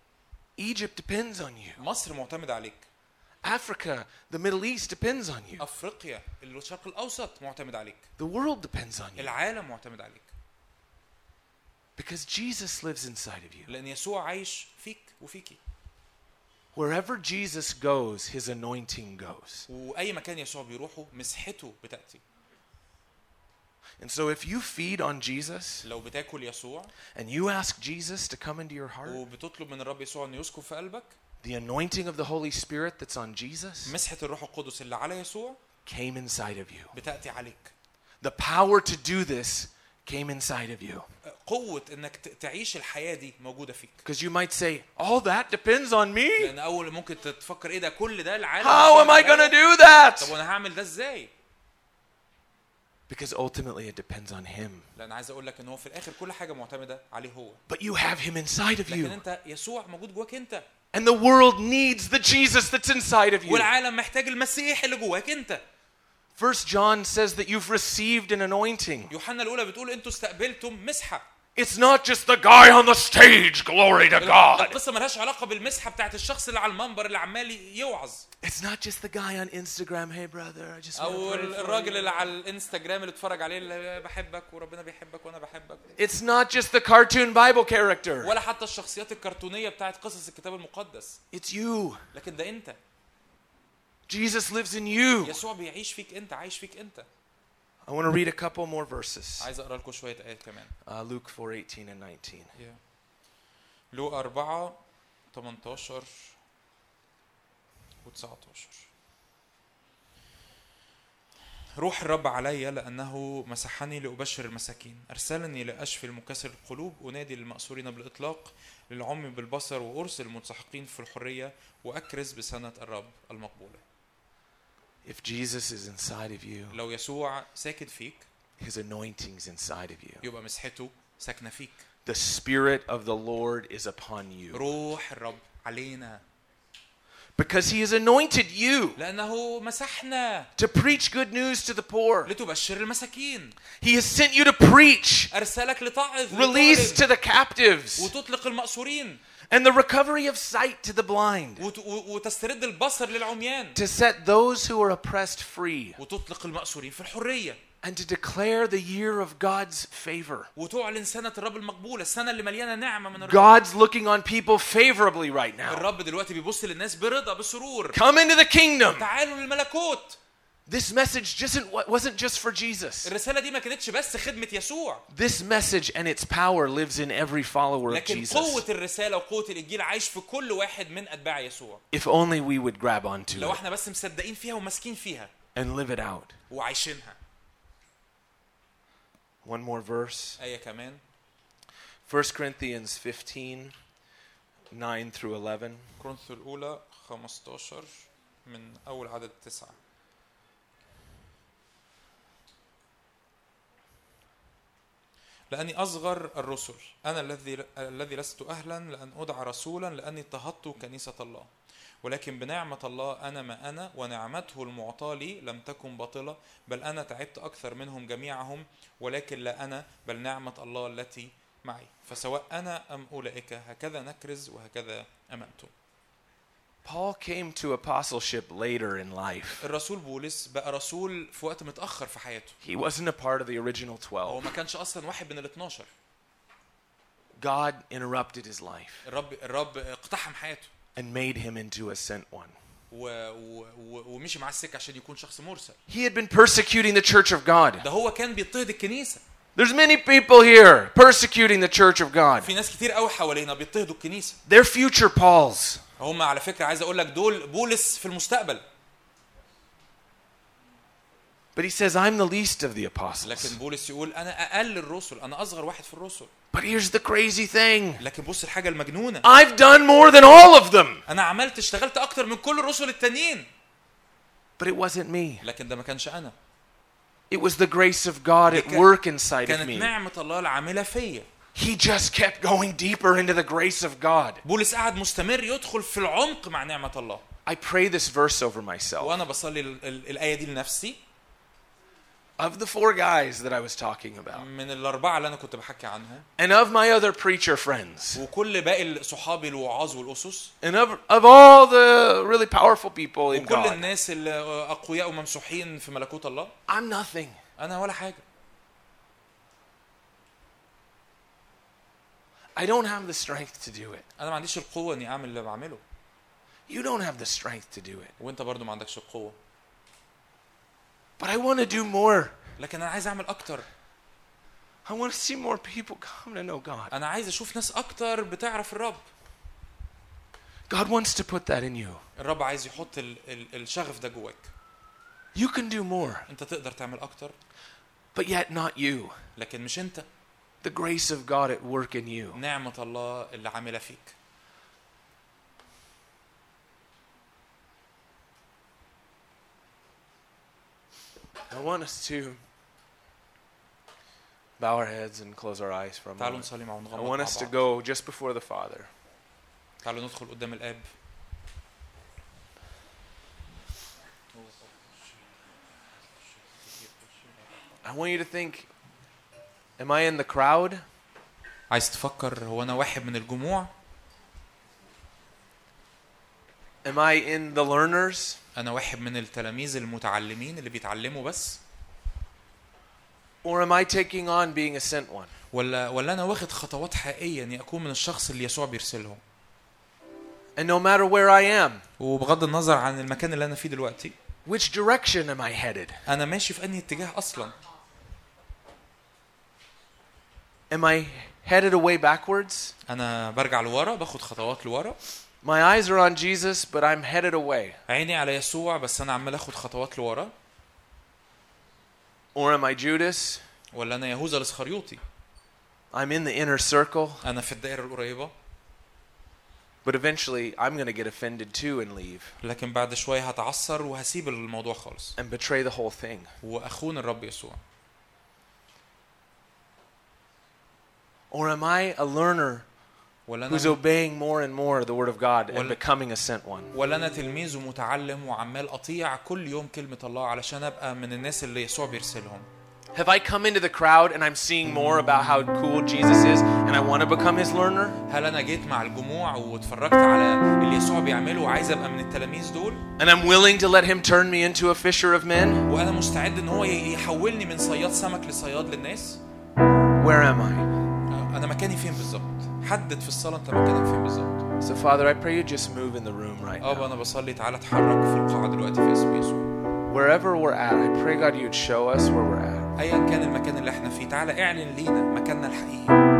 Egypt depends on you. مصر معتمده عليك. Africa, the Middle East depends on you. افريقيا الشرق الاوسط معتمد عليك. The world depends on you. العالم معتمد عليك. Because Jesus lives inside of you. لان يسوع عايش فيك وفيكي. Wherever Jesus goes, his anointing goes. واي مكان يسوع بيروحه مسحته بتاتي. And so if you feed on Jesus لو بتاكل يسوع and you ask Jesus to come into your heart, وبتطلب من الرب يسوع انه يسكن في قلبك، the anointing of the Holy Spirit that's on Jesus مسحة الروح القدس اللي على يسوع came inside of you. بتاتي عليك. The power to do this came inside of you. قوة انك تعيش الحياة دي موجودة فيك. Because you might say, all that depends on me? لان اول ممكن تفكر ايه ده كل ده العالم. How am I going to do that? طب وانا هعمل ده ازاي؟ Because ultimately it depends on him. لان عايز اقول لك ان هو في الاخر كل حاجة معتمدة عليه هو. But you have him inside of لكن you. انت يسوع موجود جواك انت. And the world needs the Jesus that's inside of you. والعالم محتاج المسيح اللي جواك انت. 1 John says that you've received an anointing. يوحنا الأولى بتقول أنتوا استقبلتم مسحة. It's not just the guy on the stage, glory to God. القصة ملهاش علاقة بالمسحة بتاعت الشخص اللي على المنبر اللي عمال يوعظ. It's not just the guy on Instagram, hey brother, I just want أو to pray for الراجل you. اللي على الانستجرام اللي اتفرج عليه اللي بحبك وربنا بيحبك وأنا بحبك. It's not just the cartoon Bible character. ولا حتى الشخصيات الكرتونية بتاعت قصص الكتاب المقدس. It's you. لكن ده أنت. Jesus lives in you. يسوع بيعيش فيك أنت، عايش فيك أنت. I want to read a couple more verses. عايز أقرأ لكم شوية آيات كمان. Luke 4:18 and 19. لوقا 4:18 و19. روح الرب علي لأنه مسحني لأبشر المساكين، أرسلني لأشفي المكسر القلوب، أنادي للمأسورين بالإطلاق، للعمي بالبصر، وأرسل المنسحقين في الحرية، وأكرز بسنة الرب المقبولة. If Jesus is inside of you, لو يسوع ساكن فيك، his anointing's inside of you. يبقى مسحته ساكنة فيك. The Spirit of the Lord is upon you. روح الرب علينا. Because he has anointed you لأنه مسحنا to preach good news to the poor. لتبشر المساكين. He has sent you to preach, أرسلك لتعظ، release to the captives, وتطلق المأسورين، and the recovery of sight to the blind, وتسترد البصر للعميان، to set those who are oppressed free, وتطلق المأسورين في الحرية، and to declare the year of God's favor. وتعلن سنة الرب المقبولة، السنة اللي مليانة نعمة من الرب. God's looking on people favorably right now. الرب دلوقتي بيبص للناس برضا بسرور. Come into the kingdom. تعالوا للملكوت. This message wasn't just for Jesus. الرسالة دي ما كانتش بس خدمة يسوع. This message and its power lives in every follower of لكن Jesus. قوة الرسالة وقوة الإنجيل عايش في كل واحد من أتباع يسوع. If only we would grab onto لو it احنا بس مصدقين فيها وماسكين فيها. and live it out. وعايشينها. One more verse. آية كمان. 1 Corinthians 15, 9 through 11. كورنثوس الأولى 15 من أول عدد 9. لأني أصغر الرسل، أنا الذي لست أهلا لأن أدعى رسولا، لأني اضطهدت كنيسة الله، ولكن بنعمة الله أنا ما أنا، ونعمته المعطاة لي لم تكن باطلة، بل أنا تعبت أكثر منهم جميعهم، ولكن لا أنا بل نعمة الله التي معي، فسواء أنا أم أولئك هكذا نكرز وهكذا أمنتم. Paul came to apostleship later in life. الرسول بولس بقى رسول في وقت متأخر في حياته. He wasn't a part of the original هو 12. ما كانش أصلا واحد من ال 12. God interrupted his life الرب اقتحم حياته. and made him into a sent one. ومشي مع السكة عشان يكون شخص مرسل. He had been persecuting the church of God. ده هو كان بيضطهد الكنيسة. There's many people here persecuting the church of God. في ناس كتير قوي حوالينا بيضطهدوا الكنيسة. They're future Pauls. هم على فكرة عايز أقول لك دول بولس في المستقبل. But he says, I'm the least of the apostles. لكن بولس يقول أنا أقل الرسل، أنا أصغر واحد في الرسل. But here's the crazy thing. لكن بص الحاجة المجنونة. I've done more than all of them. أنا اشتغلت أكتر من كل الرسل التانيين. But it wasn't me. لكن ده ما كانش أنا. It was the grace of God at work inside of كانت me. نعمة الله العاملة فيا. He just kept going deeper into the grace of God. بولس قاعد مستمر يدخل في العمق مع نعمة الله. I pray this verse over myself. وأنا بصلي الآية دي لنفسي. Of the 4 guys that I was talking about. من الأربعة اللي أنا كنت بحكي عنهم. And of my other preacher friends. وكل باقي صحابي الوعاظ والأسس. And of all the really powerful people in وكل God. الناس اللي أقوياء وممسوحين في ملكوت الله. I'm nothing. أنا ولا حاجة. I don't have the strength to do it. أنا ما عنديش القوة إني أعمل اللي بعمله. You don't have the strength to do it. وانت برضو ما عندكش القوة. But I want to do more. لكن انا عايز اعمل اكتر. I want to see more people come to know God. انا عايز اشوف ناس اكتر بتعرف الرب. God wants to put that in you. الرب عايز يحط الشغف ده جواك. You can do more. انت تقدر تعمل اكتر. But yet not you. لكن مش انت. The grace of God at work in you. نعمة الله اللي عاملة فيك. I want us to bow our heads and close our eyes for a تعالوا moment. نصلي مع I ونغمض want مع us to بعض. go just before the Father. تعالوا ندخل قدام الآب. I want you to think, am I in the crowd? عايز تفكر هو أنا واحد من الجموع؟ Am I in the learners? أنا واحد من التلاميذ المتعلمين اللي بيتعلموا بس؟ Or am I taking on being a sent one? ولا أنا واخد خطوات حقيقية إني أكون من الشخص اللي يسوع بيرسلهم؟ And no matter where I am, وبغض النظر عن المكان اللي أنا فيه دلوقتي، which direction am I headed? أنا ماشي في أنهي اتجاه أصلا؟ Am I headed away backwards? أنا برجع لورا، باخد خطوات لورا. My eyes are on Jesus, but I'm headed away. عيني على يسوع بس أنا عمال أخد خطوات لورا. Or am I Judas? ولا أنا يهوذا الإسخريوطي؟ I'm in the inner circle, أنا في الدائرة القريبة. but eventually I'm going to get offended too and leave لكن بعد شوية هتعصر وهسيب الموضوع خالص. and betray the whole thing. وأخون الرب يسوع. Or am I a learner who's obeying more and more the word of God and becoming a sent one? ولا أنا تلميذ ومتعلم وعمال أطيع كل يوم كلمة الله علشان أبقى من الناس اللي يسوع بيرسلهم. Have I come into the crowd and I'm seeing more about how cool Jesus is and I want to become his learner? هل أنا جيت مع الجموع واتفرجت على اللي يسوع بيعمله وعايز أبقى من التلاميذ دول؟ And I'm willing to let him turn me into a fisher of men? وأنا مستعد إن هو يحولني من صياد سمك لصياد للناس؟ Where am I? أنا مكاني فين بالظبط؟ حدد في الصلاة أنت مكانك فين بالظبط. So Father, I pray you just move in the room right now. أنا بصلي تعالى اتحرك في القاعة دلوقتي في اسم يسوع. Wherever we're at, I pray God you'd show us where we're at. أيا كان المكان اللي احنا فيه تعالى اعلن لينا مكاننا الحقيقي.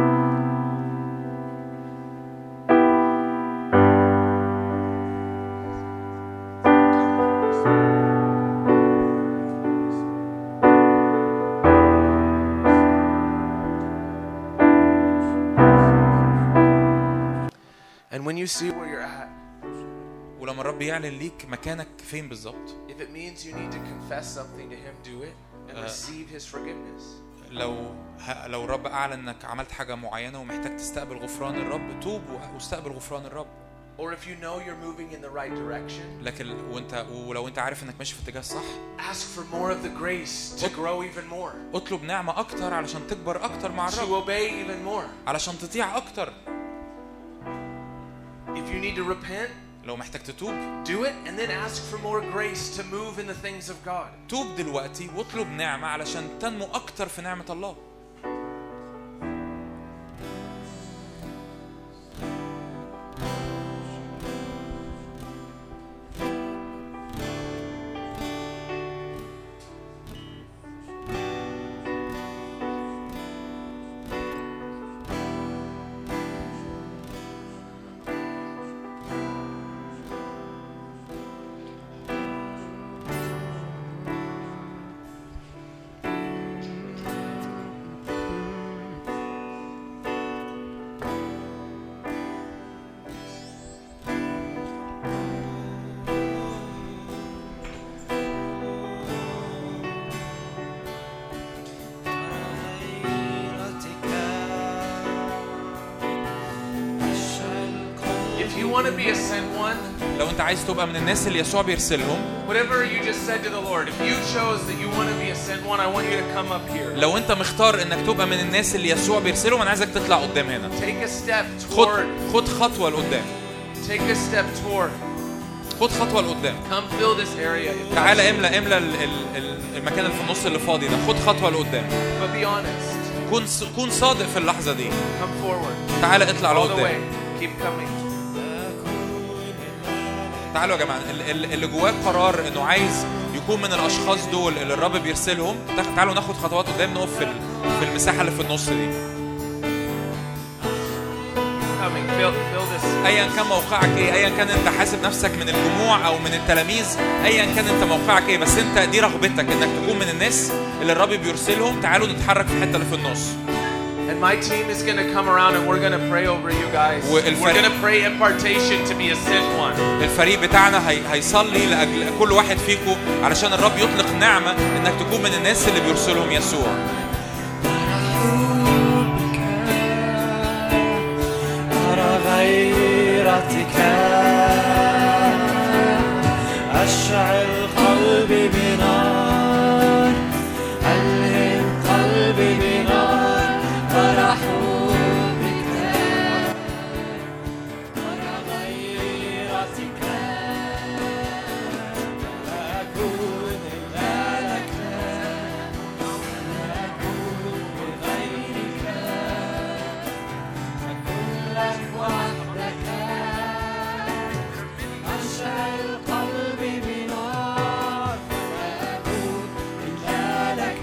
And when you see where you're at, ولما الرب يعلن ليك مكانك فين بالظبط. if it means you need to confess something to him, do it and receive his forgiveness. لو الرب أعلن إنك عملت حاجة معينة ومحتاج تستقبل غفران الرب، توب واستقبل غفران الرب. Or if you know you're moving in the right direction, لكن ولو أنت عارف إنك ماشي في الاتجاه الصح، ask for more of the grace to grow even more. اطلب نعمة أكتر علشان تكبر أكتر مع To الرب. obey even more. علشان تطيع أكتر. If you need to repent, لو محتاج تتوب، do it and then ask for more grace to move in the things of God. توب دلوقتي واطلب نعمة علشان تنمو أكتر في نعمة الله. Want to be a sent one? لو أنت عايز تبقى من الناس اللي يسوع بيرسلهم. Whatever you just said to the Lord, if you chose that you want to be a sent one, I want you to come up here. لو أنت مختار إنك تبقى من الناس اللي يسوع بيرسلهم، أنا عايزك تطلع قدام هنا. Take a step toward. خد خطوة لقدام. Take a step toward. خد خطوة لقدام. Come fill this area. تعالى املى المكان اللي في النص اللي فاضي ده. خد خطوة لقدام. But be honest. كون صادق في اللحظة دي. Come forward. تعالى اطلع لقدام. Keep coming. تعالوا يا جماعة، اللي جواه قرار إنه عايز يكون من الأشخاص دول اللي الرب بيرسلهم، تعالوا ناخد خطوات قدام، نقف في المساحة اللي في النص دي. أيا كان موقعك إيه، أيا كان أنت حاسب نفسك من الجموع أو من التلاميذ، أيا كان أنت موقعك إيه، بس أنت دي رغبتك إنك تكون من الناس اللي الرب بيرسلهم. تعالوا نتحرك في الحتة اللي في النص. And my team is going to come around and we're going to pray over you guys. We're going to pray impartation to be a sent one. الفريق بتاعنا هيصلي لأجل كل واحد فيكم علشان الرب يطلق نعمة إنك تكون من الناس اللي بيرسلهم يسوع. أرى غيرتك أشعل قلبي بنار، ألهم قلبي بنار، فرح بك أرى غيرتك لا أكون إلا لك، لا أكون لغيرك، أكون لك وحدك، أشعل قلبي بنار، لا أكون إلا لك،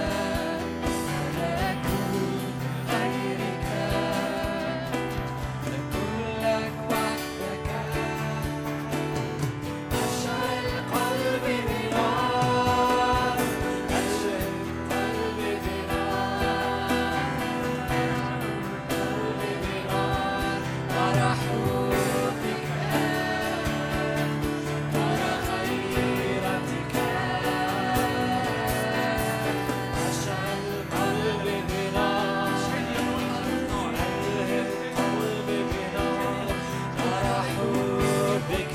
لا أكون لغيرك، أكون لك وحدك، أشعل قلبي بنار، أشعل قلبي بنار، قلبي بنار، فرح بك أرى غيرتك أشعل قلبي بنار، ألهم قلبي بنار، فرح بك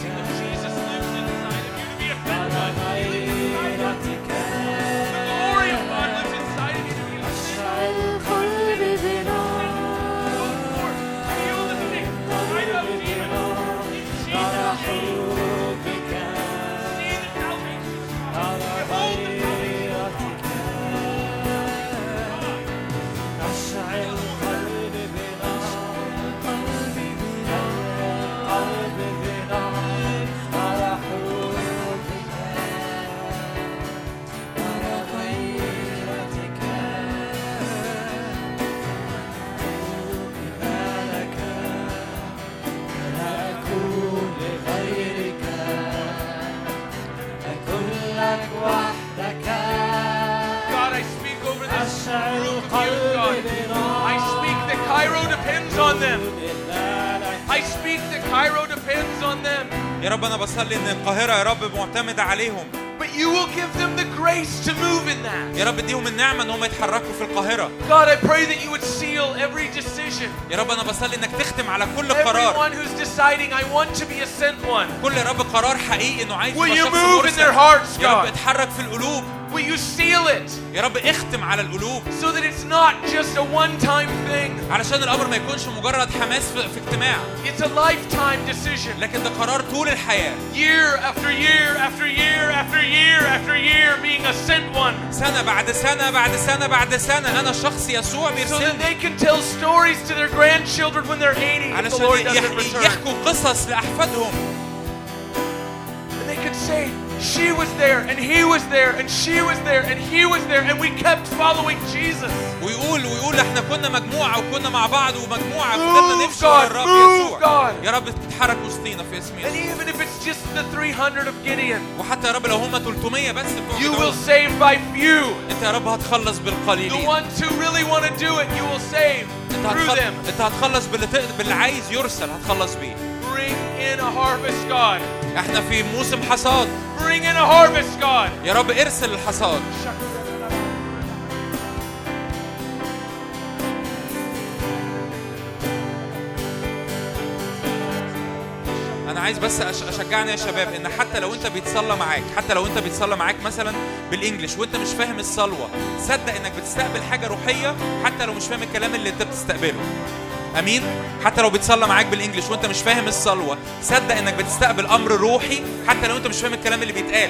أرى غيرتك أشعل قلبي بنار، فرح بك أرى غيرتك أشعل قلبي بنار، قلبي بنار، قلبي بنار، فرح بك أرى غيرتك لك، لا أكون لغيرك، أكون لك وحدك، God, I speak over this أشعل group of youth, قلبي God. بنار، I speak that Cairo depends on them. I speak that Cairo depends on them. يا رب أنا بصلي إن القاهرة يا رب معتمدة عليهم. But you will give them the grace to move in that. يا رب اديهم النعمة إن هم يتحركوا في القاهرة. God, I pray that you would seal every decision. يا رب أنا بصلي إنك تختم على كل قرار. Everyone who's deciding, I want to be a sent one. كل يا رب قرار حقيقي إنه عايز Will يبقى you شخص move in their مرسل. hearts, يا رب God? اتحرك في القلوب. Will you seal it يا رب اختم على القلوب so that it's not just a one-time thing? علشان الأمر ما يكونش مجرد حماس في اجتماع، It's a lifetime decision. لكن ده قرار طول الحياة. Year after year after year after year after year being a sent one. سنة بعد سنة بعد سنة بعد سنة أنا شخص يسوع So that بيرسلني they can tell stories to their grandchildren when they're 80 if the Lord علشان doesn't return. يحكوا قصص لأحفادهم. And they could say, she was there and he was there and she was there and he was there and we kept following Jesus. ويقول احنا كنا مجموعة وكنا مع بعض ومجموعة Move, فضلنا نمشي ورا الرب move, يسوع. God. يا رب تتحرك وسطينا في اسم And يسوع. even if it's just the 300 of Gideon, وحتى يا رب لو هم 300 بس بتوع you will جدعون، save by few. انت يا رب هتخلص The بالقليلين. ones who really want to do it, you will save through them. انت هتخلص باللي عايز يرسل هتخلص بيه. Bring in a harvest, God. احنا في موسم حصاد. Bring in a harvest, God. يا رب ارسل الحصاد. انا عايز بس اشجعنا يا شباب ان حتى لو انت بيتصلى معاك مثلا بالانجلش وانت مش فاهم الصلوه، صدق انك بتستقبل حاجه روحيه حتى لو مش فاهم الكلام اللي انت بتستقبله. امين. حتى لو بيتصلى معاك بالانجلش وانت مش فاهم الصلوه، صدق انك بتستقبل امر روحي حتى لو انت مش فاهم الكلام اللي بيتقال.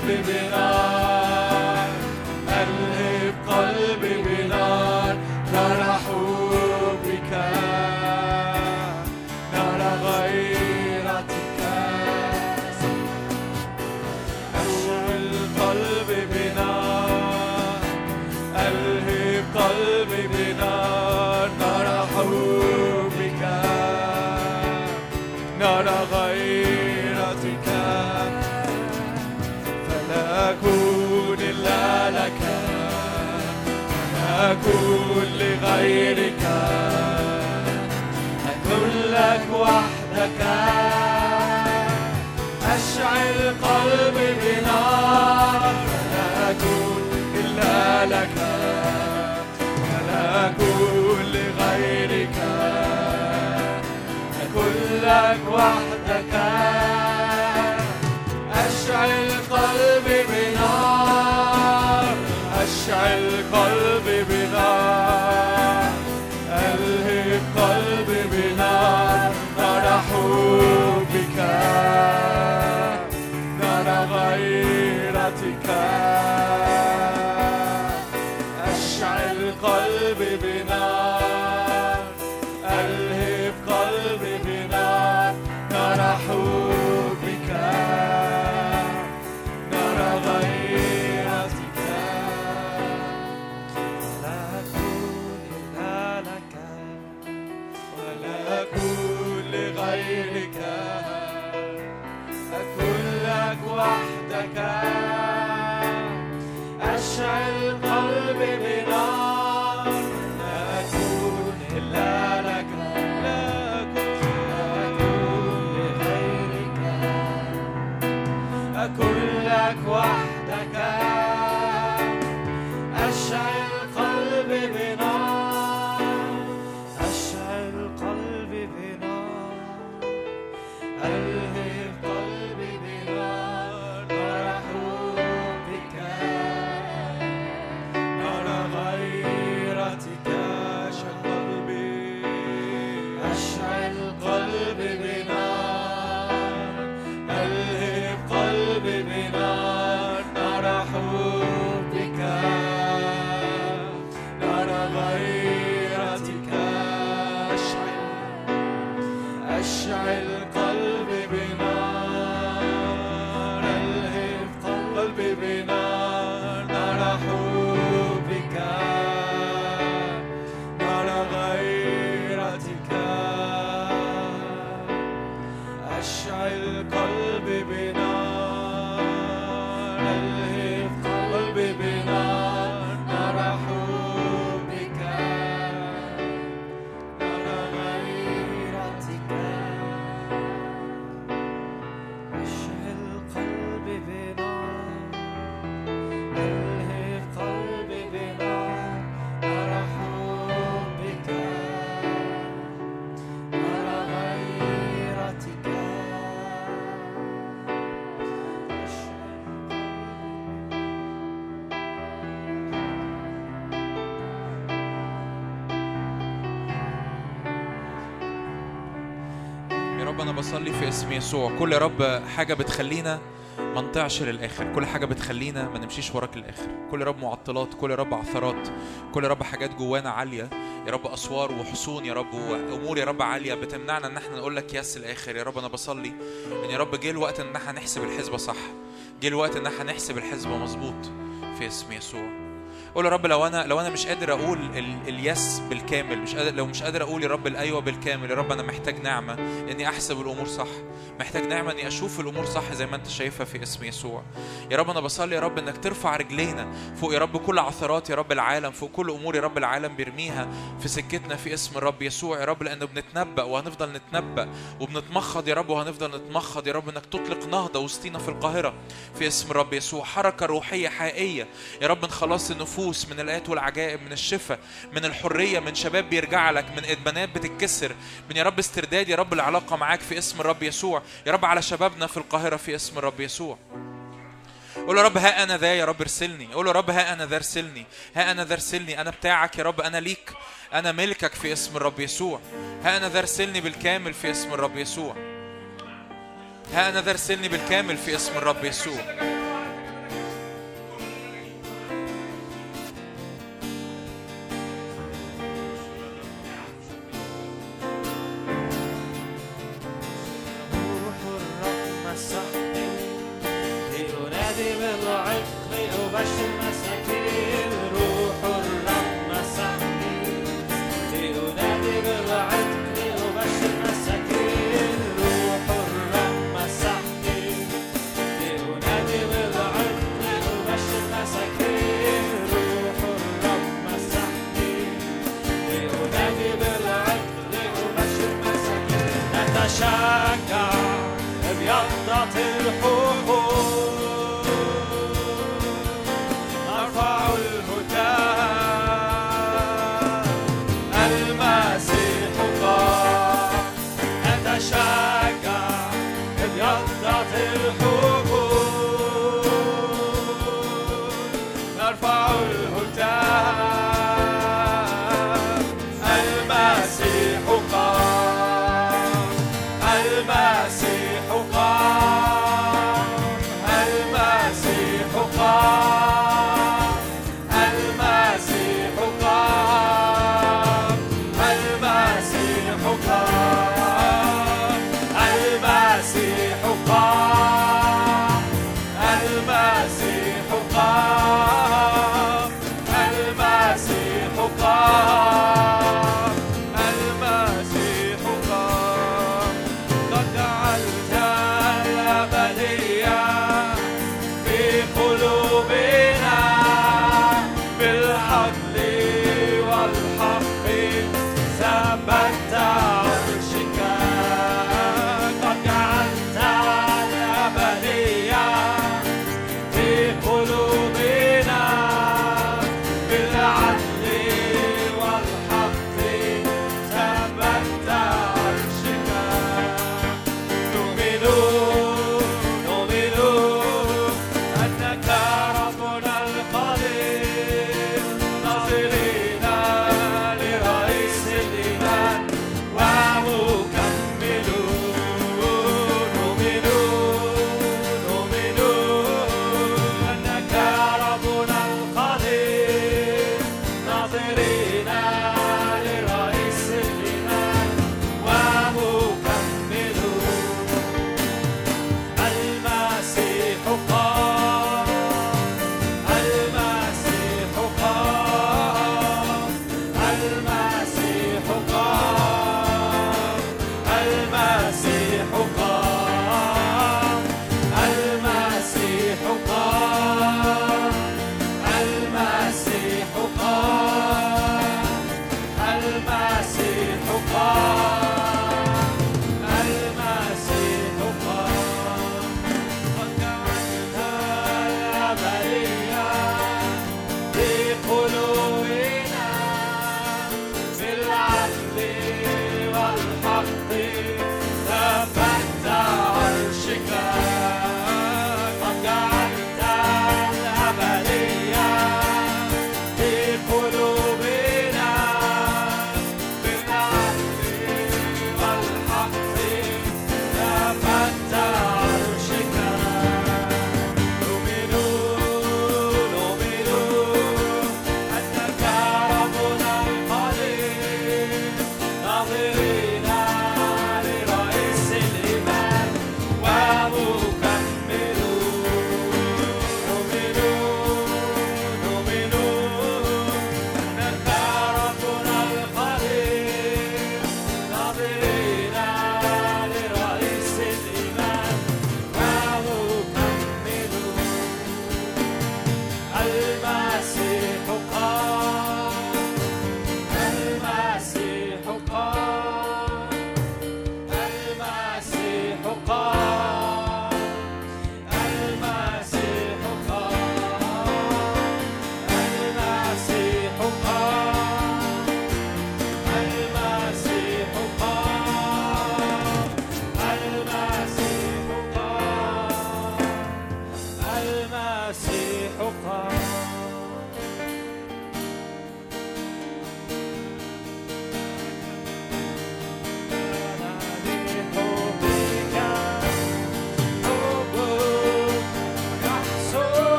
قلبي بنار ألهب قلبي بنار نار حبك نار غيرتك أشعل قلبي بنار ألهب قلبي بنار نار حبك نار غيرتك فلا أكون إلا لك لا أكون لغيرك أكون لك وحدك أشعل قلبي بنار فلا أكون إلا لك ولا أكون لغيرك أكون لك وحدك أشعل قلبي بنار أشعل قلبي بنار ألهب قلبي بنار نار حبك نار غيرتك أشعل قلبي بنار ألهب قلبي بنار نار حبك نار غيرتك لا أكون إلا لك ولا أكون لغيرك أكون لك وحدك أشعل قلبي بنار لا أكون إلا لك لا أكون لغيرك أكون لك وحدك أشعل قلبي بنار أشعل قلبي بنار ألهب قلبي بنار نار حبك نار غيرتك أشعل قلبي بنار ألهب قلبي بنار نار حبك نار غيرتك أشعل قلبي بنار ألهب قلبي بنار نار حبك نار غيرتك أشعل قلبي بنار ألهب قلبي بنار نار حبك نار غيرتك أشعل قلبي بنار ألهب قلبي بنار نار حبك نار غيرتك يا رب أنا بصلي في اسم يسوع كل يا رب حاجة بتخلينا ما نطيعش للآخر، كل حاجة بتخلينا ما نمشيش وراك للآخر، كل يا رب معطلات، كل يا رب عثرات، كل يا رب حاجات جوانا عالية يا رب، أسوار وحصون يا رب وأمور يا رب عالية بتمنعنا إن احنا نقول لك يس الآخر. يا رب أنا بصلي إن يا رب جه الوقت إن احنا نحسب الحسبة صح، جه الوقت إن احنا نحسب الحسبة مظبوط في اسم يسوع. قول يا رب لو انا مش قادر اقول اليس بالكامل، مش قادر اقول يا رب الايوه بالكامل، يا رب انا محتاج نعمه اني احسب الامور صح، محتاج نعمه اني اشوف الامور صح زي ما انت شايفها في اسم يسوع. يا رب انا بصلي يا رب انك ترفع رجلينا فوق يا رب كل عثرات يا رب العالم، فوق كل امور يا رب العالم بيرميها في سكتنا في اسم الرب يسوع يا رب، لانه بنتنبأ وهنفضل نتنبأ وبنتمخض يا رب وهنفضل نتمخض يا رب انك تطلق نهضه وسطينا في القاهره في اسم الرب يسوع، حركه روحيه حقيقيه يا رب، من خلاص النفوس، من الآيات والعجائب، من الشفاء، من الحريه، من شباب بيرجع لك، من ادمانات بتتكسر، من يا رب استرداد يا رب العلاقه معاك في اسم الرب يسوع يا رب، على شبابنا في القاهره في اسم الرب يسوع. قول يا رب ها أنا ذا يا رب ارسلني، قول يا رب ها أنا ذا ارسلني، ها أنا ذا ارسلني، أنا بتاعك يا رب، أنا ليك، أنا ملكك في اسم الرب يسوع. ها أنا ذا ارسلني بالكامل في اسم الرب يسوع، ها أنا ذا ارسلني بالكامل في اسم الرب يسوع. لأنادي بالعتق أبشر مساكين روح الرب مسحني لأنادي بالعتق أبشر مساكين روح الرب مسحني لأنادي بالعتق أبشر مساكين روح الرب مسحني لأنادي بالعتق أبشر مساكين نتشجع ابيضت الحقول نرفع الهتاف المسيح قام نتشجع ابيضت الحقول نرفع الهتاف المسيح قام المسيح قام المسيح قام المسيح قام المسيح قام المسيح قام المسيح قام المسيح قام المسيح قام قد جعلت الأبدية في قلوبنا بالحبل والحق ثبت عرشك قد جعلت الأبدية في قلوبنا بالعدل والحق ثبت عرشك نؤمن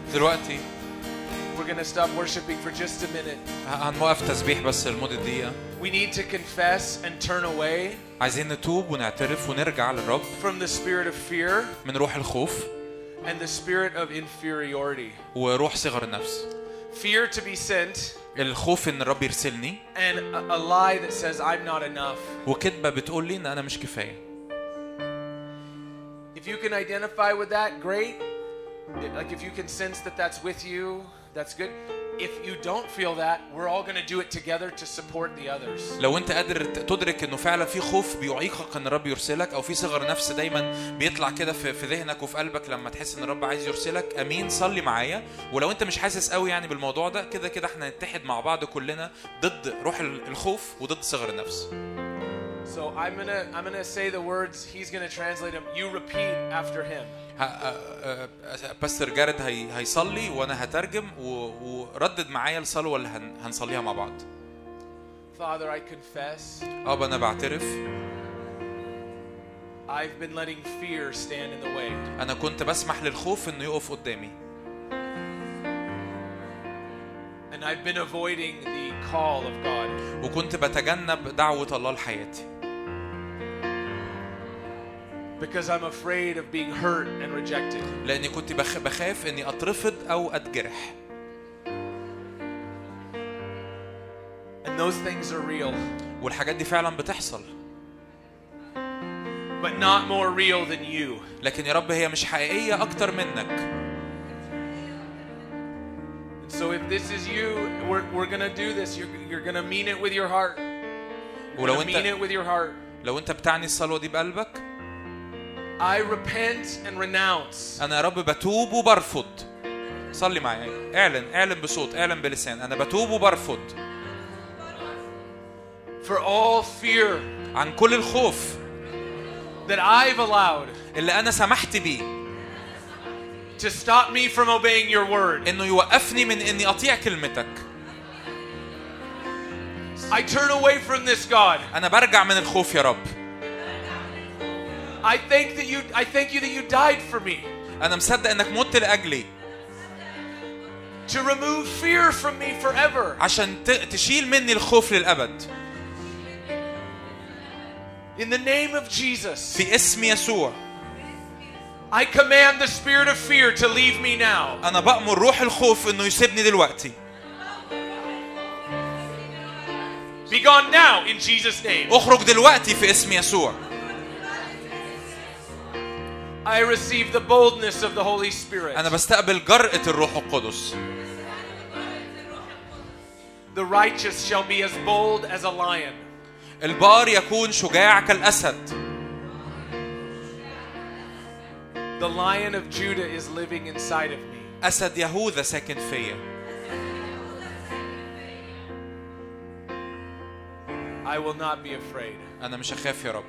دلوقتي we're going to stop worshiping for just a minute. هنوقف تسبيح بس لمدة دقيقة. We need to confess and turn away عايزين نتوب ونعترف ونرجع للرب from the spirit of fear من روح الخوف and the spirit of inferiority. وروح صغر النفس. Fear to be sent الخوف ان الرب يرسلني and a lie that says I'm not enough. وكذبة بتقول لي ان انا مش كفاية. If you can identify with that, great. Like if you can sense that that's with you, that's good. If you don't feel that, we're all going to do it together to support the others. لو انت قادر تدرك انه فعلا في خوف بيعيقك ان الرب يرسلك او في صغر نفس دايما بيطلع كده في ذهنك وفي قلبك لما تحس ان الرب عايز يرسلك، امين صلي معايا. ولو انت مش حاسس قوي يعني بالموضوع ده، كده كده احنا نتحد مع بعض كلنا ضد روح الخوف وضد صغر النفس. So I'm gonna say the words. He's gonna translate them. You repeat after him. باستر جارد هيصلي وانا هترجم وردد معايا الصلوه اللي هنصليها مع بعض. Father, I confess. انا بعترف. I've been letting fear stand in the way. انا كنت بسمح للخوف انه يقف قدامي. And I've been avoiding the call of God. وكنت بتجنب دعوة الله لحياتي. Because I'm afraid of being hurt and rejected. لأني كنت بخاف إني أترفض أو أتجرح. And those things are real. والحاجات دي فعلا بتحصل. But not more real than you. لكن يا رب هي مش حقيقية أكتر منك. So if this is you, we're gonna do this. You're gonna mean it with your heart. ولو mean it with your heart. لو أنت بتعني الصلوة دي بقلبك. I repent and renounce. أنا يا رب بتوب وبرفض. صلي معي. اعلن بصوت، اعلن بلسان. أنا بتوب وبرفض. For all fear. عن كل الخوف. That I've allowed. اللي أنا سمحت بيه. To stop me from obeying your word. إنه يوقفني من إني أطيع كلمتك. I turn away from this, God. أنا برجع من الخوف يا رب. I thank you that you died for me. أنا مصدق إنك مت لأجلي. To remove fear from me forever. عشان تشيل مني الخوف للأبد. In the name of Jesus. في اسم يسوع. I command the spirit of fear to leave me now. أنا بأمر روح الخوف إنه يسيبني دلوقتي. Be gone now in Jesus' name. اخرج دلوقتي في اسم يسوع. I receive the boldness of the Holy Spirit. أنا بستقبل جرأة الروح القدس. The righteous shall be as bold as a lion. البار يكون شجاع كالأسد. The lion of Judah is living inside of me. أسد يهوذا ساكن فيا. I will not be afraid. أنا مش هخاف يا رب.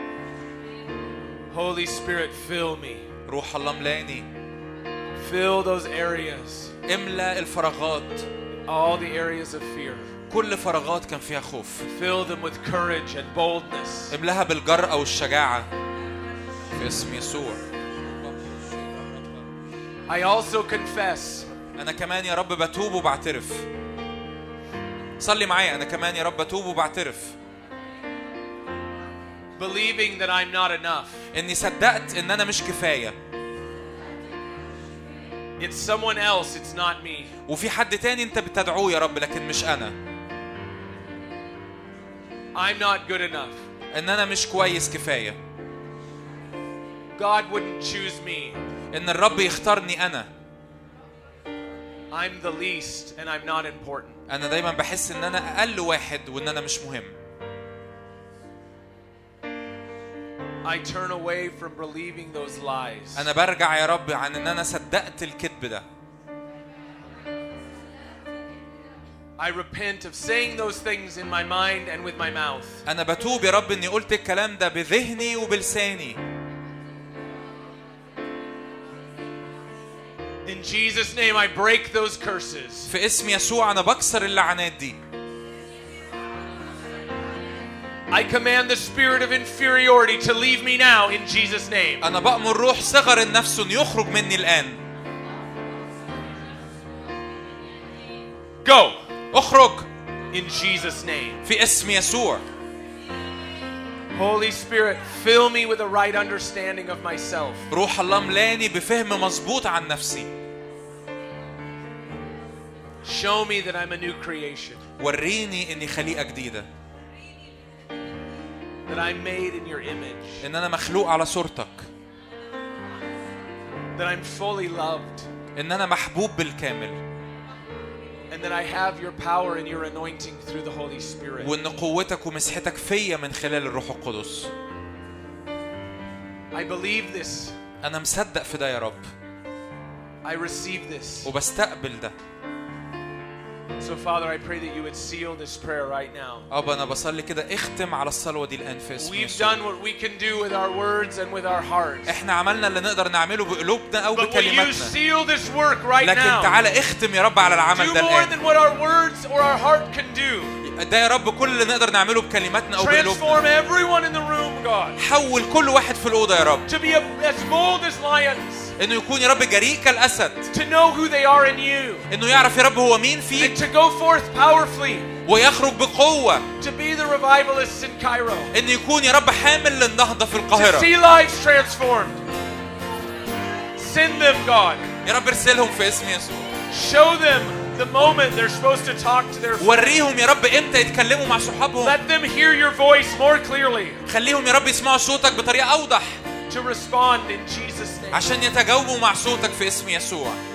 Holy Spirit, fill me. روح الله ملاني. Fill those areas. املأ الفراغات. All the areas of fear. كل فراغات كان فيها خوف. Fill them with courage and boldness. املاها بالجرأة والشجاعة. في اسم يسوع. I also confess. أنا كمان يا رب بتوب وبعترف. صلي معايا. أنا كمان يا رب بتوب وبعترف. Believing that I'm not enough. إني صدقت إن أنا مش كفاية. It's someone else, it's not me. وفي حد تاني أنت بتدعوه يا رب لكن مش أنا. I'm not good enough. إن أنا مش كويس كفاية. God wouldn't choose me. إن الرب يختارني أنا. I'm the least and I'm not important. أنا دايما بحس إن أنا أقل واحد وإن أنا مش مهم. I turn away from believing those lies. أنا برجع يا رب عن إن أنا صدقت الكذب ده. I repent of saying those things in my mind and with my mouth. أنا بتوب يا رب إني قلت الكلام ده بذهني وبلساني. In Jesus' name, I break those curses. في اسم يسوع أنا بكسر اللعنات دي. I command the spirit of inferiority to leave me now in Jesus' name. أنا بأمر روح صغر النفس إنه يخرج مني الآن. Go. اخرج In Jesus' name. في اسم يسوع. Holy Spirit, fill me with the right understanding of myself. روح الله ملاني بفهم مظبوط عن نفسي. Show me that I'm a new creation. وريني اني خليقة جديدة. That I'm made in your image. ان انا مخلوق على صورتك. That I'm fully loved. ان انا محبوب بالكامل. And that I have your power and your anointing through the Holy Spirit. وان قوتك ومسحتك فيا من خلال الروح القدس. I believe this. انا مصدق في ده يا رب. I receive this. وبستقبل ده. So Father, I pray that you would seal this prayer right now. أبا أنا بصلي كده اختم على الصلوة دي الآن في اسم We've يسوع. done what we can do with our words and with our hearts. إحنا عملنا اللي نقدر نعمله بقلوبنا أو But will you بكلماتنا. seal this work right لكن now? تعالى اختم يا رب على العمل Do ده more الآن. than what our words or our heart can do. ده يا رب كل اللي نقدر نعمله بكلماتنا أو Transform بقلوبنا. everyone in the room, God. حول كل واحد في الأوضة يا رب. To be as bold as lions. إنه يكون يا رب جريء كالأسد. To know who they are in you. إنه يعرف يا رب هو مين فيك. And to go forth powerfully. ويخرج بقوة. To be the revivalists in Cairo. إنه يكون يا رب حامل للنهضة في القاهرة. To see lives transformed. Send them, God. يا رب ارسلهم في اسم يسوع. Show them the moment they're supposed to talk to their friends. وريهم يا رب إمتى يتكلموا مع صحابهم. Let them hear your voice more clearly. خليهم يا رب يسمعوا صوتك بطريقة أوضح. To respond in Jesus' name. عشان يتجاوبوا مع صوتك في اسم يسوع.